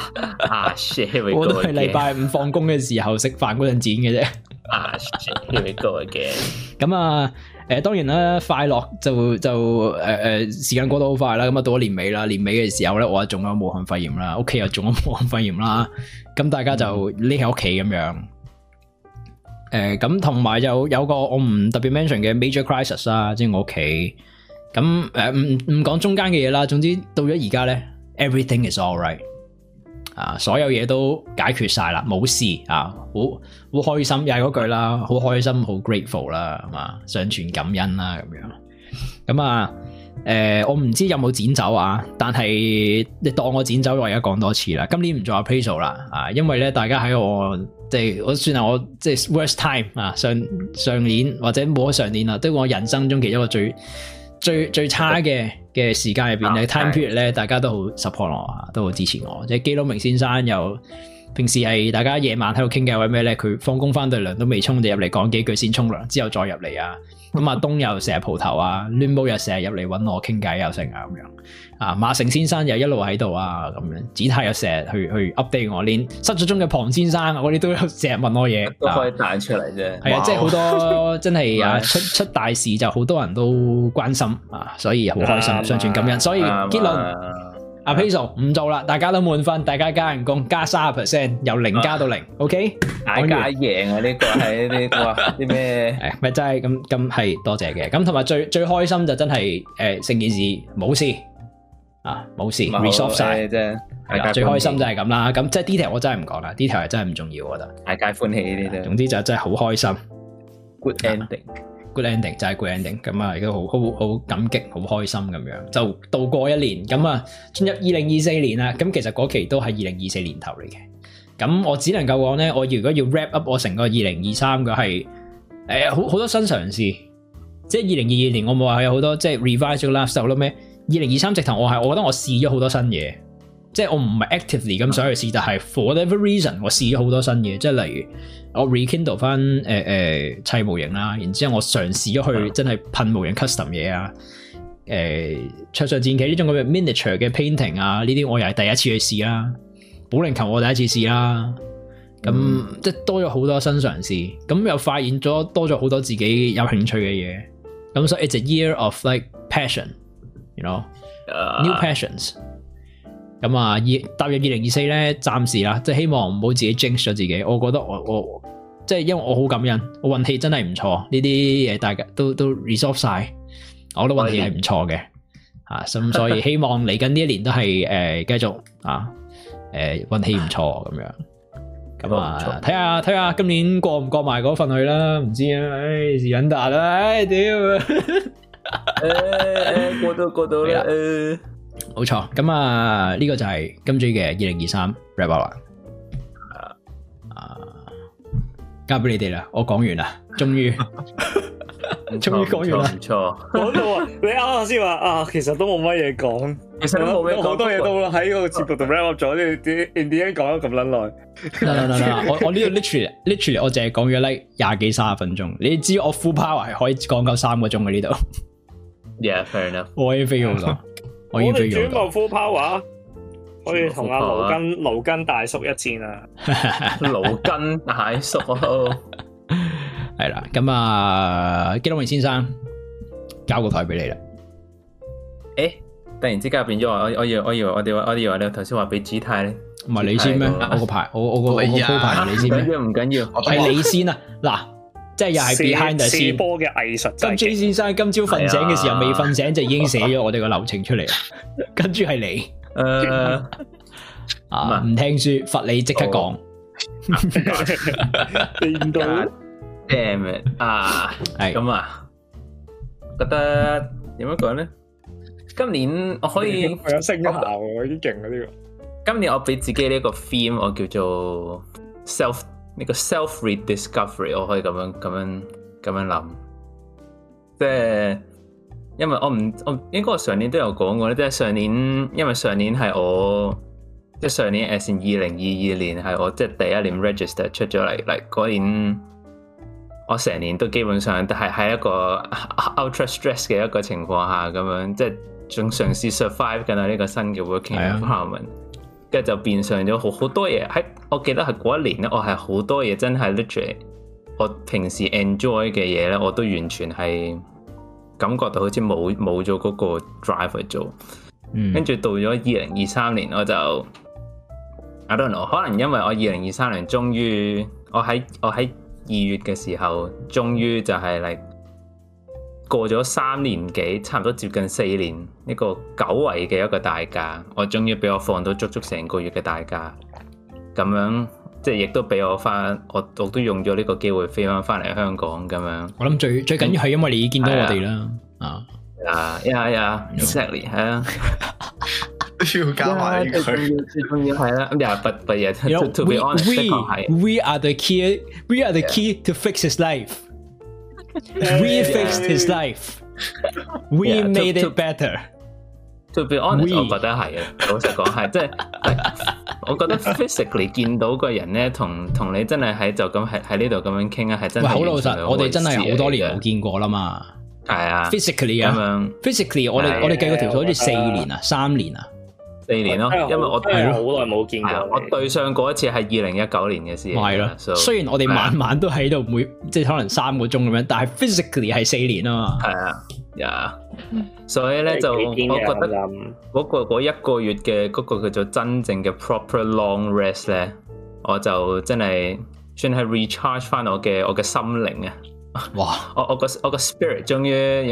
shit！ 我都係禮拜五放工嘅時候食飯嗰陣剪嘅啫。 shit！Here we go again。 咁啊，當然啦，快樂就時間過得好快啦。咁啊，到咗年尾啦，年尾嘅時候咧，我中咗武漢肺炎啦，屋企又中咗武漢肺炎啦。咁大家就匿喺屋企咁樣。咁同埋有個我唔特別 mention 嘅 major crisis 啦，即係我屋企。咁唔講中間嘅嘢啦，總之到咗而家咧 ，everything is alright 啊，所有嘢都解決晒啦，冇事啊，好開心，又係嗰句啦，好開心，好 grateful 啦，係嘛，上傳感恩啦，咁樣。咁啊，我唔知有冇剪走啊，但係你當我剪走，我而家講多次啦。今年唔做 appraisal 啦，啊，因為咧大家喺我即係我算係我即係 worst time 啊，上年或者冇咗上年啦，都我人生中其中一個最差嘅時間入邊咧 time period 咧，大家都好 support 我，都好支持我。即係基隆明先生又平時係大家夜晚喺度傾偈或者咩咧，佢放工翻對涼都未沖就入嚟講幾句先沖涼，之後再入嚟啊。咁阿東又成日蒲頭啊，亂毛又成日入嚟揾我傾偈又成啊咁樣。啊馬成先生又一路喺度啊咁樣，子泰又成日去 update 我，連失咗蹤嘅龐先生嗰啲都成日問我嘢， 都可以彈出嚟啫。 係啊，即係好多真係啊出大事就好多人都關心啊，所以好開心，上傳感恩。所以結論appraisal 唔做啦，大家都滿分，大家加人工加 30%， 由0加到0 ，OK？ 大家贏啊！呢個係啲哇啲咩？ 誒咪真係咁係多謝嘅。咁同埋最開心就真係成件事冇事啊，冇事 resolve 晒啫。最開心就係咁啦。咁即係 detail 我真係唔講啦，detail 係真係唔重要，我覺得。 大家歡喜呢啲啫。總之就真係好開心 ，good ending。good ending 就係 good ending， 咁啊，亦都好感激，好開心咁樣，就度過一年，咁啊進入2024年啦。咁其實嗰期都係2024年頭嚟嘅。咁我只能夠講咧，我如果要 wrap up 我成個2023嘅係好多新嘗試，即係2022年我冇話有好多即係 revise 咗 lifestyle 好多咩，2023直頭我覺得我試咗好多新嘢，即係我唔係 actively 咁想去試，但係 for whatever reason 我試咗好多新嘢，即係例如我 rekindle 翻砌模型啦，然之後我嘗試咗去真係噴模型 custom 嘢啊，桌上戰棋呢種咁嘅 miniature 嘅 painting 啊，呢啲我又係第一次去試啦，保齡球我第一次試啦，咁即係多咗好多新嘗試，咁又發現咗多咗好多自己有興趣嘅嘢，咁所以 it's a year of like passion，you know，new passions。咁啊，踏入2024咧，暫時啦，即係希望唔好自己 jinx 咗自己。我覺得我即係因為我好感恩，我運氣真係唔錯，呢啲嘢大家都 resolve 晒，我覺得運氣係唔錯嘅，咁所以希望嚟緊呢一年都係繼續運氣唔錯咁樣。咁啊，睇下今年過唔過埋嗰份去啦，唔知啊，是撚達啦，屌， 過到啦， 冇錯，咁啊呢個就係今朝嘅2023 wrap up 啦，交俾你哋啦，我講完啦，終於講完啦， 唔錯， 講到啊，你啱啱先話啊，其實都冇乜嘢講， 其實都冇咩講， 好多嘢都喺個節目度 wrap up 咗，啲 in the end 講咗咁撚耐， 我呢度 literally 我淨係講咗 like 20幾30分鐘，你知我 full power 係可以講夠3個鐘嘅呢度 ，yeah fair enough， 我已經飛好多。 我哋轉個 full power， 可以同阿勞根大叔一戰啊！ 勞根大叔係啦，咁啊，基隆明先生交個台俾你啦。 突然之間變咗我以為你頭先話俾姿態咧， 唔係你先咩？我個牌，我個鋪牌係你先咩？ 唔緊要， 係你先啊！嗱。即係又係 behind the scene 射波嘅藝術。 咁 J 先生今朝瞓醒嘅時候未瞓醒就已經寫咗我哋個流程出嚟啦。跟住係你，唔聽書罰你即刻講。 變到 damn it 啊！係咁啊，覺得點樣講咧？今年我可以有聲效喎，已經勁啦呢個。 今年我俾自己呢個 theme， 我叫做 self 呢個 rediscovery， 我可以咁樣諗，即係因為我應該我上年都有講過咧，即係上年因為上年係我即係上年 as in 2022年係我即係第一年 register 出咗嚟嗰年，我成年都基本上都係喺一個 ultra stress 嘅一個情況下咁樣，即係仲嘗試 survive 緊呢個新嘅 working environment。 跟住就變相咗好多嘢。我記得係嗰一年咧，我係好多嘢真係 literally，我平時 enjoy 嘅嘢咧，我都完全係感覺到好似冇咗嗰個 drive 去做。跟住到咗2023年，我就 I don't know， 可能因為我2023年終於我喺2月嘅時候，終於就係嚟過咗3年幾，差唔多接近4年，一個久違嘅一個大假，我終於俾我放到足成個月嘅大假，咁樣即係亦都俾我翻，我都用咗呢個機會飛翻嚟香港咁樣。我諗最緊要係因為你已經見到我哋啦，exactly 係啊。 要加埋呢句， 最重要係啦。But to be honest， we are the key to fix his life. We fixed his life. We made it better. To be honest， 我覺得係啊。老實講係，即係我覺得 physically 見到個人咧，同你真係喺就咁喺呢度咁樣傾啊，係真係好老實。 我哋真係好多年冇見過啦嘛。 係啊 ，physically 啊 ，physically 我哋計個條數好似4年啊，3年啊。4年咯，因為我係好耐冇見過。 我對上嗰一次係2019年嘅事。 係咯，雖然我哋晚晚都喺度，即係可能3個鐘咁樣，但係 physically 係4年啊嘛。 係啊，所以咧就我覺得嗰1個月嘅嗰個叫做真正嘅 proper long rest 咧，我就真係算係 recharge 翻我嘅心靈啊！哇，我個 spirit 終於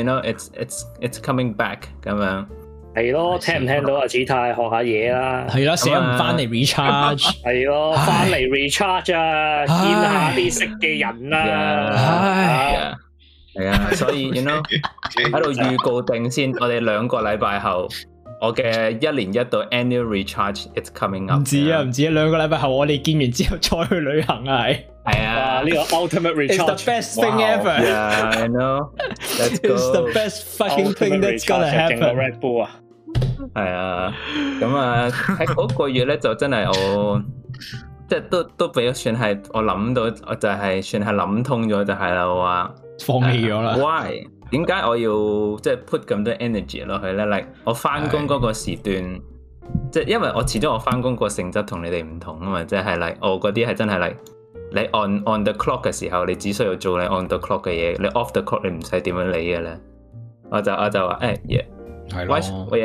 it's coming back 咁樣。 係咯，聽唔聽到啊？子泰學下嘢啦， 係啦，成日唔翻嚟 recharge， 係咯，翻嚟 recharge 啊，見下啲識嘅人啦， 係啊，所以喺度預告定先，我哋2個禮拜後，我嘅1年1度 annual recharge it's coming up。唔止啊 ，2個禮拜後我哋見完之後再去旅行啊， 係啊， 呢個 ultimate recharge， it's the best thing ever。 Yeah, I know. It's the best fucking thing that's gonna happen。 Red Bull 啊！ 係啊，咁啊喺嗰個月咧就真係我即係都俾算係我諗到，我就係算係諗通咗就係啦，我話放棄咗啦。 Why？ 點解我要即係 put 咁多 energy 落去咧？like 我翻工嗰個時段，即係因為我始終我翻工個性質同你哋唔同啊嘛，即係 like 我嗰啲係真係 like 你 on the clock 嘅時候，你只需要做你 on the clock 嘅嘢，你 off the clock 你唔使點樣理嘅咧。我就話yeah。係咯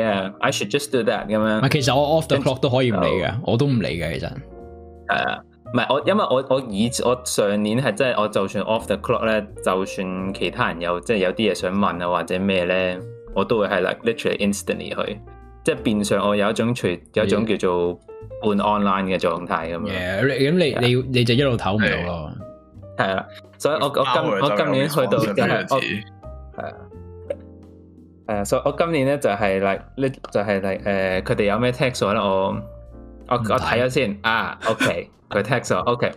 ，I should just do that 咁樣。 其實我 off the clock 都可以唔理嘅，我都唔理嘅其實。 唔係因為我上年係真係我就算 off the clock 咧，就算其他人即係有啲嘢想問啊或者咩咧，我都會係 like literally instantly 去，即係變相我有一種叫做半 online 嘅狀態咁樣。 咁你就一路唞唔到咯。 係啊，所以我今年去到就係係啊。所以我今年咧就係佢哋有咩 text 我咧，我睇咗先OK， 佢 text 我 OK，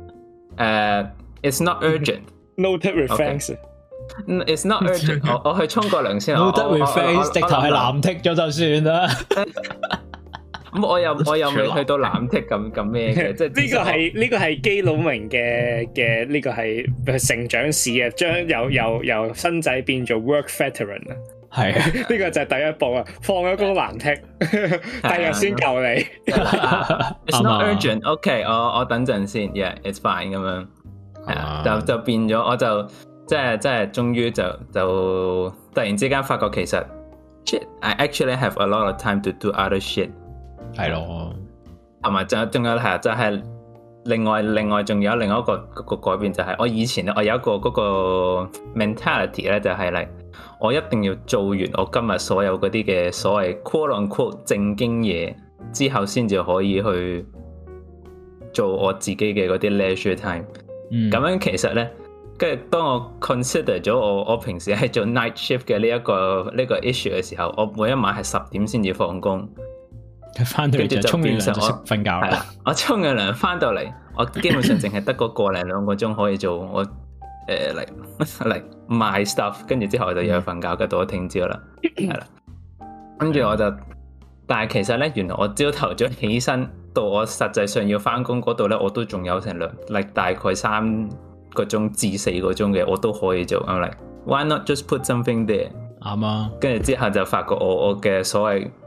it's not urgent，noted reflex，it's not urgent， 我去沖個涼先 ，noted reflex 直頭係藍剔咗就算啦。 咁我又未去到藍剔咁咩嘅，即係呢個係基佬明嘅呢個係成長史啊，將由新仔變做 work veteran 啊。 係呢個就係第一步啊！放咗個藍剔，第日先救你。 It's not urgent. OK， 我等陣先。Yeah，it's fine 咁樣。係啊，就變咗，我就即係終於就突然之間發覺其實 shit，I actually have a lot of time to do other shit。 係咯， 同埋仲有係就係另外仲有另外一個改變就係我以前咧，我有一個嗰個 mentality 咧，就係嚟。我一定要做完我今日所有嗰啲嘅所謂 quote on quote 正經嘢之後，先至可以去做我自己嘅嗰啲 leisure time。咁樣其實咧，跟住當我 consider 咗我平時係做 night shift 嘅呢一個 issue 嘅時候，我每一晚係10點先至放工， 翻到嚟就沖完涼就瞓覺啦。 我沖完涼翻到嚟，我基本上淨係得個1-2個鐘可以做我。嚟賣 stuff， 跟住之後我就要去瞓覺，跟住到咗聽朝啦，係啦。跟住我就，但係其實咧，原來我朝頭早起身到我實際上要翻工嗰度咧，我都仲有成大概3個鐘至4個鐘嘅，我都可以做。I'm like why not just put something there？ 啱啊。 跟住之後就發覺我嘅所謂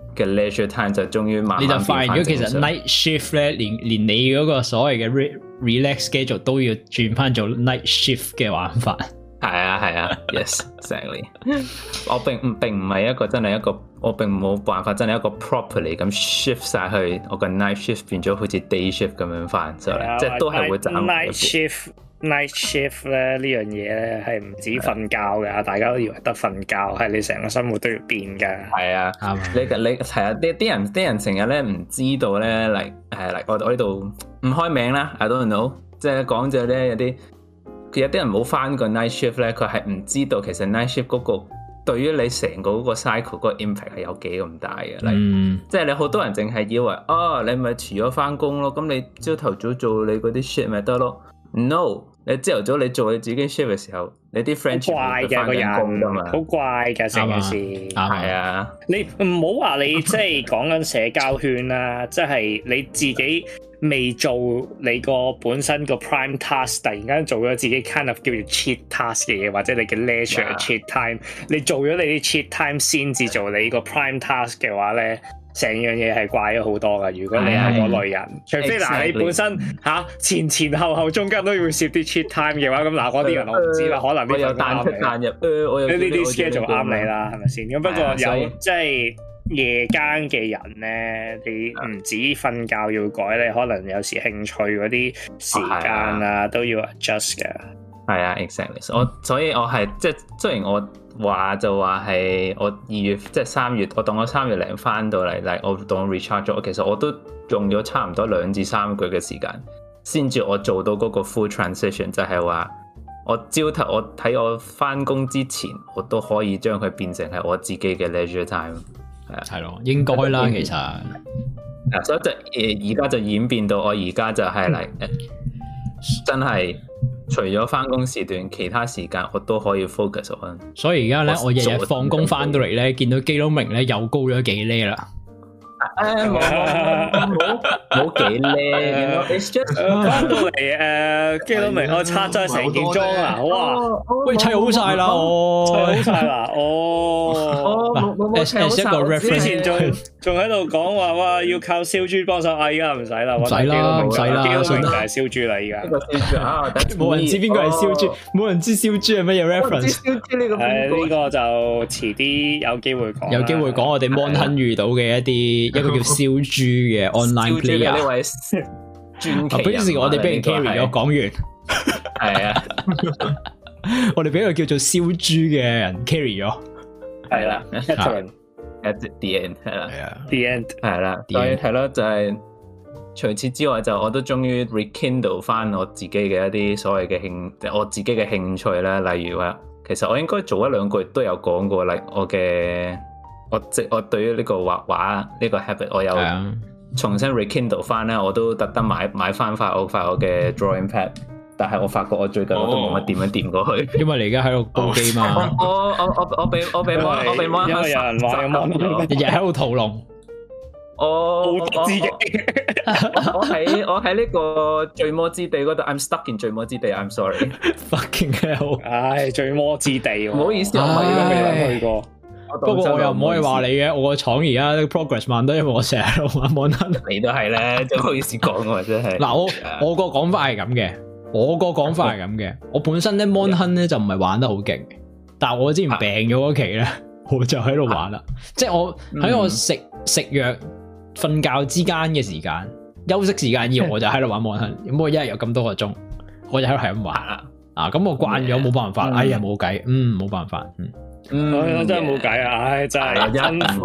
嘅 leisure time 就終於慢慢你就發現咗其實 night shift 咧，連你嗰個所謂嘅 relax schedule 都要轉翻做 night shift 嘅玩法。 係啊 ，yes exactly 我並唔係一個真係一個，我並冇辦法真係一個 properly 咁 shift 晒去我個 night shift 變咗好似 day shift 咁樣翻，即係都係會斬。 night shift 咧呢樣嘢咧係唔止瞓覺㗎，大家都以為得瞓覺，係你成個生活都要變㗎。 係啊，你係啊，啲人成日咧唔知道咧，嚟我呢度唔開名啦 ，I don't know， 即係講咗咧有啲人冇翻過 night shift 咧，佢係唔知道其實 night shift 嗰個對於你成個嗰個 cycle 嗰個 impact 係有幾咁大嘅。即係你好多人淨係以為你咪遲咗翻工咯，咁你朝頭早做你嗰啲 shit 咪得咯 ？No。你朝頭早你做你自己 shift 嘅時候，你啲 friend 全部翻緊工㗎嘛， 好怪㗎成件事。 係啊， 你唔好話你即係講緊社交圈啦，即係你自己未做你個本身個 prime task， 突然間做咗自己 kind of 叫做 cheat task 嘅嘢，或者你嘅 leisure cheat time， 你做咗你啲 cheat time 先至做你個 prime task 嘅話咧。成樣嘢係怪咗好多噶，如果你係嗰類人，除非嗱你本身前後中間都要攝啲 cheat time 嘅話，咁嗱嗰啲人我唔知啦，可能呢啲彈出彈入，呢啲 schedule 啱你啦，係咪先？咁不過有即係夜間嘅人咧，你唔止瞓覺要改，你可能有時興趣嗰啲時間啊都要 adjust 嘅。 係啊 ，exactly。所以我係即係雖然我。話就話係我2月即係3月，我當我3月零翻到嚟，我當我 recharge 咗，其實我都用咗差唔多2至3個月嘅時間，先至我做到嗰個 full transition， 就係話我朝頭我睇我翻工之前，我都可以將佢變成係我自己嘅 leisure time。 係咯，應該啦，其實。 所以就而家就演變到我而家就係真係。除咗翻工時段，其他時間我都可以 focus on。 所以而家咧，我日日放工翻到嚟咧，見到基隆明咧又高咗幾厘啦。 冇幾厘。 翻到嚟基隆明，我拆咗成件裝啊！哇， 喂，砌好晒啦， 砌好晒啦， 一個 reference 之前仲喺度講話哇，要靠燒豬幫手，依家唔使啦， 唔使啦，唔使啦， 基隆明就係燒豬啦，依家。 冇人知邊個係燒豬，冇人知燒豬係乜嘢 reference。 呢個就遲啲有機會講。 有機會講我哋 Mon Hun 遇到嘅一個叫燒豬嘅 online player。 呢位傳奇。 表示我哋俾人 carry 咗，講完。 係啊， 我哋俾個叫做燒豬嘅人 carry 咗。 係啦 at the end 係啦 ，the end 係啦，所以係咯，就係除此之外，就我都終於 rekindle 翻我自己嘅一啲所謂嘅我自己嘅興趣啦。例如話，其實我應該早1-2個月都有講過，例如我對於呢個畫畫呢個 habit， 我有重新 rekindle 翻咧，我都特登買翻我嘅 drawing pad。但係我發覺我最近我都冇乜點樣掂過去， 因為你而家喺度煲機嘛。 我被因為有人話日日喺度屠龍。 我喺呢個醉魔之地嗰度 ，I'm stuck in 醉魔之地 ，I'm sorry。 Fucking hell！ 唉，醉魔之地， 唔好意思，我未去過。 不過我又唔可以話你嘅，我個廠而家 progress 慢得，因為我成日喺度玩 Mon Hun。 你都係咧，真唔好意思講喎，真係。 嗱，我個講法係咁嘅。我個講法係咁嘅，我本身咧 Mon Hun 咧就唔係玩得好勁，但係我之前病咗嗰期咧，我就喺度玩啦。即係我喺我食藥、瞓覺之間嘅時間、休息時間以外，我就喺度玩 Mon Hun。咁我一日有咁多個鐘，我就喺度係咁玩啦。咁我慣咗，冇辦法。哎呀，冇計，冇辦法， 真係冇計啊！唉，真係辛苦，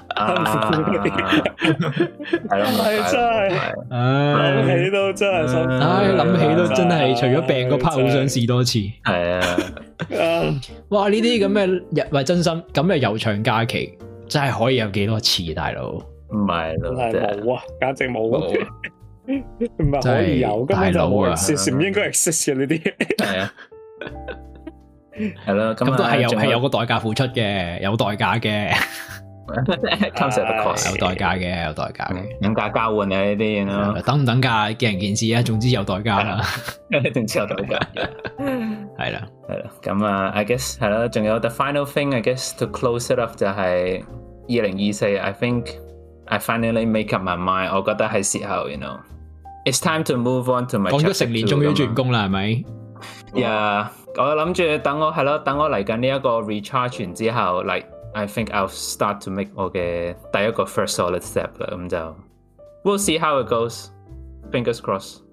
係真係，諗起都真係辛苦。 諗起都真係，除咗病嗰 part 好想試多次。 係啊， 哇！呢啲咁嘅喂，真心咁嘅悠長假期，真係可以有幾多次，大佬？ 唔係咯， 真係冇啊，簡直冇，唔係可以有，根本就冇 exist，唔應該 exist 嘅呢啲。 係啊。係咯，咁都係有個代價付出嘅，有代價嘅 ，comes at a cost， 有代價嘅，有代價嘅， 等價交換啊呢啲咯， 等唔等價見仁見智啊，總之有代價啦， 總之有代價， 係啦， 咁I guess 係啦，仲有 the final thing I guess to close it up 就係 2024 ，I think I finally make up my mind。我覺得係時候 ，you know，it's time to move on to my。 講咗成年，終於轉工啦，係咪 ？Yeah，我諗住等我嚟緊呢一個 recharge 完之後 ，like I think I'll start to make 我嘅第一個 first solid step 啦，咁就 we'll see how it goes。Fingers crossed。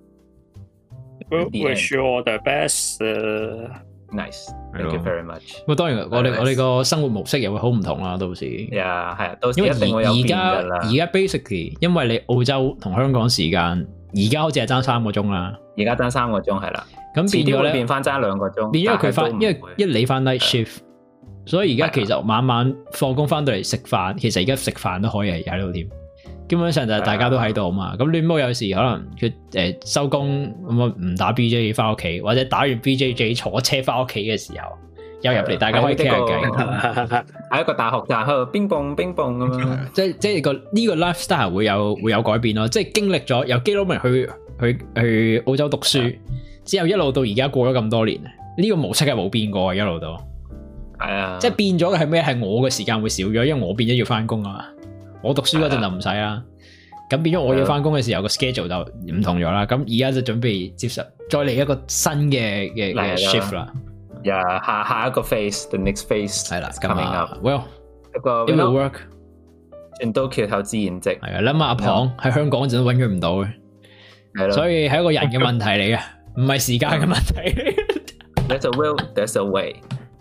Wish you all the best. Nice. Thank you very much. 咁當然，我哋個生活模式又會好唔同啦，到時。係啊，到時一定會有變㗎啦。 而家 basically， 因為你澳洲同香港時間，而家好似係爭3個鐘啦。 而家爭3個鐘係啦。 咁變咗咧， 變翻爭2個鐘。 變咗佢翻，因為一你翻 night shift， 所以而家其實晚晚放工翻到嚟食飯，其實而家食飯都可以係喺度添。基本上就係大家都喺度嘛，咁亂毛有時可能佢收工咁啊唔打 BJ 翻屋企，或者打完 BJ 坐車翻屋企嘅時候，又入嚟大家可以傾下偈， 喺一個大學站喺度乒乓乒乓咁樣， 即係呢個 lifestyle 會有改變咯，即係經歷咗由基佬明去澳洲讀書之後一路到而家過咗咁多年，呢個模式係冇變過一路到， 係啊， 即係變咗嘅係咩？係我嘅時間會少咗，因為我變咗要翻工啊嘛。我讀書嗰陣就唔使啦，咁變咗我要翻工嘅時候個 schedule 就唔同咗啦。咁而家就準備接受再嚟一個新嘅 shift 啦。 下一個 phase，the next phase 係啦 coming up。 Well， 一個 it will work。 船到橋頭自然直。係啊，諗下阿龐喺香港嗰陣都揾佢唔到嘅，係咯。所以係一個人嘅問題嚟嘅，唔係時間嘅問題。 There's a will, there's a way.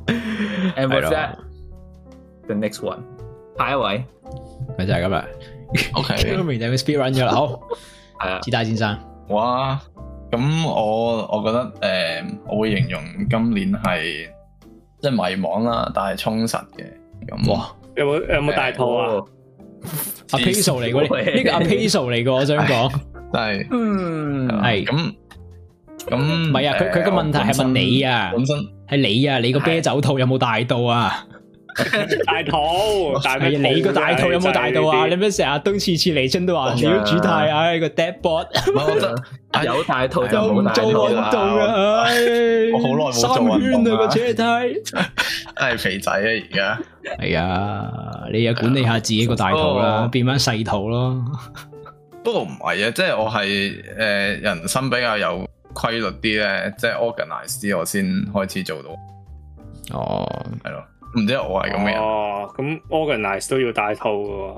And with that, the next one， 下一位。 咪就係咁啦。 OK， 都未定佢 speed run 咗啦。好，係啊，子大先生。 哇，咁我覺得我會形容今年係即係迷茫啦，但係充實嘅。咁哇，有冇大肚啊？ 阿 Peso 嚟嘅呢個阿 Peso 嚟嘅，我想講。 真係， 係咁唔係啊？佢個問題係問你啊，本身係你啊，你個啤酒肚有冇大到啊？ 大肚，係你個大肚有冇大到啊？你咩成日都次次嚟親都話屌主太啊個 dead bot， 我覺得有大肚就冇大肚啦。 我好耐冇做運動啦， 個車胎係肥仔啊而家。 係啊，你又管理下自己個大肚啦，變翻細肚咯。 不過唔係啊，即係我係人生比較有規律啲咧，即係 organize 啲，我先開始做到。 哦， 係咯。唔知我係咁嘅人。 哦，咁 organize 都要大肚嘅，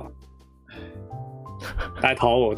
大肚。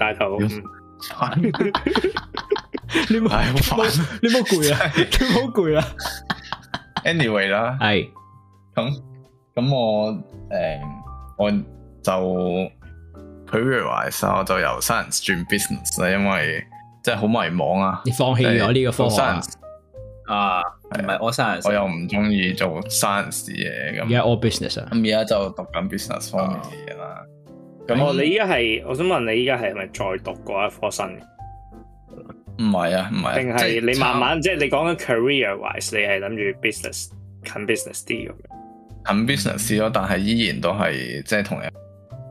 你冇攰啊？你冇攰啊 ？Anyway 啦， 係咁我就 career-wise 我就由 science 轉 business 啦，因為即係好迷茫啊。 你放棄咗呢個科學啊？唔係我 science， 我又唔中意做 science 嘢咁。 而家 all business 啊， 咁而家就讀緊 business 方面嘅嘢啦。 咁你依家係，我想問你依家係咪再讀過一科新嘅？ 唔係啊，唔係。 定係你慢慢即係你講緊 career-wise， 你係諗住 business 近 business 啲咁樣？ 近 business 咯，但係依然都係即係同人。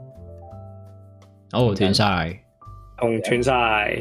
哦，斷晒， 斷晒。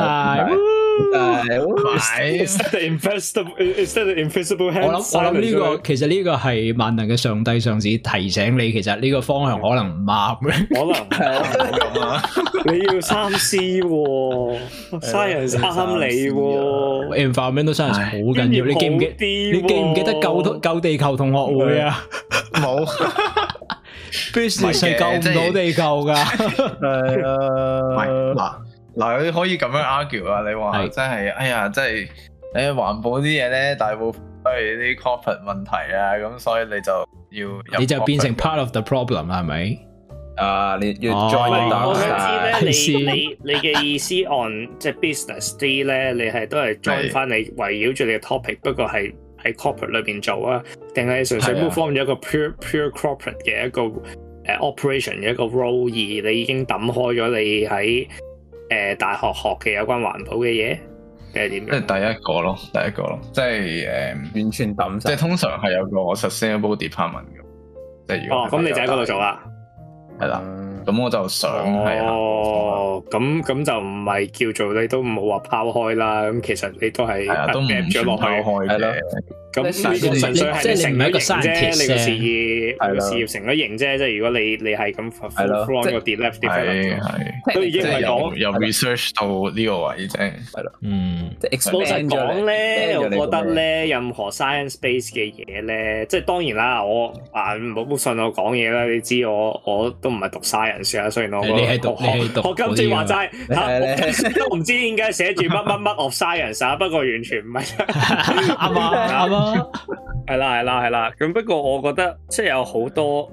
Is that the invisible hand？ 我諗呢個其實呢個係萬能嘅上帝上司提醒你，其實呢個方向可能唔啱嘅。 可能係啊，你要三思喎 ，science 啱你喎 ，environmental science 好緊要。你記唔記得救地球同學會啊？ 冇 ，business 係救唔到地球噶。 係啊，嗱，你可以咁樣 argue 啊！你話真係，哎呀，真係，環保啲嘢咧，大部分都係啲 corporate 問題啊，咁所以你就變成 part of the problem 啦，係咪？ 你要 join 到。 我想知咧，你嘅意思 on 即係 business 啲咧，你係都係 join 翻你圍繞住你嘅 topic， 不過係喺 corporate 裏邊做啊，定係純粹 move from 咗一個 pure corporate 嘅一個operation 嘅一個 role， 而你已經抌開咗你喺大學學嘅有關環保嘅嘢，定係點樣？ 即係第一個咯，即係完全抌晒。 即係通常係有個 sustainable department 嘅，即係如果咁你就喺嗰度做啦， 係啦。咁我就想係啦。 咁就唔係叫做你都唔好話拋開啦。咁其實你都係都唔咗落去， 拋開嘅。 咁呢個純粹係成咗型啫，你個事業成咗型啫。即係如果你係咁 from 個 left develop，都已經唔係講由 research 到呢個位啫。係咯， 即係老實講咧，我覺得咧，任何 science base 嘅嘢咧，即係當然啦，我唔好信我講嘢啦。你知我都唔係讀 science 啊，雖然我你係讀我今次話齋我都唔知點解寫住乜 of science 啊，不過完全唔係啱啊。係啦，咁不過我覺得即係有好多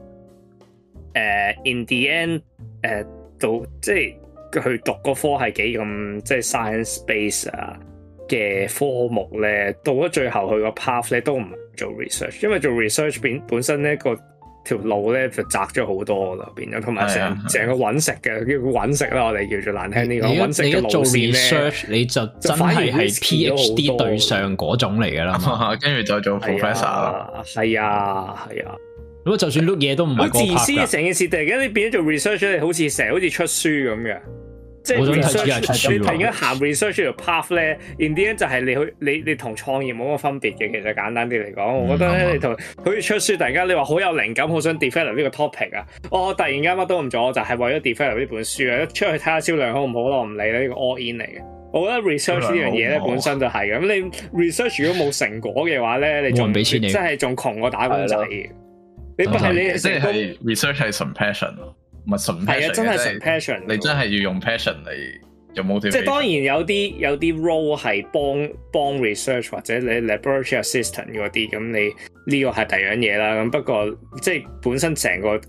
in the end 到即係佢讀個科係幾咁即係 science base 啊嘅科目咧，到咗最後佢個 path 咧都唔做 research， 因為做 research 本身咧個條路咧就窄咗好多啦，變咗同埋成個揾食嘅叫揾食啦，我哋叫做難聽啲講揾食嘅路線咧， 你就真係 PhD 對上嗰種嚟噶啦， 跟住就做 professor 啦。 係啊。 咁就算碌嘢都唔係好自私嘅成件事，突然間你變咗做 research 你好似成日好似出書咁嘅。即係 research， 你突然間行 research 條 path 咧 ，in the end 就係你同創業冇乜分別嘅。其實簡單啲嚟講，我覺得咧，你同好似出書，突然間你話好有靈感，好想 develop 呢個 topic 啊，我突然間乜都唔做，我就係為咗 develop 呢本書啊，出去睇下銷量好唔好咯，我唔理啦，呢個 all in 嚟嘅。我覺得 research 呢樣嘢咧本身就係嘅。咁你 research 如果冇成果嘅話咧，你仲真係仲窮過打工仔嘅。你不係你即係 research 係純 passion。唔係純 passion， 係啊，真係純 passion。你真係要用 passion 嚟有 motivation。即係當然有啲 role 係幫 research 或者你 laboratory assistant 嗰啲，咁你呢個係第二樣嘢啦。咁不過即係本身成個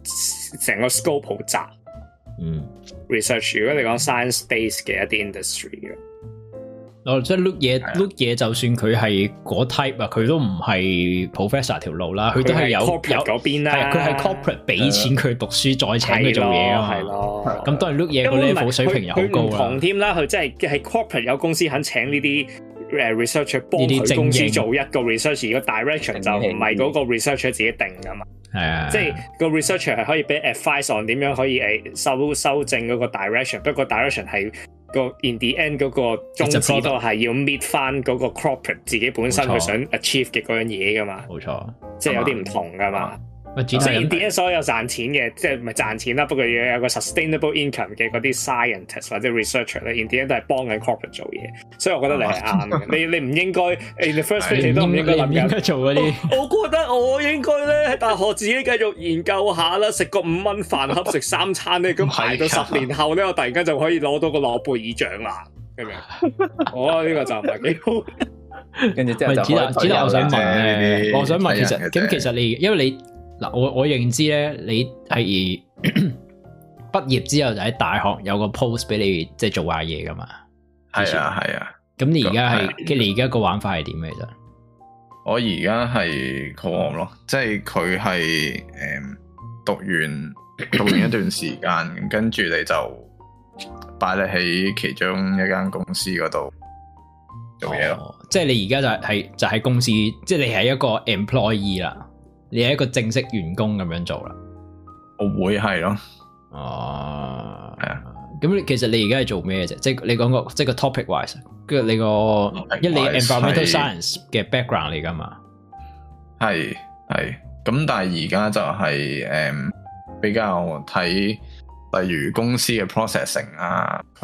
scope 好窄。research 如果你講 science base 嘅一啲 industry 嘅。 即係 look 嘢，就算佢係嗰 type 啊，佢都唔係 professor 條路啦，佢都係有 corporate 嗰邊啦， 佢係 corporate 俾錢佢讀書，再請佢做嘢啊嘛，係咯，咁當然 look 嘢個 level 水平又好高啦。佢唔同添啦，佢真係 corporate 有公司肯請呢啲researcher 幫佢公司做一個 research， 而個 direction 就唔係嗰個 researcher 自己定噶嘛。係啊，即係個 researcher 係可以俾 advice on 點樣可以修正嗰個 direction， 不過 direction 係。個 in the end 嗰個宗旨都係要 meet 翻嗰個 corporate 自己本身佢想 achieve 嘅嗰樣嘢噶嘛，冇錯，即係有啲唔同噶嘛。即係 in the end 所有賺錢嘅，即係唔係賺錢啦，不過要有個 sustainable income 嘅嗰啲 scientist 或者 researcher 咧 ，in the end 都係幫緊 corporate 做嘢，所以我覺得你係啱嘅。你唔應該 in the first place 你都唔應該諗做嗰啲。我覺得我應該咧喺大學自己繼續研究下啦，食個5蚊飯盒食3餐咧，咁排到10年後咧，我突然間就可以攞到個諾貝爾獎啦，明唔明？我呢個就唔係幾好。跟住之後就子達，我想問我想問其實你因為你。嗱，我認知咧，你係畢業之後就喺大學有個 post 俾你即係做下嘢噶嘛？ 係啊。咁你而家係你而家個玩法係點嘅啫？ 我而家係 co-op 咯，即係佢係讀完一段時間，跟住你就擺你喺其中一間公司嗰度做嘢咯。 即係你而家就喺公司，即係你係一個 employee 啦。你係一個正式員工咁樣做啦， 我會係咯。 哦，係啊。咁其實你而家係做咩啫？即係你講個即係個 topic wise，跟住你個因為你 environmental science 嘅 background 嚟噶嘛？ 係。咁但係而家就係比較睇，例如公司嘅 processing 啊，佢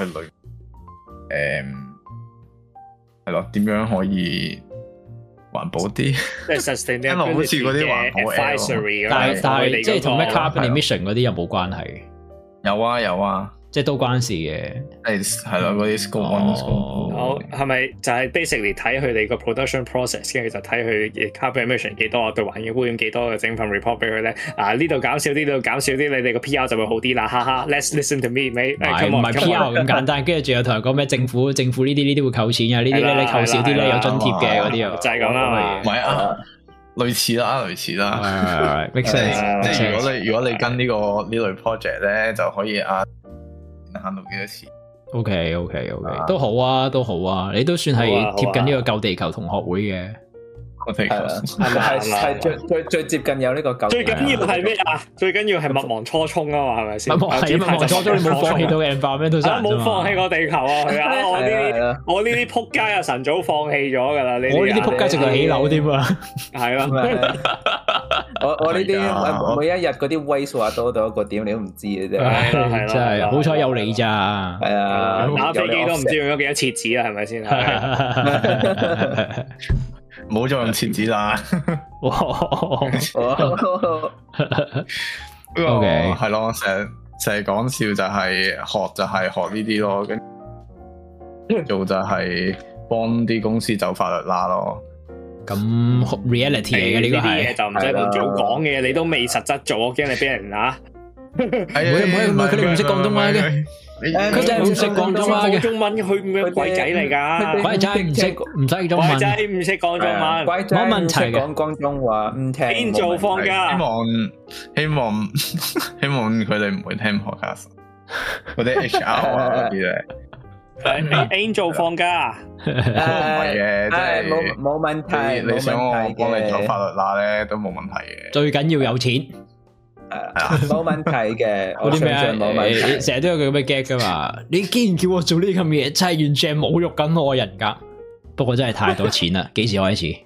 係咯，點樣可以環保啲， 即係 sustainability 好似嗰啲環保 advisory 但係即係同咩 carbon emission 嗰啲有冇關係？ 有啊，即係都關事嘅。 係咯，嗰啲 scope one scope。 好，係咪就係 basically 睇佢哋個 production process， 跟住就睇佢 carbon emission 幾多，對環境污染幾多，就整份 report 俾佢咧。呢度減少啲，呢度減少啲，你哋個 PR 就會好啲啦。哈哈 ，let's listen to me，唔係 PR 咁簡單。跟住仲有同人講咩政府呢啲會扣錢啊，呢啲咧你扣少啲咧有津貼嘅嗰啲啊， 就係咁啦。 唔係啊，類似啦。即係如果你跟呢類 project 咧，就可以慳到幾多錢 ？OK， 都好啊，你都算係貼緊呢個救地球同學會嘅。 個地球係最接近有呢個舊。 最緊要係咩啊？最緊要係勿忘初衷啊嘛，係咪先？勿忘初衷，你冇放棄到嘅 environment 冇放棄個地球啊！佢啊，我呢啲撲街啊，晨早放棄咗㗎啦！ 我呢啲撲街直頭起樓添啊！ 係咯， 我呢啲每一日嗰啲 waste 話多到一個點，你都唔知嘅啫。 係真係好彩有你咋。 係啊， 打飛機都唔知用咗幾多廁紙啊？係咪先？ 唔好再用廁紙啦。 O K， 係咯，成日講笑就係學呢啲咯，跟做就係幫啲公司走法律啦咯。 咁 reality 嚟嘅呢個係就唔使咁早講嘅，你都未實質做，我驚你俾人啊！ 唔會，佢哋唔識廣東話嘅。佢真係唔識廣東話嘅， 中文佢咩鬼仔嚟㗎？ 鬼仔唔識中文， 鬼仔唔識講中文， 冇問題嘅。 講廣東話唔聽， 邊做放假？ 希望佢哋唔會聽 podcast， 嗰啲 HR 啊嗰啲咧。 Angel 放假， 唔係嘅，即係冇問題。 你想我幫你做法律啦咧，都冇問題嘅。 最緊要有錢。 冇問題嘅， 嗰啲咩啊？成日都有佢咁嘅 gag 噶嘛？你既然叫我做呢咁嘢，真係完全侮辱緊我人格。不過真係太多錢啦，幾時開始？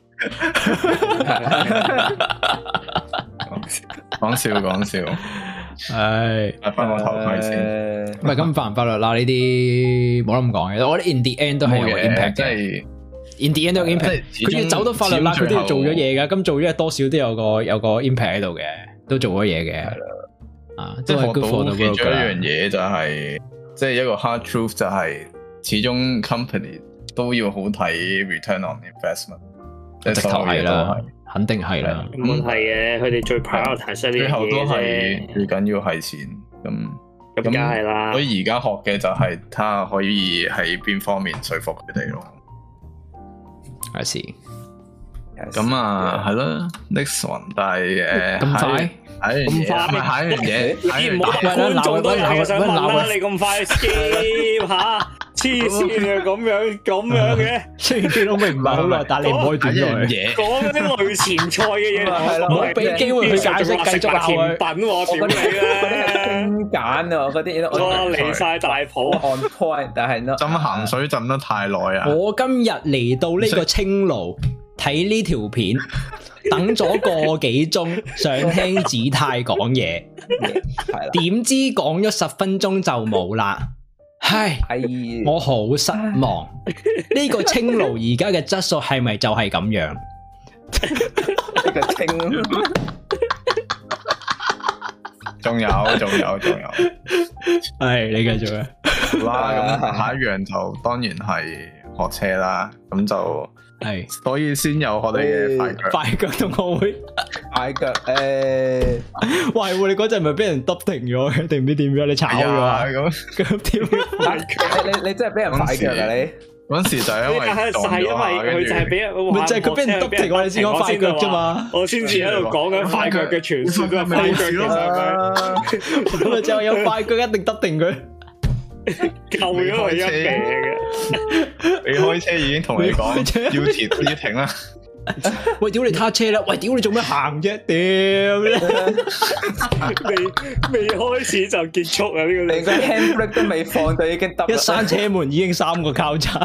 講笑。唉，戴翻個頭盔先。唔係咁法唔法律啦，呢啲冇得咁講嘅。我覺得 in the end 都係有個 impact 嘅。in the end 都有 impact。佢要走到法律啦，佢都要做咗嘢噶。咁做咗多少都有個 impact 喺度嘅。都做咗嘢嘅，係啦，啊，即係學到其中一樣嘢就係，即係一個 hard truth 就係，始終 company 都要好睇 return on investment，即係直頭係啦，肯定係啦， 冇問題嘅，佢哋最 prioritize 呢啲嘢啫，最後都係最緊要係錢，咁梗係啦， 所以而家學嘅就係睇下可以喺邊方面說服佢哋咯， 係是。 咁啊，係咯 ，next one，但係咁快， 下一樣嘢， 你唔好觀眾都係想問啦，你咁快 skip 吓，黐線啊，咁樣嘅， 雖然都明唔係好耐，但係你唔可以短咗嘢， 講嗰啲類前菜嘅嘢， 唔好俾機會去解釋，繼續甜品我屌你啦， 精簡啊，嗰啲， 我離晒大譜 on point，但係浸鹹水浸得太耐啊！ 我今日嚟到呢個青爐。睇呢條片，等咗個幾鐘，想聽子泰講嘢，點知講咗10分鐘就冇啦，唉，我好失望。呢個青爐而家嘅質素係咪就係咁樣？ 呢個青， 仲有， 係你繼續啊！ 好啦，咁下一樣就當然係學車啦，咁就。係，所以先有我哋嘅快腳同學會， 快腳喂，你嗰陣咪俾人篤停咗嘅，定唔知點樣？你炒咗咁點快腳？ 你真係俾人快腳啊！你嗰時就係因為佢就係俾人， 咪就係佢俾人篤停，我哋先講快腳啫嘛。 我先至喺度講緊快腳嘅傳說啊，快腳咁咪就係有快腳一定篤停佢。 救咗佢一命嘅， 你開車已經同你講要停啦。 喂，屌你撻車啦！喂，屌你做咩行啫？屌未開始就結束啊！呢個你個 handbrake 都未放就已經得， 一閂車門已經3個交叉。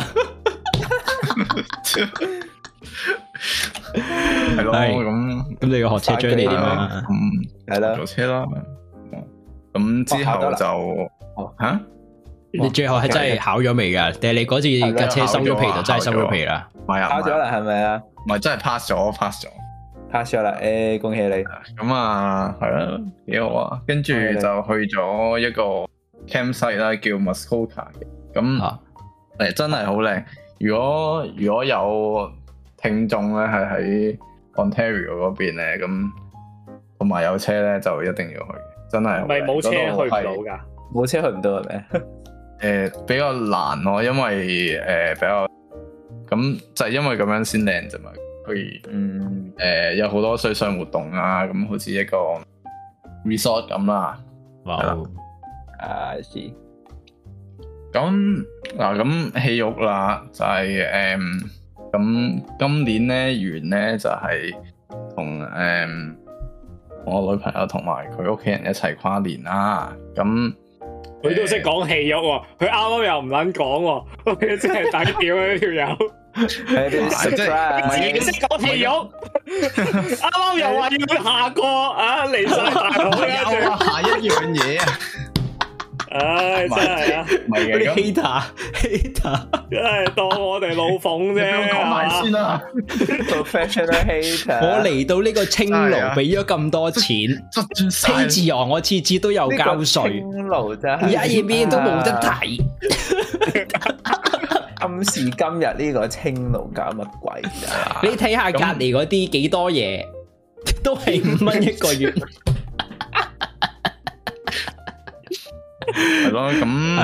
係咯，咁你個學車 journey 點啊？ 係啦， 做車啦。咁之後就吓。 你最後係真係考咗未噶？定係你嗰次架車收咗皮就真係收咗皮啦？ 考咗啦，係咪啊？ 唔係真係 pass 咗啦！恭喜你！ 咁啊，係啦，幾好啊！跟住就去咗一個 campsite 啦，叫 Muskoka 嘅。咁真係好靚。如果有聽眾咧係喺 Ontario 嗰邊咧，咁同埋有車咧，就一定要去。真係唔係冇車去唔到噶？ 冇車去唔到係咪？ 比較難咯，因為比較咁就係因為咁樣先靚啫嘛。佢有好多水上活動啊，咁好似一個 resort 咁啦。 哇！ 是。咁咁戲肉啦，就係咁咁今年咧完咧就係同我女朋友同埋佢屋企人一齊跨年啦。咁佢都識講戲肉喎，佢啱啱又唔撚講喎，佢真係抵屌啊呢條友。係啲自己識講戲肉，啱啱又話要下個啊離晒大譜有啊，下一樣嘢啊！ 唉，真係啊， 嗰啲 hater， 真係當我哋老馮啫。 講埋先啦 ，professional hater。 我嚟到呢個青勞，俾咗咁多錢，披字昂我次次都有交稅， 青勞真係而家嘢都冇得睇。 今時今日呢個青勞搞乜鬼啊？ 你睇下隔籬嗰啲幾多嘢，都係5蚊一個月。 係咯，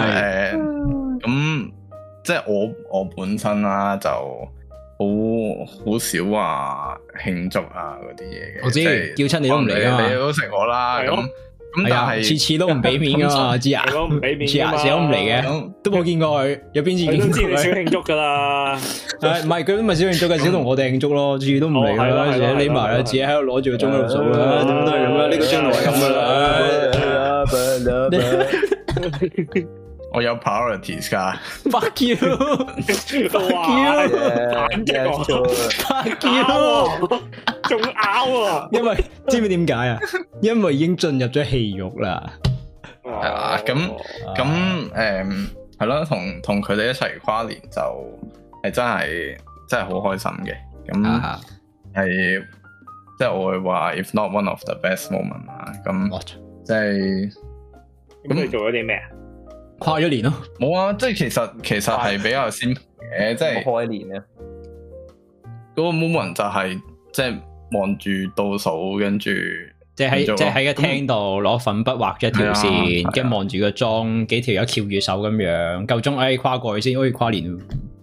咁即係我本身啦，就好少話慶祝啊嗰啲嘢嘅。 我知，叫親你都唔嚟啊， 你都食我啦。咁但係次次都唔俾面噶嘛，知啊？ 都唔俾面， 次都唔嚟嘅，都冇見過佢。有邊次見過佢？ 都知你少慶祝噶啦。 唔係佢都唔係少慶祝嘅，少同我哋慶祝咯。次次都唔嚟啦，自己匿埋啦，自己喺度攞住個鐘喺度數啦，點都係咁啦。呢個鐘係咁噶啦。 我有 priorities 噶。 Fuck you！Fuck you！Fuck you！ 仲拗喎！ 因為知唔知點解啊？因為已經進入咗戲肉啦。 係啊，咁係咯，同佢哋一齊跨年就係真係好開心嘅。咁係即係我會話 if not one of the best moment 啊。咁即係咁你做咗啲咩啊？ 跨咗年咯， 冇啊！即係其實係比較先嘅，即係開年啊。 嗰個 moment 就係即係望住倒數，跟住即係喺個廳度攞粉筆畫咗一條線，跟住望住個鐘，幾條友翹住手咁樣，夠鐘跨過去先可以跨年。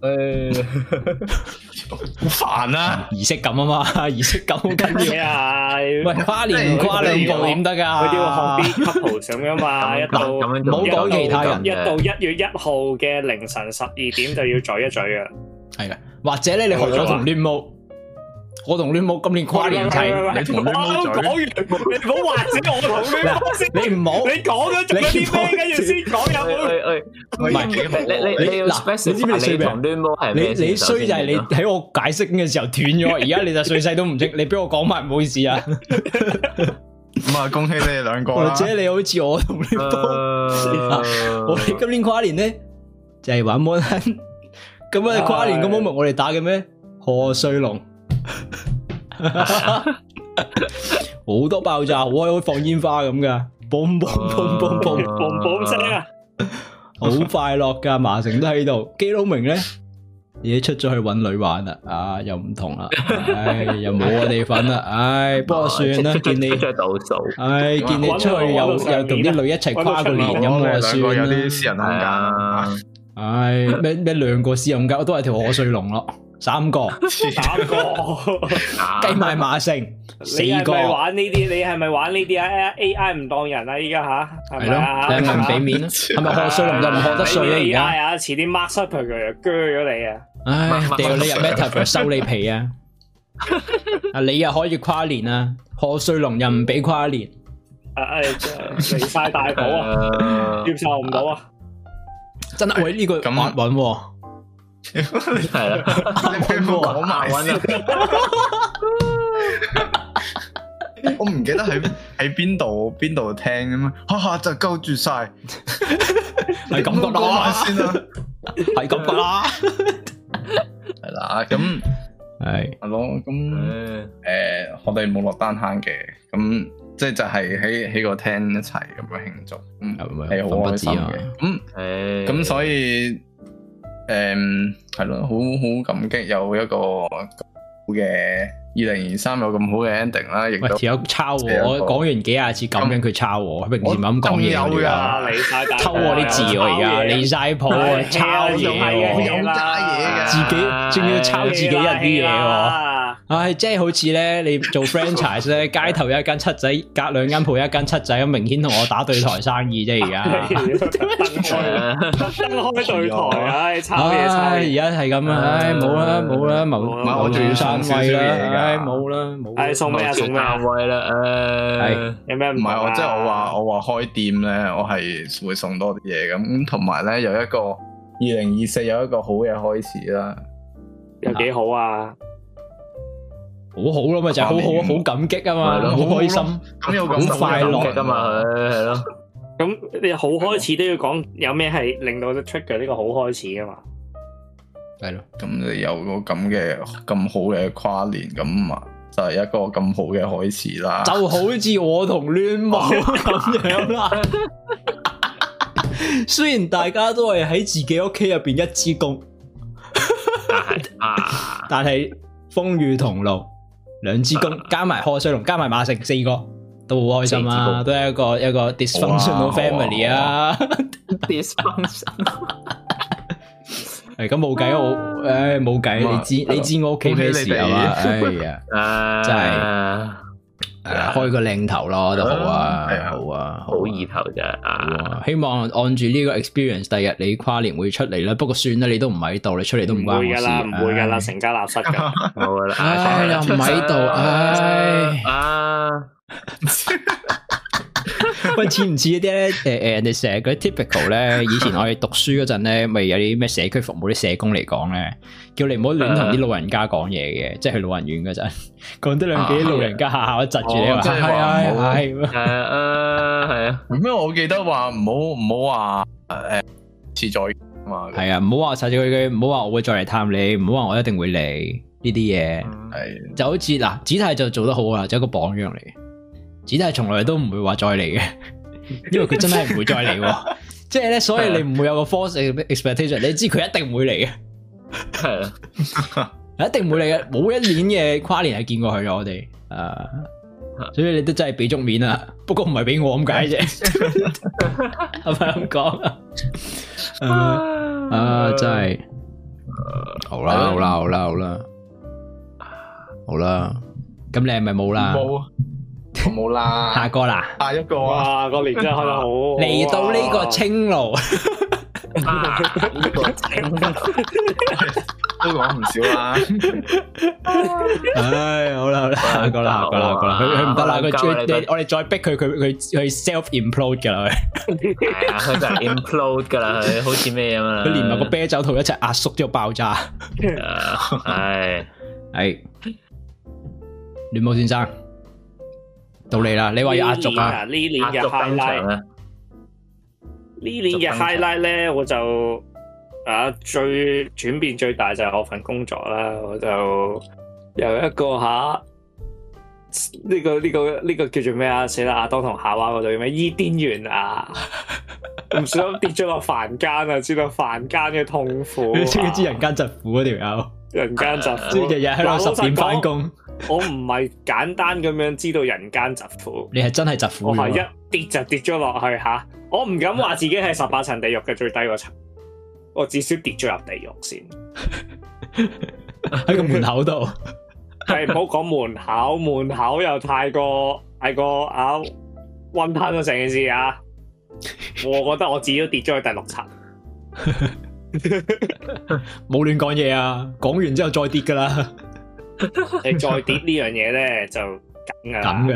好煩啊！ 儀式感啊嘛，儀式感好緊要啊！ 喂，跨年唔跨兩步點得噶？ 佢都要學啲 couple 咁噶嘛，一到唔好講其他人， 一到1月1號嘅凌晨12點就要咀一咀啊！ 係啦，或者咧你學咗同亂毛。我同亂毛今年跨年齊， 你同亂毛嘴， 講完你唔好或者我同亂毛先， 你唔好， 你講咗做啲咩，跟住先講有冇？ 唔係你要 specify 你同亂毛係咩？ 你衰就係你喺我解釋嘅時候斷咗，而家你就碎細都唔識，你俾我講埋唔好意思啊！ 咁啊，恭喜你哋兩個啦！ 或者你好似我同亂毛，我哋今年跨年咧就係玩摩登，咁啊跨年個 moment 我哋打嘅咩？賀歲龍。好多爆炸，好開放煙花咁噶，boom boom boom boom boom boom boom 聲啊， 好快樂噶，麻城都喺度，基佬明咧，而家出咗去搵女玩啦，啊又唔同啦，唉又冇我哋份啦，唉不過算啦，見你倒數， 唉見你出去又同啲女一齊跨個年咁，我就算啦， 有啲私人空間， 唉咩兩個私人空間，我都係條賀歲龍咯。3個計埋馬城4個。 你係咪玩呢啲？你係咪玩呢啲啊 ？AI 唔當人啊！依家吓係咪啊？ 你係咪唔俾面啊？係咪賀歲龍就唔賀得稅啊？而家係啊，遲啲 Mark Zuckerberg 鋸咗你啊！ 唉，掉你入 Meta 收你皮啊！啊，你又可以跨年啊？賀歲龍又唔俾跨年， 真係離晒大譜啊！接受唔到啊！ 真係喂呢個咁押韻喎。 係啦， 你俾我講埋先。我唔記得喺邊度聽咁嘛，哈哈就勾住晒， 係咁講啦先啦，係咁講啦， 係啦，咁係咯，咁我哋冇落單坑嘅，咁即係就係喺個廳一齊咁樣慶祝，係好開心嘅，咁所以。係咯，好感激有一個好嘅2023有咁好嘅 ending 啦，亦都條友抄我講完幾廿次咁樣佢抄我，平時唔係咁講嘢㗎，偷我啲字我而家離晒譜啊，抄嘢喎， 有加嘢㗎， 自己仲要抄自己人啲嘢喎， 即係好似咧，你做 franchise 咧，街頭有一間七仔，隔2間鋪有一間七仔，咁明顯同我打對台生意啫，而家分開對台，炒嘢炒。而家係咁啊，冇啦，冇我仲要上位啦，冇啦，送咩啊？送咩位啦？係有咩唔係我即係我話開店咧，我係會送多啲嘢咁，同埋咧有一個2024有一個好嘅開始啦， 有幾好啊？ 好好咯，咪就係好好，好感激啊嘛，好開心， 咁有咁快樂噶嘛，係咯。 咁你好開始都要講有咩係令到 trigger 呢個好開始啊嘛？ 係咯， 咁你有個咁好嘅跨年，咁啊就係一個咁好嘅開始啦。 就好似我同戀母咁樣啦。雖然大家都係喺自己屋企入邊一支公，但係風雨同路。2支公加埋賀歲龍加埋馬成4個都好開心啊，都係一個 dysfunctional family 啊。 dysfunction 係咁冇計，冇計，你知我屋企咩事係嘛？哎呀，真係開個靚頭咯，都好啊，好啊， 好意頭咋。 希望按住呢個 experience，第日你跨年會出嚟啦。不過算啦，你都唔喺度，你出嚟都唔關我事。 唔會噶啦，成家立室噶。 冇噶啦， 又唔喺度，喂，似唔似嗰啲咧？人哋成日嗰啲 typical 咧，以前我哋讀書嗰陣咧，咪有啲咩社區服務啲社工嚟講咧，叫你唔好亂同啲老人家講嘢嘅，即係去老人院嗰陣，講得兩句，老人家下下都窒住你話，係啊。 咁我記得話唔好話遲再嘛， 係啊，唔好話實住佢，唔好話我會再嚟探你，唔好話我一定會嚟呢啲嘢，係就好似嗱，子泰就做得好啊，就一個榜樣嚟。子泰從來都唔會話再嚟嘅，因為佢真係唔會再嚟，即係咧，所以你唔會有個 false expectation，你知佢一定唔會嚟嘅，係啊，一定唔會嚟嘅，冇一年嘅跨年係見過佢嘅，我哋所以你都真係俾足面啦，不過唔係俾我咁解啫，係咪咁講啊？真係好啦，咁你係咪冇啦？ 我冇啦， 下個啦， 下一個啊， 個年真係開得好， 嚟到呢個青路， 呢個青路都講唔少啦。 唉，好啦，下個啦，佢唔得啦，我哋再逼佢 self implode 噶啦， 係啊，佢就係 implode 噶啦，佢好似咩咁啊， 佢連埋個啤酒肚一齊壓縮之後爆炸， 係， 戀母先生。到你啦！你話要壓軸啊？ 呢年嘅 highlight，呢年嘅 highlight 咧，我就最轉變最大就係我份工作啦。我就由一個呢個叫做咩啊？死啦！亞當同夏娃嗰度咩伊甸園啊？唔小心跌咗落凡間啊！知道凡間嘅痛苦， 你知唔知人間疾苦嗰條友？ 人間疾苦， 日日喺度10點返工。 我唔係簡單咁樣知道人間疾苦， 你係真係疾苦。 我係一跌就跌咗落去吓，我唔敢話自己係18層地獄嘅最低嗰層，我至少跌咗入地獄先。 喺個門口度， 係唔好講門口又太過溫吞咗成件事啊！我覺得我自己都跌咗去第6層， 冇亂講嘢啊！講完之後再跌噶啦。 你再跌呢樣嘢咧就梗噶啦，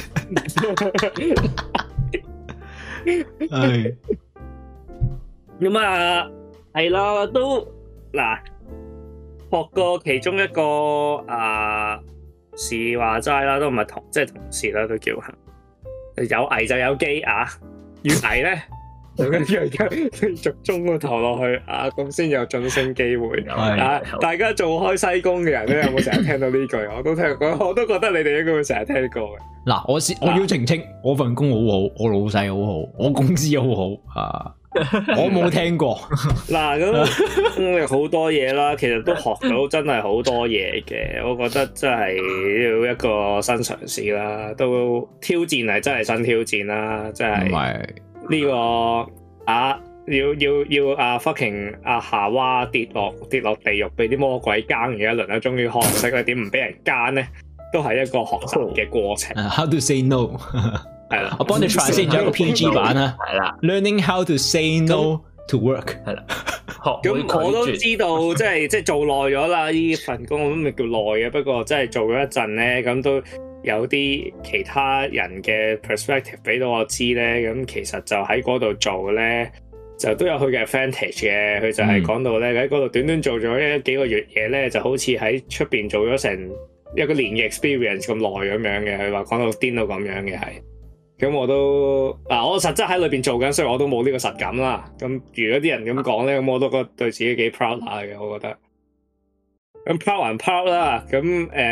係咁啊，係啦，都嗱學過其中一個事話齋啦，都唔係同事啦，都叫有危就有機啊，越危咧。逐中個頭落去咁先有晉升機會。大家做開西工嘅人咧，有冇成日聽到呢句？我都聽過，我都覺得你哋應該會成日聽過嘅。 嗱，我要澄清，我份工好好，我老細好好，我工資好好我冇聽過。 嗱，咁好多嘢啦，其實都學到真係好多嘢嘅。我覺得真係要一個新嘗試啦，都挑戰係真係新挑戰啦，真係。呢個要fucking 夏娃跌落地獄，俾啲魔鬼奸嘅一輪咧，終於學識咧點唔俾人奸咧，都係一個學習嘅過程。 How to say no 係啦，我幫你 try 先，咗一個 PG 版啦。係啦 ，Learning how to say no to work 係啦。 咁我都知道，即係做耐咗啦，呢份工我都未叫耐嘅，不過真係做咗一陣咧，咁都有啲其他人嘅 perspective 俾到我知咧，咁其實就喺嗰度做咧，就都有佢嘅 advantage 嘅。佢就係講到咧，喺嗰度短短做咗幾個月嘢咧，就好似喺出邊做咗成一個年嘅 experience 咁耐咁樣嘅。佢話講到癲到咁樣嘅係。咁我都我實質喺裏邊做緊，所以我都冇呢個實感啦。咁如果啲人咁講咧，咁我都覺得對自己幾 proud 下嘅，我覺得。咁 proud 還 proud 啦。咁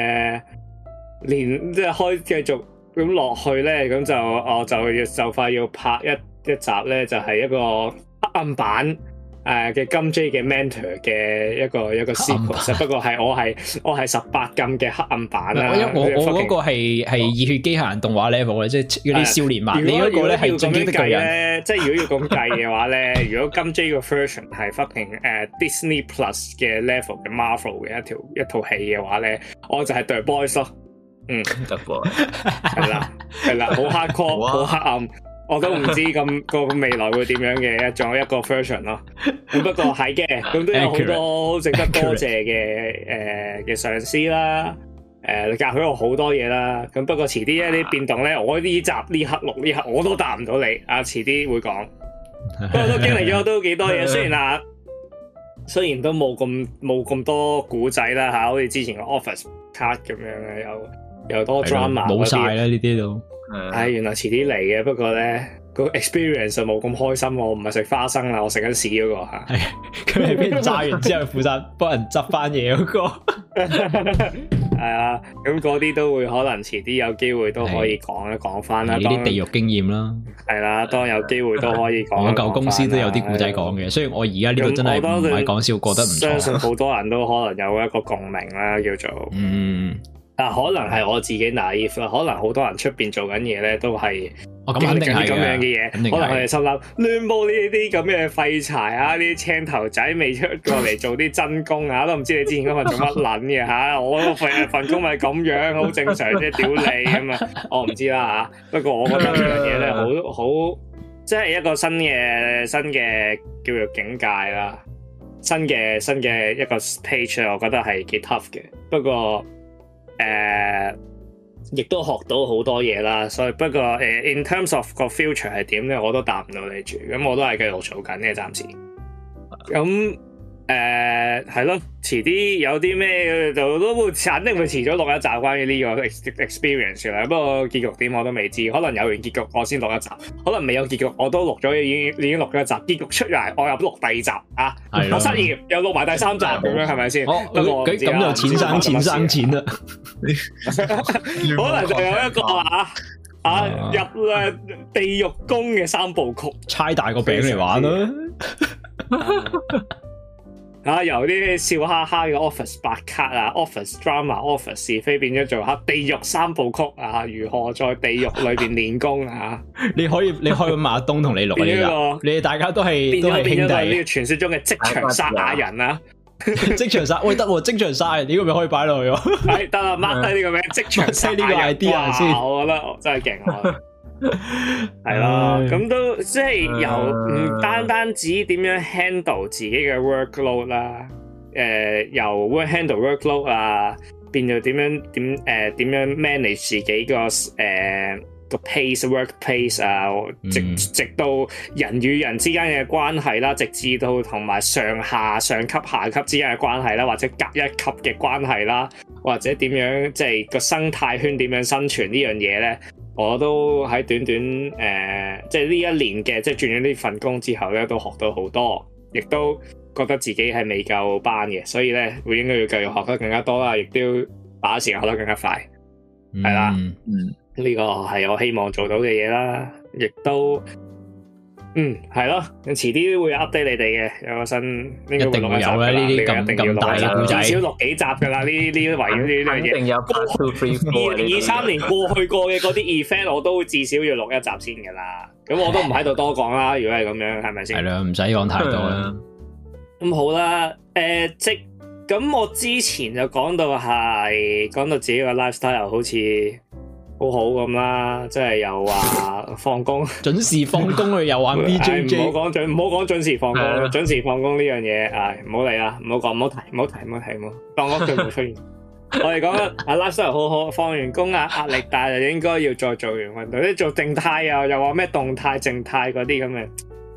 連即係繼續咁落去咧，咁就快要拍一集咧，就係一個黑暗版嘅金 J 嘅 mentor 嘅一個 sequence，不過係我係18禁嘅黑暗版啦。 我嗰個係熱血機械人動畫 level 嘅，即係嗰啲少年漫。你嗰個咧係進擊的巨人。即係如果要咁計嘅話咧，如果金 J 個 version 係 fucking Disney Plus 嘅 level 嘅 Marvel 嘅一套戲嘅話咧，我就係 The Boys 咯。 The Boys 係啦，好 hardcore， 好黑暗。我都唔知咁個未來會點樣嘅一個 version 咯。咁不過係嘅，咁都有好多值得多謝嘅上司啦。你教佢我好多嘢啦。咁不過遲啲一啲變動咧，我呢集呢刻錄呢刻我都答唔到你。遲啲會講。不過都經歷咗都幾多嘢。雖然都冇咁多古仔啦嚇，好似之前個 Office Card 咁樣嘅，又多 drama 冇晒啦呢啲都。 原來遲啲嚟嘅，不過咧個 experience 就冇咁開心。我唔係食花生啦，我食緊屎嗰個嚇。係佢係俾人炸完之後負責幫人執翻嘢嗰個。 係啊，咁嗰啲都會可能遲啲有機會都可以講翻啦。 呢啲地獄經驗啦。係啦，當有機會都可以講。 我舊公司都有啲故仔講嘅，雖然我而家呢度真係唔係講笑，過得唔錯。 相信好多人都可能有一個共鳴啦，叫做但可能係我自己 naive 啦，可能好多人出邊做緊嘢咧，都係經歷緊啲咁樣嘅嘢，可能佢哋心諗亂煲呢啲咁嘅廢柴啊，呢啲青頭仔未出過嚟做啲真工啊，都唔知你之前嗰份做乜撚嘅嚇，我份工咪咁樣，好正常啫，屌你咁啊！我唔知啦嚇，不過我覺得呢樣嘢咧，好即係一個新嘅叫做境界啦，新嘅一個 page， 我覺得係幾 tough 嘅，不過。亦都學到好多嘢啦，所以不過in terms of 個 future 係點咧，我都答唔到你住，咁我都係繼續做緊嘅，暫時。咁係咯，遲啲有啲咩就都會肯定會遲咗錄一集關於呢個 experience 啦。不過結局點我都未知，可能有完結局我先錄一集，可能未有結局我都錄咗已經錄咗一集，結局出嚟我又錄第二集啊！我失業又錄埋第3集咁樣，係咪先？不過咁就錢生錢啦， 可能就有一個入地獄宮嘅3部曲， 猜大個餅嚟玩啦。 由啲笑哈哈嘅 Office 白卡啊 ，Office Drama、Office 是非變咗做地獄3部曲啊！如何在地獄裏邊練功啊？ 你可以馬東同你錄呢個，你哋大家都係兄弟。呢個傳說中嘅職場殺亞人啊！ 職場殺喂得喎，職場殺呢個咪可以擺落去喎。 係得啦，mark 低呢個名，職場殺呢個 idea 先。我覺得真係勁啊！係咯，咁都即係由唔單止點樣 handle 自己嘅 workload 啦，由 handle workload 啊，變到點樣 manage 自己個 work pace 啊，直到人與人之間嘅關係啦，直至到同埋上級下級之間嘅關係啦，或者隔一級嘅關係啦，或者點樣即係個生態圈點樣生存呢樣嘢咧？我都喺短即係呢一年嘅，即係轉咗呢份工之後咧，都學到好多，亦都覺得自己係未夠班嘅，所以咧會應該要繼續學得更加多啦，亦都要把握時間學得更加快，係啦，呢個係我希望做到嘅嘢啦，亦都係咯，遲啲會 update 你哋嘅，有個新應該會錄一集㗎啦，呢啲咁大嘅故仔，至少錄幾集㗎啦，呢圍繞呢樣嘢，一定有 2、3年過去過嘅嗰啲 event， 我都至少要錄一集先㗎啦。 咁我都唔喺度多講啦。如果係咁樣，係咪先？ 係啦，唔使講太多啦。 咁好啦，咁我之前就講到自己個 lifestyle 好似好好咁啦，即係又話放工準時放工又玩 BJJ， 唔好講準時放工，準時放工呢樣嘢，唔好理啦，唔好講，唔好提，當嗰句冇出現。我哋講lifestyle 好好，放完工壓力大就應該要再做完運動，啲做靜態又話咩動態靜態嗰啲咁嘅。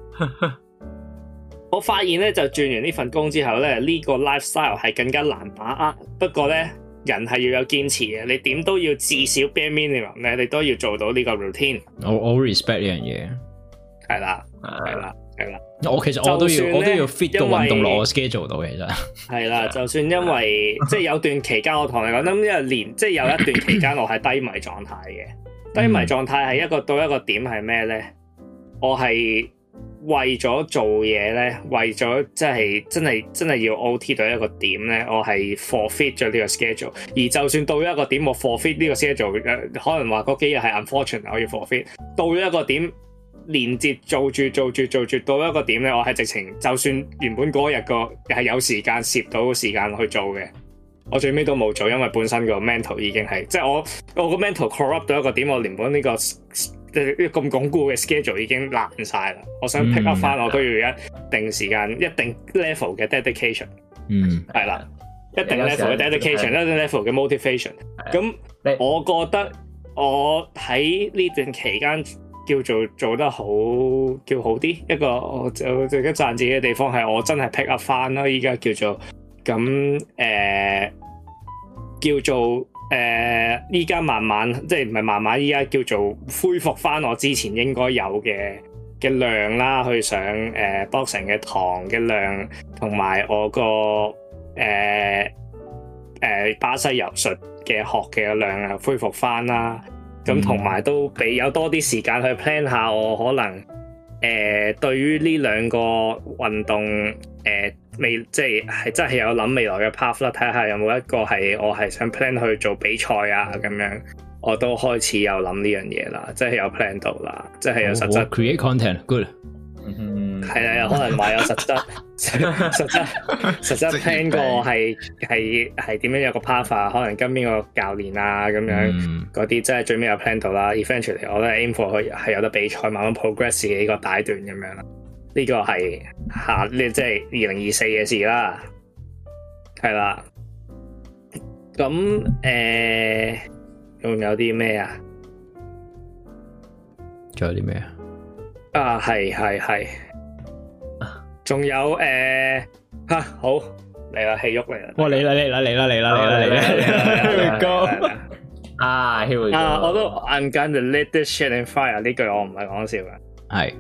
我發現咧，就轉完呢份工之後咧，呢個 lifestyle 係更加難把握。不過咧，人係要有堅持嘅，你點都要至少 bare minimum 咧，你都要做到呢個 routine。我 respect 呢樣嘢。係啦。 我其實我都要 fit 個運動落我 schedule 到其實。係啦，就算因為即係有段期間，我同你講，咁因為即係有一段期間我係低迷狀態嘅。低迷狀態係到一個點係咩咧？我係為咗做嘢咧，為咗即係真係要 OT 到一個點咧，我係 forfeit 咗呢個 schedule。而就算到一個點，我 forfeit 呢個 schedule，可能話嗰幾日係 unfortunate，我要 forfeit。到咗一個點，連接做住到一個點咧，我係直情就算原本嗰日個係有時間攝到時間去做嘅，我最尾都冇做，因為本身個 mental 已經係即係我個 mental corrupt 到一個點，我連本呢個咁鞏固嘅 schedule 已經爛晒啦。我想 pick up 翻，我都要一定時間、一定 level 嘅 dedication。係啦，一定 level 嘅 dedication，一定 level 嘅 motivation。咁我覺得我喺呢段期間叫做做得好啲，一個我就值得讚自己嘅地方係我真係 pick up 翻啦。依家叫做咁叫做依家慢慢即係唔係慢慢，依家叫做恢復翻我之前應該有嘅量啦，去上boxing 嘅堂嘅量，同埋我個巴西柔術嘅學嘅量啊恢復翻啦。咁同埋都俾有多啲時間去 plan 下我可能對於呢兩個運動未即係真係有諗未來嘅 path 啦，睇下有冇一個係我係想 plan 去做比賽啊咁樣，我都開始有諗呢樣嘢啦，即係有 plan 到啦，即係有實質 create content good。 係啊，有可能話有實質 plan 過係點樣有個 path 啊，可能跟邊個教練啊咁樣嗰啲，即係最尾有 plan 到啦。Eventually 我都 aim for 佢係有得比賽，慢慢 progress 自己呢個階段咁樣啦。呢個係即係2024嘅事啦，係啦。咁仲有啲咩啊？ 仲有啲咩啊？ 係，仲有好嚟啦，戲肉嚟啦！ 哇，嚟啦！Here we go！ Here we go！ 我都 I'm gonna let this shit in fire 呢句我唔係講笑嘅， 係，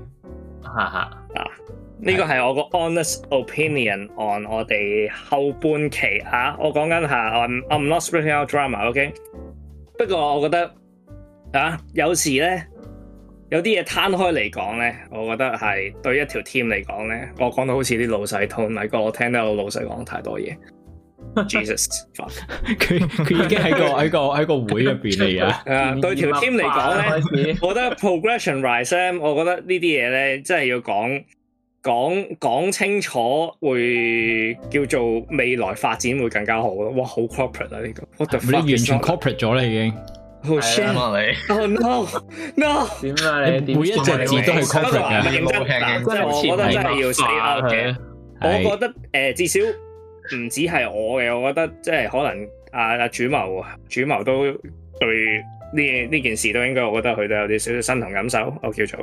呢個係我個 honest opinion on 我哋後半期我講緊下 I'm not splitting out drama，OK？不過我覺得有時咧。有啲嘢攤開嚟講咧，我覺得係對一條 team 嚟講咧，我講到好似啲老細 tone，咪我聽到老細講太多嘢。Jesus， 佢已經喺個會入邊嚟啊！ 對條 team 嚟講咧，我覺得 progression rise， 我覺得呢啲嘢咧，真係要講清楚，會叫做未來發展會更加好咯。哇，好 corporate 啊呢個！ 你完全 corporate 咗啦已經。 Oh shit! Oh no! 點啊你？ 每一隻字都係 corporate 嘅。 即係我覺得真係要 say out 嘅。我覺得至少唔止係我嘅，我覺得即係可能主謀都對呢件事都應該，我覺得佢都有啲少少身同感受。我叫做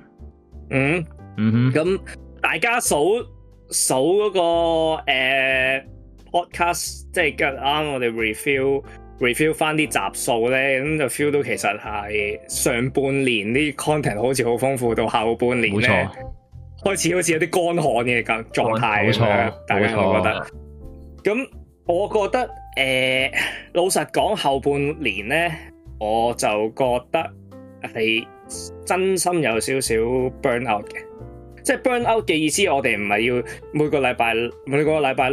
咁大家數嗰個podcast， 即係啱我哋 review 翻啲集數咧，咁就 feel 到其實係上半年啲 content 好似好豐富，到下半年咧開始好似有啲乾旱嘅狀態咁樣，大家會覺得。咁我覺得老實講後半年咧，我就覺得係真心有少少 burn out 嘅。即係 burn out 嘅意思，我哋唔係要每個禮拜六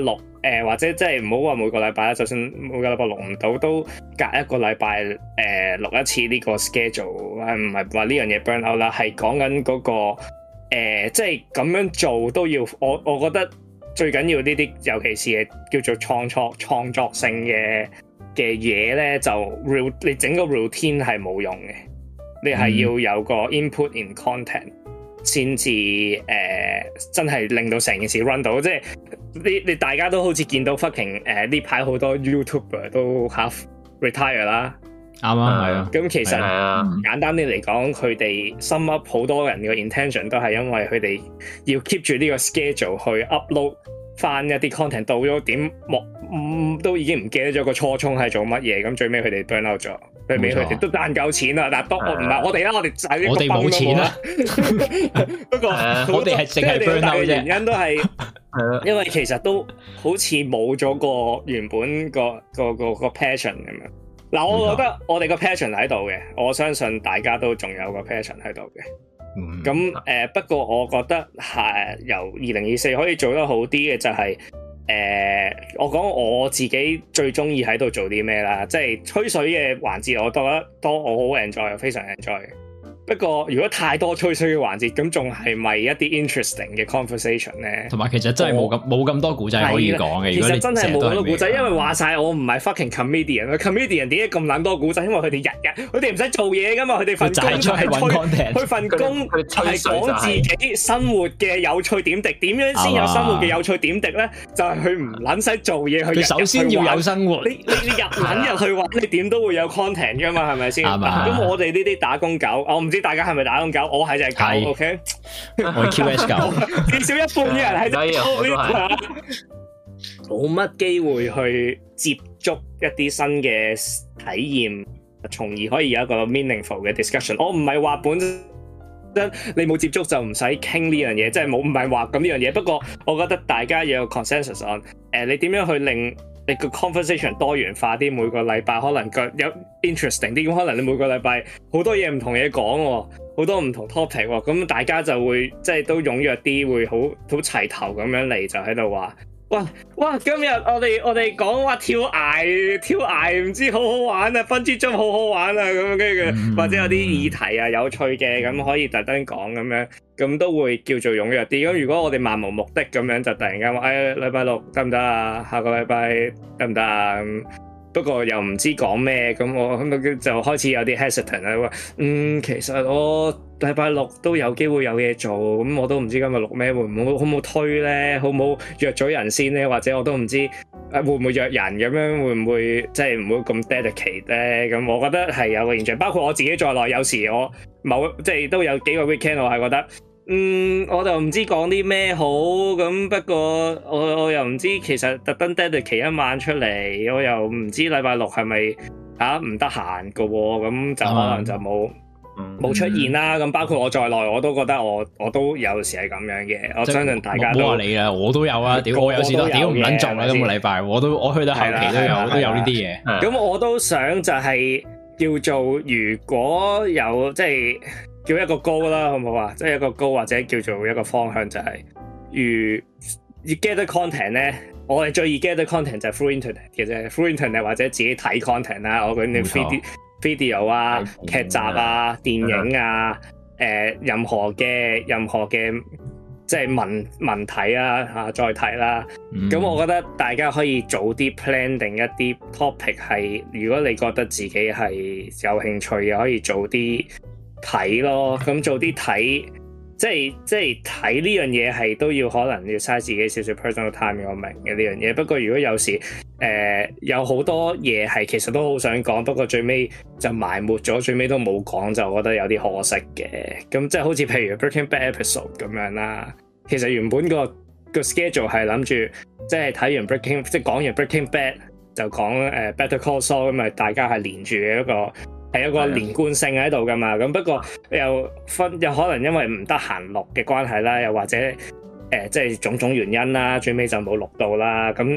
或者即係唔好話每個禮拜啦，就算每個禮拜錄唔到，都隔一個禮拜錄一次呢個 schedule， 唔係話呢樣嘢 burn out 啦，係講緊嗰個即係咁樣做都要，我覺得最緊要呢啲，尤其是係叫做創作性嘅嘢咧，就你整個 routine 係冇用嘅，你係要有個 input in content 先至真係令到成件事 run 到，即係你大家都好似見到 fucking 呢排好多 YouTuber 都 half retire 啦， 啱啊，係啊， 咁其實簡單啲嚟講，佢哋 sum up 好多人嘅 intention 都係因為佢哋要 keep 住呢個 schedule 去 upload 翻一啲 content， 到咗點都已經唔記得咗個初衷係做乜嘢，咁最尾佢哋 burn out 咗。最尾佢哋都賺夠錢啦，但係唔係我哋啦，我哋冇錢啦。不過我哋係淨係 burn out 嘅原因都係，因為其實都好似冇咗個原本個 passion 咁樣。嗱，我覺得我哋個 passion 喺度嘅，我相信大家都仲有個 passion 喺度嘅。咁不過我覺得係由2024可以做得好啲嘅就係。我講我自己最中意喺度做啲咩啦，即係吹水嘅環節，我覺得我好 enjoy， 非常 enjoy。不過如果太多吹水嘅環節，咁仲係咪一啲 interesting 嘅 conversation 咧？同埋其實真係冇咁多古仔可以講嘅。其實真係冇咁多古仔，因為話晒我唔係 fucking comedian 點解咁撚多古仔？因為佢哋日佢哋唔使做嘢噶嘛，佢哋份工就係佢份工係講自己生活嘅有趣點滴。點樣先有生活嘅有趣點滴咧？就係佢唔撚使做嘢，佢首先要有生活。你入去玩，你點都會有 content 噶嘛？係咪先？咁我哋呢啲打工狗，我唔知大家係咪打工狗，我係就係狗 ，OK？ 我係 QS 狗，至少一半嘅人係冇乜機會去接觸一啲新嘅體驗，從而可以有一個 meaningful 嘅 discussion。我唔係話本身你冇接觸就唔使傾呢樣嘢，即係唔係話咁呢樣嘢。不過我覺得大家要有 consensus on，你點樣去令你個 conversation 多元化啲，每個禮拜可能有 interesting 啲，咁可能你每個禮拜好多嘢唔同嘢講，好多唔同 topic， 咁大家就會即係都踴躍啲，會好齊頭咁樣嚟，就喺度話，哇！今日我哋講話跳崖唔知好好玩啊，分之中好好玩啊，咁跟住或者有啲議題啊有趣嘅，咁可以特登講咁樣，咁都會叫做踴躍啲。咁如果我哋漫無目的咁樣就突然間話，禮拜六得唔得啊？下個禮拜得唔得啊？不過又唔知講咩，咁我就開始有啲 hesitant 啦。話其實我禮拜六都有機會有嘢做，咁我都唔知今日錄咩，好唔好推咧？好唔好約咗人先咧？或者我都唔知會唔會約人咁樣，會唔會即係唔會咁 dedicate 咧？咁我覺得係有個現象，包括我自己在內，有時我即係都有幾個 weekend 我係覺得。我就唔知講啲咩好，咁不過我又唔知其實特登 dedicate 一晚出嚟，我又唔知禮拜六係咪唔得閒噶，咁就可能就冇出現啦。咁包括我在內，我都覺得我都有時係咁樣嘅。我相信大家都冇話你啊，我都有啊。屌我有時都屌唔撚做啦，今個禮拜我去到後期都有呢啲嘢。咁我都想就係叫做如果有即係。叫一個高啦，好唔好啊？即係一個高或者叫做一個方向就係、是，如 gather content 咧，我哋最易 gather content 就係 through internet 嘅啫 ，through internet 或者自己睇 content 啦，我講啲 video 啊、劇集啊、電影啊，任何嘅即係文體啊再睇啦。咁我覺得大家可以早啲 plan 定一啲 topic 係，如果你覺得自己係有興趣嘅，可以早啲。睇咯，咁做啲睇，即係睇呢樣嘢係都要可能要嘥自己少少 personal time， 我明嘅呢樣嘢。不過如果有時有好多嘢係其實都好想講，不過最尾就埋沒咗，最尾都冇講，就覺得有啲可惜嘅。咁即係好似譬如 Breaking Bad episode 咁樣啦，其實原本個 schedule 係諗住即係睇完 Breaking， 即係講完 Breaking Bad 就講Better Call Saul， 咁咪大家係連住嘅一個。係有個連貫性喺度噶嘛，咁不過又可能因為唔得閒錄嘅關係啦，又或者即係種種原因啦，最尾就冇錄到啦。咁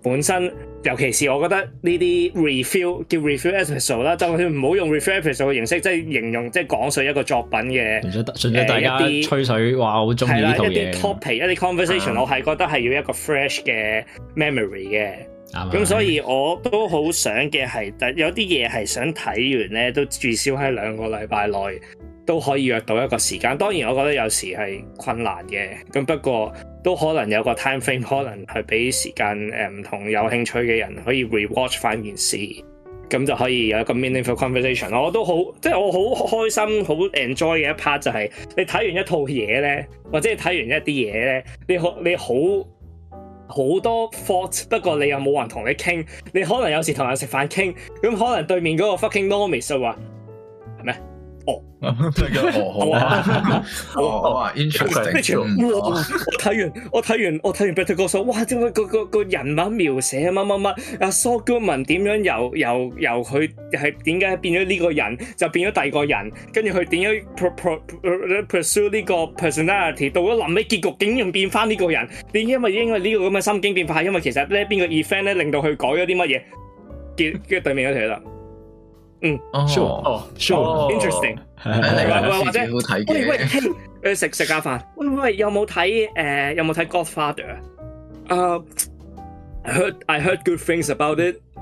本身，尤其是我覺得呢啲 review 叫 review episode 啦，就算唔好用 review episode 嘅形式，即係形容即係講述一個作品嘅， 純粹大家吹水話好中意呢套嘢。 一啲 topic 一啲 conversation，我係覺得係要一個 fresh 嘅 memory 嘅。咁所以我都好想嘅係，有啲嘢係想睇完咧，都至少喺2個禮拜內都可以約到一個時間。當然我覺得有時係困難嘅，咁不過都可能有個 time frame， 可能係俾時間唔同有興趣嘅人可以 rewatch 翻件事，咁就可以有一個 meaningful conversation。我都好，即係我好開心好 enjoy 嘅一 part 就係你睇完一套嘢咧，或者你睇完一啲嘢咧，你好多 thought， 不過你又冇人同你傾，你可能有時同人食飯傾，咁可能對面嗰個 fucking normies 就話係咩？哦， 好啊 interesting。 我睇完 Better Call Saul， 哇！點解個人物描寫乜阿 Saul Goodman 點樣由佢係點解變咗呢個人，就變咗第二個人，跟住佢點樣 pursue 呢個 personality， 到咗臨尾結局竟然變翻呢個人，因為呢個咁嘅心境變化，因為其實咧邊個 event 咧令到佢改咗啲乜嘢，跟住對面嗰條啦。sure，interesting， 或者喂，食下飯，喂，有冇睇Godfather？ I heard good things about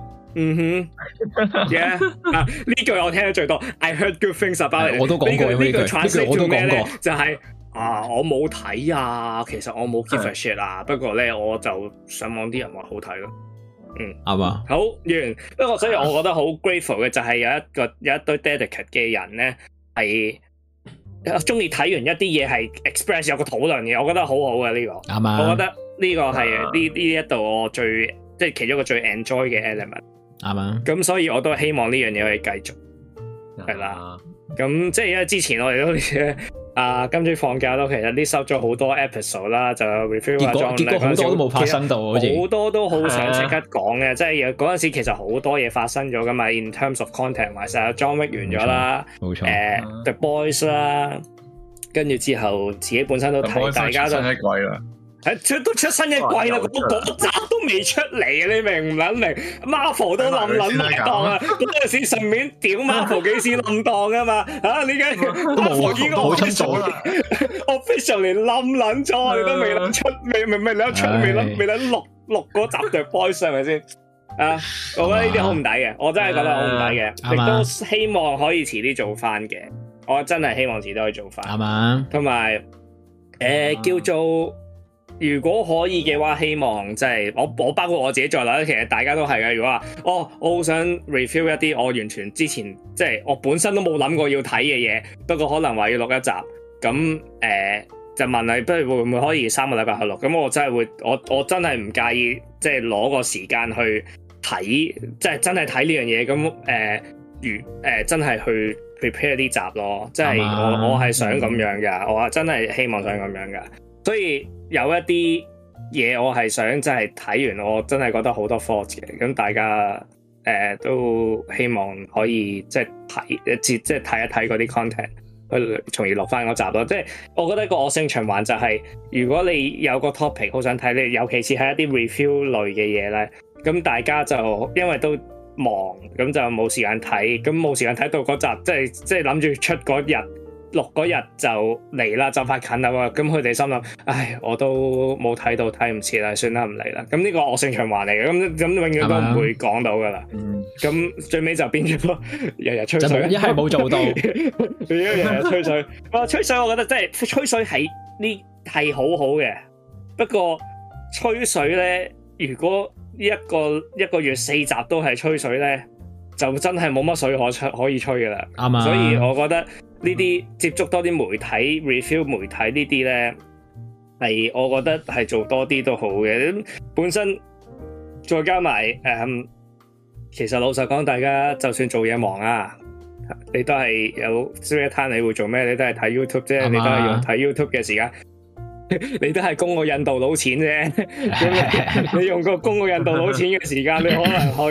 it。yeah， 呢句我聽得最多。I heard good things about it。我都講過呢句 translate 做咩咧？就係我冇睇啊，其實我冇 give a shit 啊，不過咧我就上網啲人話好睇咯。 啱啊， 好完。不過所以我覺得好 grateful 嘅就係有一堆 dedicate 嘅人咧，係中意睇完一啲嘢係 express 有個討論嘅，我覺得好好嘅呢個。啱啊，我覺得呢個係呢一度我最即係其中一個最 enjoy 嘅 element。啱啊，咁所以我都希望呢樣嘢可以繼續係啦。咁即係因為之前我哋都今朝放假都其實啲收咗好多 episode 啦，就 review 結果好多都冇發生到，好多都好想即刻講嘅，即係嗰陣時其實好多嘢發生咗噶嘛。In terms of content， 埋晒 John Wick 完咗啦，冇錯，The Boys 啦，跟住之後自己本身都睇，大家都一季啦。都出新一季啦，嗰集都未出嚟啊！你明唔明？Marvel 都冧埋檔啊！嗰陣時順便屌 Marvel 幾時冧檔啊嘛？你而家 Marvel 已經冇出咗啦，officially 冧撚咗，你都未撚出，未撚錄嗰集嘅 boys 係咪先？我覺得呢啲好唔抵嘅，我真係覺得好唔抵嘅，亦都希望可以遲啲做翻嘅。我真係希望遲啲可以做翻。啱啊！同埋叫做。如果可以嘅話，希望即係我包括我自己在內，其實大家都係嘅。如果話我好想 review 一啲我完全之前即係我本身都冇諗過要睇嘅嘢，不過可能話要錄一集，咁就問你，不如會唔會可以3個禮拜去錄？咁我真係會，我真係唔介意，即係攞個時間去睇，即係真係睇呢樣嘢。咁真係去 prepare 啲集咯。即係我係想咁樣噶，我真係希望想咁樣噶，所以。有一啲嘢我係想真係睇完，我真係覺得好多 fault 嘅，咁大家都希望可以即係睇一睇嗰啲 content，去從而落翻嗰集咯。即係我覺得個惡性循環就係，如果你有個 topic 好想睇，你尤其是係一啲 review 類嘅嘢咧，咁大家就因為都忙，咁就冇時間睇，咁冇時間睇到嗰集，即係諗住出嗰日。錄嗰日就嚟啦，就快近啦喎！咁佢哋心諗，唉，我都冇睇到，睇唔切啦，算啦，唔嚟啦。咁呢個惡性循環嚟嘅，咁永遠都唔會講到噶啦。咁最尾就變咗日日吹水， 一係冇做到， 日日吹水。吹水我覺得真係吹水係好好嘅，不過吹水咧，如果一個月4集都係吹水咧，就真係冇乜水可以吹噶啦。啱啊！所以我覺得。呢啲接觸多啲媒體 review 媒體呢啲咧，係我覺得係做多啲都好嘅。本身再加埋其實老實講，大家就算做嘢忙啊，你都係有 spare time，你會做咩？你都係睇 YouTube 啫，你都係用睇 YouTube 嘅時間，你都係供個印度佬錢啫。你用個供個印度佬錢嘅時間，你可能去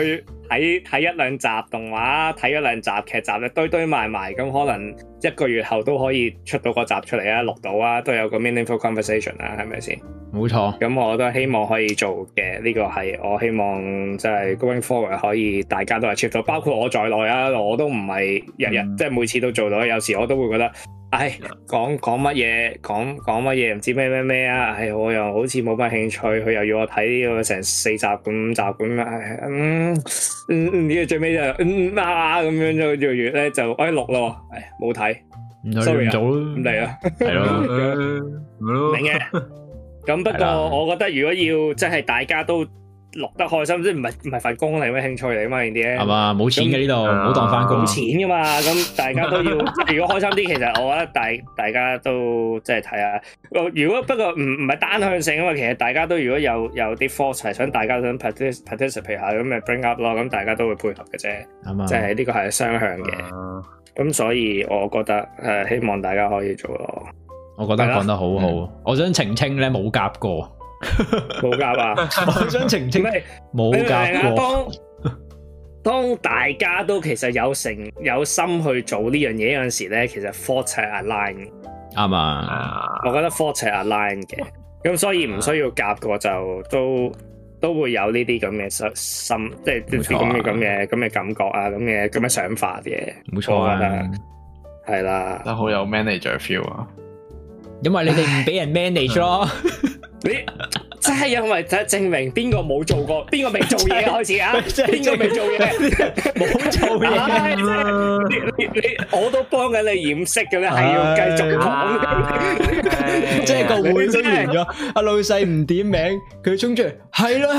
睇一兩集動畫，睇一兩集劇集咧，堆埋，咁可能1個月後都可以出到個集出嚟啊，錄到啊，都有個 meaningful conversation 啊，係咪先？冇錯。咁我都希望可以做嘅，呢個係我希望即係 going forward 可以大家都係 achieve 到，包括我在內啊，我都唔係日日即係每次都做到，有時我都會覺得。講乜嘢講乜嘢唔知咩啊！我又好似冇乜興趣，佢又要我睇呢個成4集5集咁啊！呢個最尾就咁樣就做完咧就錄咯，冇睇，sorry 啊，咁嚟啦，係咯，明嘅。咁不過我覺得如果要即係大家都錄得開心，即係唔係份工嚟咩興趣嚟嘛？呢啲咧係嘛，冇錢嘅呢度，唔好當翻工。冇錢噶嘛，咁大家都要。如果開心啲，其實我覺得大家都即係睇下。如果不過唔係單向性啊嘛，其實大家都如果有啲 force 係想大家想 participate 下咁咪 bring up 咯，咁大家都會配合嘅啫。即係呢個係雙向嘅。咁所以我覺得希望大家可以做咯。我覺得講得好好。我想澄清咧，冇夾過。冇夾啊！我想澄清冇夾過。當大家都其實有心去做呢樣嘢嗰陣時咧，其實 fault 係 align 啱啊！我覺得 fault 係 align 嘅，咁所以唔需要夾過就都會有呢啲咁嘅心，即係啲咁嘅感覺啊，咁嘅想法嘅。冇錯啊，係啦， 都好有 manager feel 啊！ 因為你哋唔俾人 manage 咯。 你真係因為證明邊個冇做過，邊個未做嘢開始啊？邊個未做嘢？冇做嘢。你我都幫緊你掩飾嘅咧，係要繼續講。 即係個會都完咗，阿老細唔點名，佢衝出嚟，係啦，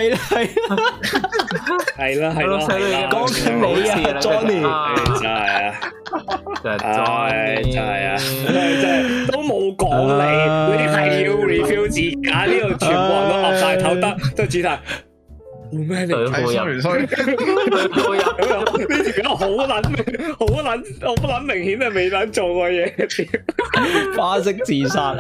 講緊你啊 ，Johnny， 真係啊，真係啊，真係都冇講你係要 review 自己呢度全部人都岌晒頭得，都主題冇咩嚟睇，sorry，呢條友好撚，我不撚明顯係未撚做過嘢， 花式自殺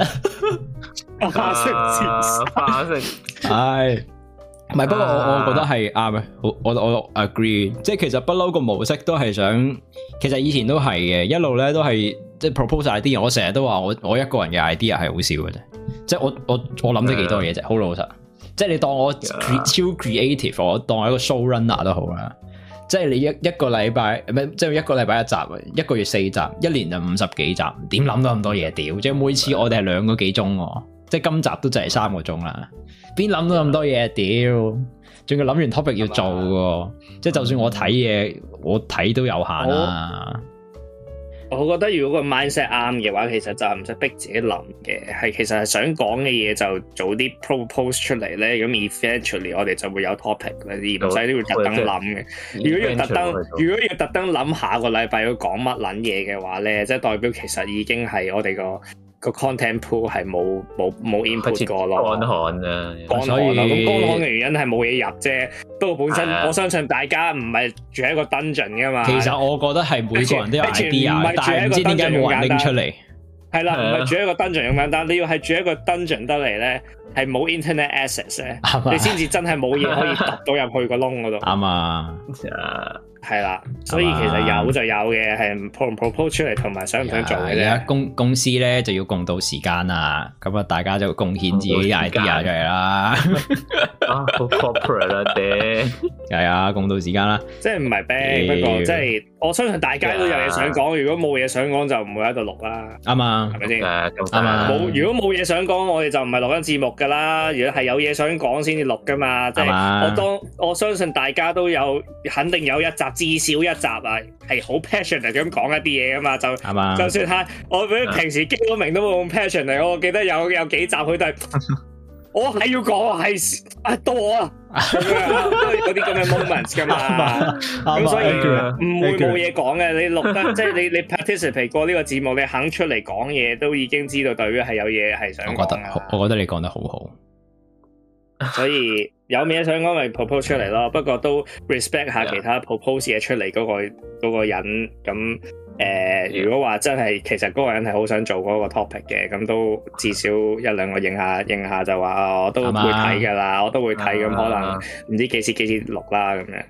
花式， 係。唔係，不過我覺得係啱嘅，我 agree， 即係其實不嬲個模式都係想，其實以前都係嘅，一路咧都係即係 propose idea，我成日都話我一個人嘅 idea 係好少嘅啫，即係我諗咗幾多嘢啫，好老實，即係你當我超 creative， 我當我一個 show runner 都好啦，即係你一個禮拜即係一個禮拜一集，一個月4集，一年就50幾集，點諗到咁多嘢屌？即係每次我哋係2個幾鐘喎，即係今集都就係3個鐘啦。邊諗到咁多嘢屌？仲要諗完 topic 要做嘅，即係就算我睇嘢，我睇都有限啦。 我覺得如果個 mindset 啱嘅話，其實就唔使逼自己諗嘅，係其實係想講嘅嘢就早啲 propose 出嚟咧，咁 eventually 我哋就會有 topic 咧，而唔使都要特登諗嘅。如果要特登諗下個禮拜要講乜撚嘢嘅話咧，即係代表其實已經係我哋個 content pool 係冇 input 過咯，乾旱啊，咁乾旱嘅原因係冇嘢入啫。不過本身我相信大家唔係住喺一個 dungeon 噶嘛。 其實我覺得係每個人都有 idea， 但係唔知點解冇人拎出嚟。 係啦，唔係住喺一個 dungeon 咁簡單，你要係住喺一個 dungeon 得嚟咧，係冇 internet access 咧，你先至真係冇嘢可以揼到入去個窿嗰度。啱啊。係啦，所以其實有就有嘅，係 propose 出嚟同埋想唔想做嘅啫。公司咧就要共度時間啊，咁啊大家就貢獻自己 idea 出嚟啦。 好 corporate 啦，爹。 係啊，共度時間啦。即係唔係 bad，不過即係我相信大家都有嘢想講。如果冇嘢想講就唔會喺度錄啦。啱啊，係咪先？啱啊。如果冇嘢想講，我哋就唔係錄緊節目噶啦。如果係有嘢想講先至錄噶嘛。即係我相信大家都有，肯定有一集。至少一集啊，係好 passionate 咁講一啲嘢噶嘛，就算係我平時激到明都冇咁 passionate，我記得有幾集佢都係我係要講係到我啊，嗰啲咁嘅 moments 噶嘛，咁所以唔會冇嘢講嘅。你錄得即係你 participate 過呢個節目，你肯出嚟講嘢，都已經知道代表係有嘢係想講啦。 我覺得你講得好好。 所以有嘢想講咪 propose 出嚟咯，不過都 respect 下其他 propose 嘢出嚟嗰個人咁如果話真係其實嗰個人係好想做嗰個 topic 嘅，咁都至少1-2個應下就話我都會睇㗎啦，我都會睇咁可能唔知幾時錄啦咁樣。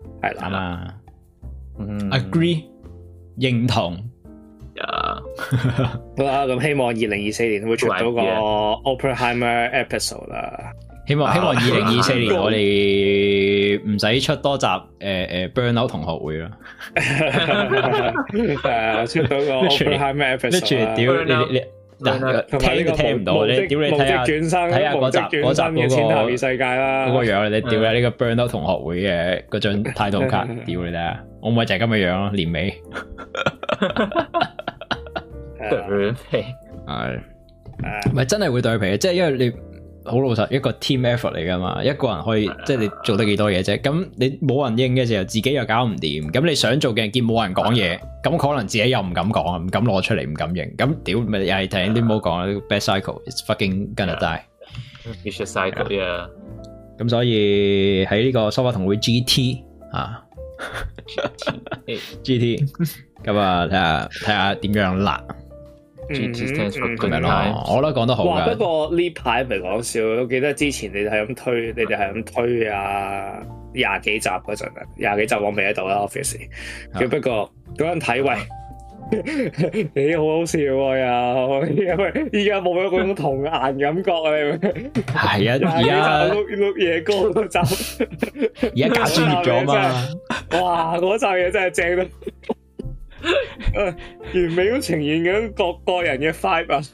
係啦嘛，agree 認同。 好啦，咁希望2024年會出到個 Oppenheimer episode 啦。 希望2024年我哋唔使出多集Burnout 同學會啦。 出到個 Oppenheimer episode。 屌你聽都聽唔到，你屌你睇下嗰集嘅千頭二世界啦，嗰個樣你屌你呢個 Burnout 同學會嘅嗰張態度卡，屌你睇下，我咪就係咁嘅樣咯，年尾。 對皮係，唔係真係會對皮，即係因為你好老實，一個 team effort 嚟噶嘛，一個人可以即係你做得幾多嘢啫？咁你冇人應嘅時候，自己又搞唔掂，咁你想做嘅見冇人講嘢，咁可能自己又唔敢講，唔敢攞出嚟，唔敢應，咁屌咪又係聽啲冇講啦 ，bad cycle，it's fucking gonna die，vicious cycle，yeah。 咁所以喺呢個蘇花同會 GT 啊 ，GT，咁啊睇下點樣辣。咁咪咯，我都講得好噶。 不過呢排唔係講笑，我記得之前你哋係咁推啊20幾集嗰陣啊，20幾集我未喺度啦 ，office。不過嗰陣睇喂，你好好笑又，因為依家冇咗嗰種童顏感覺啊！ 係啊，而家碌夜歌嗰集， 而家假專業咗嘛？ 哇，嗰集嘢真係正到〜完美咁呈現緊個人嘅 vibe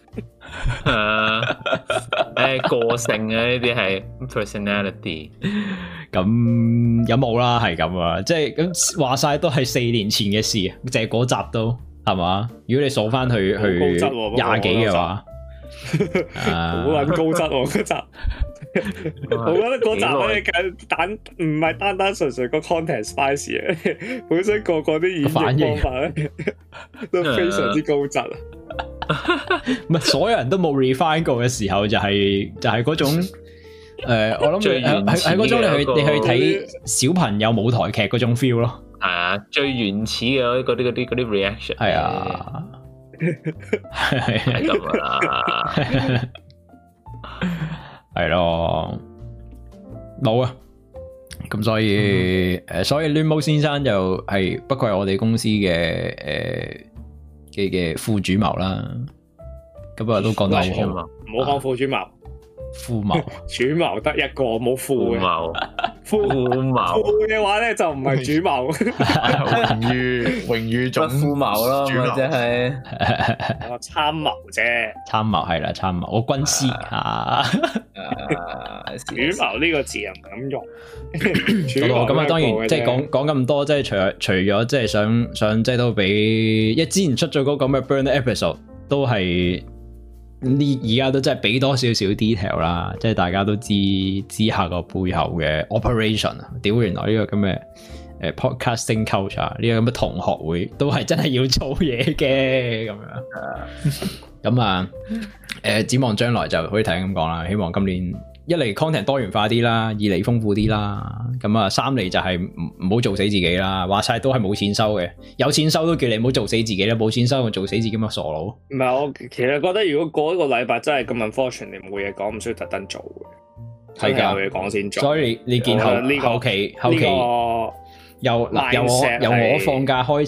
個性啊，呢啲係 personality。 咁有冇啦？係咁啊，即係咁話晒都係4年前嘅事，淨係嗰集都係嘛？如果你數翻去20幾嘅話， 好撚高質嗰集。我覺得嗰集咧唔係單純個 content spicy 嘅，本身個啲演繹方法咧都非常之高質啊！ 唔係所有人都冇 refine 過嘅時候，就係嗰種我諗喺嗰種你去睇小朋友舞台劇嗰種 feel 咯。 係啊，最原始嘅嗰啲 reaction。係啊， 係咁啦。 係咯，冇啊，咁所以亂毛先生就係不愧係我哋公司嘅副主謀啦，咁啊都講得好好， 唔好講副主謀。 副謀主謀得一個，冇副嘅。副嘅話咧就唔係主謀， 榮譽總副謀咯，或者係參謀啫。 參謀係啦，參謀我軍師啊。 主謀呢個字又唔敢用。 咁啊，當然即係講咁多，即係除咗即係想即係都俾，因為之前出咗嗰個咩 Burn episode 都係。而家都真係俾多少少 detail 啦，即係大家都知下個背後嘅 operation 啊！屌，原來呢個咁嘅podcasting culture 呢個咁嘅同學會都係真係要做嘢嘅咁樣。咁啊展望將來就可以睇咁講啦。希望今年一嚟 content 多元化啲啦，二嚟豐富啲啦。咁啊三嚟就係唔好做死自己啦。話晒都係冇錢收嘅，有錢收都叫你唔好做死自己啦。冇錢收就做死自己咁嘅傻佬。 唔係，我其實覺得如果過一個禮拜真係咁 unfortunate，你冇嘢講，唔需要特登做嘅。係㗎，有嘢講先做。所以你見後期由我放假開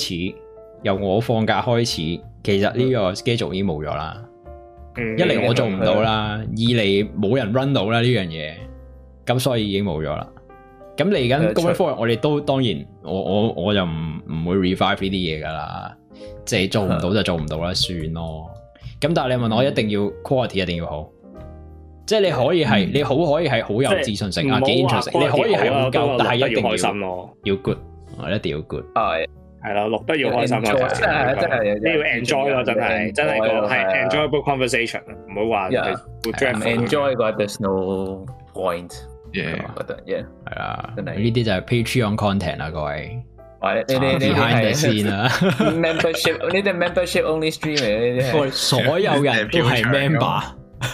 始，其實呢個 schedule 已經冇咗啦。一嚟我做唔到啦，二嚟冇人 run 到啦呢樣嘢，咁所以已經冇咗啦。咁嚟緊 going forward，我哋都當然，我就唔會 revive 呢啲嘢噶啦，即係做唔到就做唔到啦，算咯。咁但係你問我一定要 quality 一定要好，即係你可以係你好可以係好有自信性啊，幾 interesting，你可以係好夠，但係一定要開心咯，要 good， 一定要 good。係啦，錄得要開心咯，真係你要 enjoy 咯，真係個係 enjoyable conversation， 唔好話 enjoy 個 there's no point， 覺得係啊，呢啲就係 Patreon content 啦，各位。behind the scene 啦 ，membership 呢啲 membership only stream 嚟，呢啲所有人都係 member，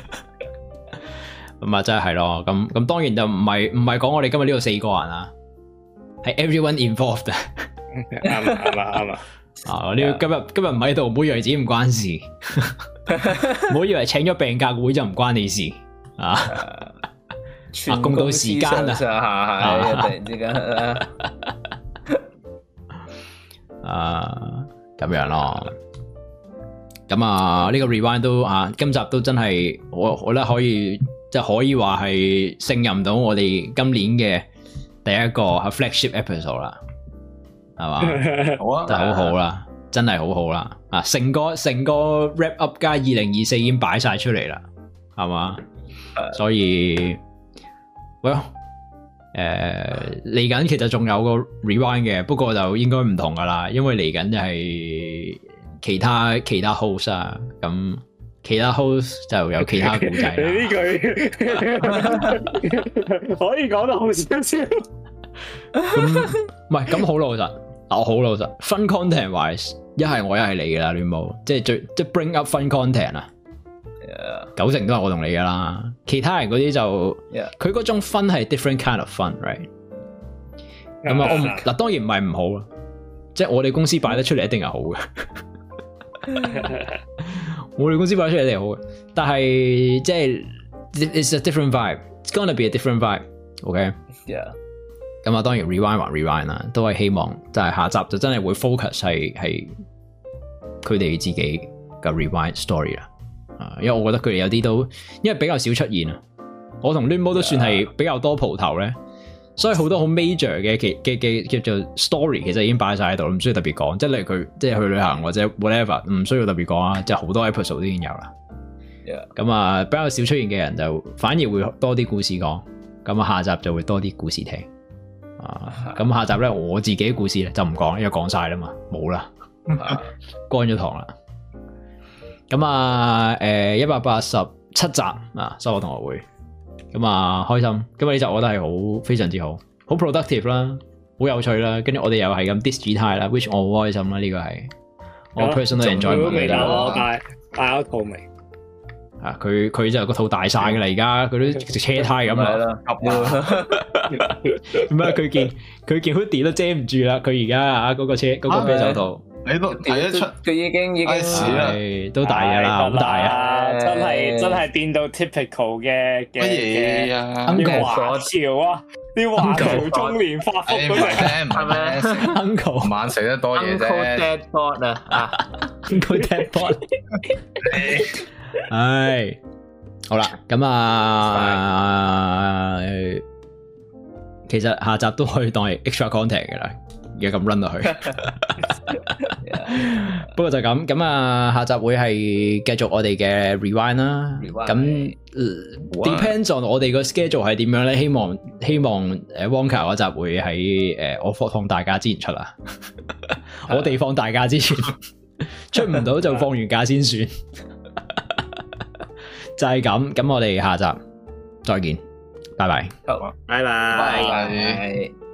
咁啊真係咯，咁當然就唔係講我哋今日呢個4個人啊，係 everyone involved。 啱啊！ 啊，你今日唔喺度，唔好以為自己唔關事，唔好以為請咗病假會就唔關你事啊！公到時間啊， 突然之間。 咁樣咯。咁呢個 rewind 都今集都真係我覺得可以即係可以話係勝任到我哋今年嘅第一個 flagship episode 啦，係嘛？好啊，就好好啦，真係好好啦。成個 wrap up 加2024已經擺晒出嚟啦，係嘛？所以嚟緊其實仲有個 rewind 嘅，不過就應該唔同噶啦，因為嚟緊就係其他 host 啊，咁其他 host 就有其他故仔。你呢句可以講得好少少。 唔係咁好老實，我好老實。Fun content wise， 一係我一係你噶啦，亂冇，即係bring up fun content 啊。90%都係我同你噶啦，其他人嗰啲就佢嗰種 fun 係 different kind of fun，right？ 咁我嗱當然唔係唔好啦，即係我哋公司擺得出嚟一定係好嘅。我哋公司擺出嚟一定係好嘅，但係即係 it's a different vibe，it's gonna be a different vibe，OK？Yeah。咁當然 rewind 還 rewind 啦，都係希望就係下集就真係會 focus 係佢哋自己嘅 rewind story 啦。因為我覺得佢哋有啲都因為比較少出現啊，我同 Limo 都算係比較多蒲頭咧，所以好多好 major 嘅叫做 story 其實已經擺晒喺度，唔需要特別講。即係例如佢即係去旅行或者 whatever， 唔需要特別講啊，即係好多 episode 都已經有啦。咁比較少出現嘅人就反而會多啲故事講，咁下集就會多啲故事聽。咁下集咧我自己嘅故事咧就唔講，因為講晒啦嘛，冇啦，乾咗堂啦。咁187集收穫同學會，咁開心。今日呢集我覺得係好非常之好，好 productive 啦，好有趣啦。跟住我哋又係咁 diss 主題啦 ，which 我好開心啦。呢個係我 personal enjoyment 嚟㗎。 大肚未？ 佢就個肚大晒㗎啦，而家佢都直車胎咁啦。唔係佢件 hoodie 都遮唔住啦。佢而家嗰個啤酒肚。 你都睇得出佢已經都大嘅啦，好大啊！ 真係變到 typical 嘅乜嘢啊？ 啲華僑啊，啲華僑中年發福嗰隻係咪 ？Uncle 晚食得多嘢啫。 Uncle Deadbot 啊 ，Uncle Deadbot。唉，好啦，咁其實下集都可以當係 extra content 嘅啦。而家咁 run 落去，不過就咁下集會係繼續我哋嘅 rewind 啦。咁 depends on 我哋個 schedule 係點樣咧？希望Wonka 嗰集會喺我放大假之前出啦。我哋放大假之前出唔到就放完假先算。就係咁，我哋下集再見，拜拜。 好，拜拜。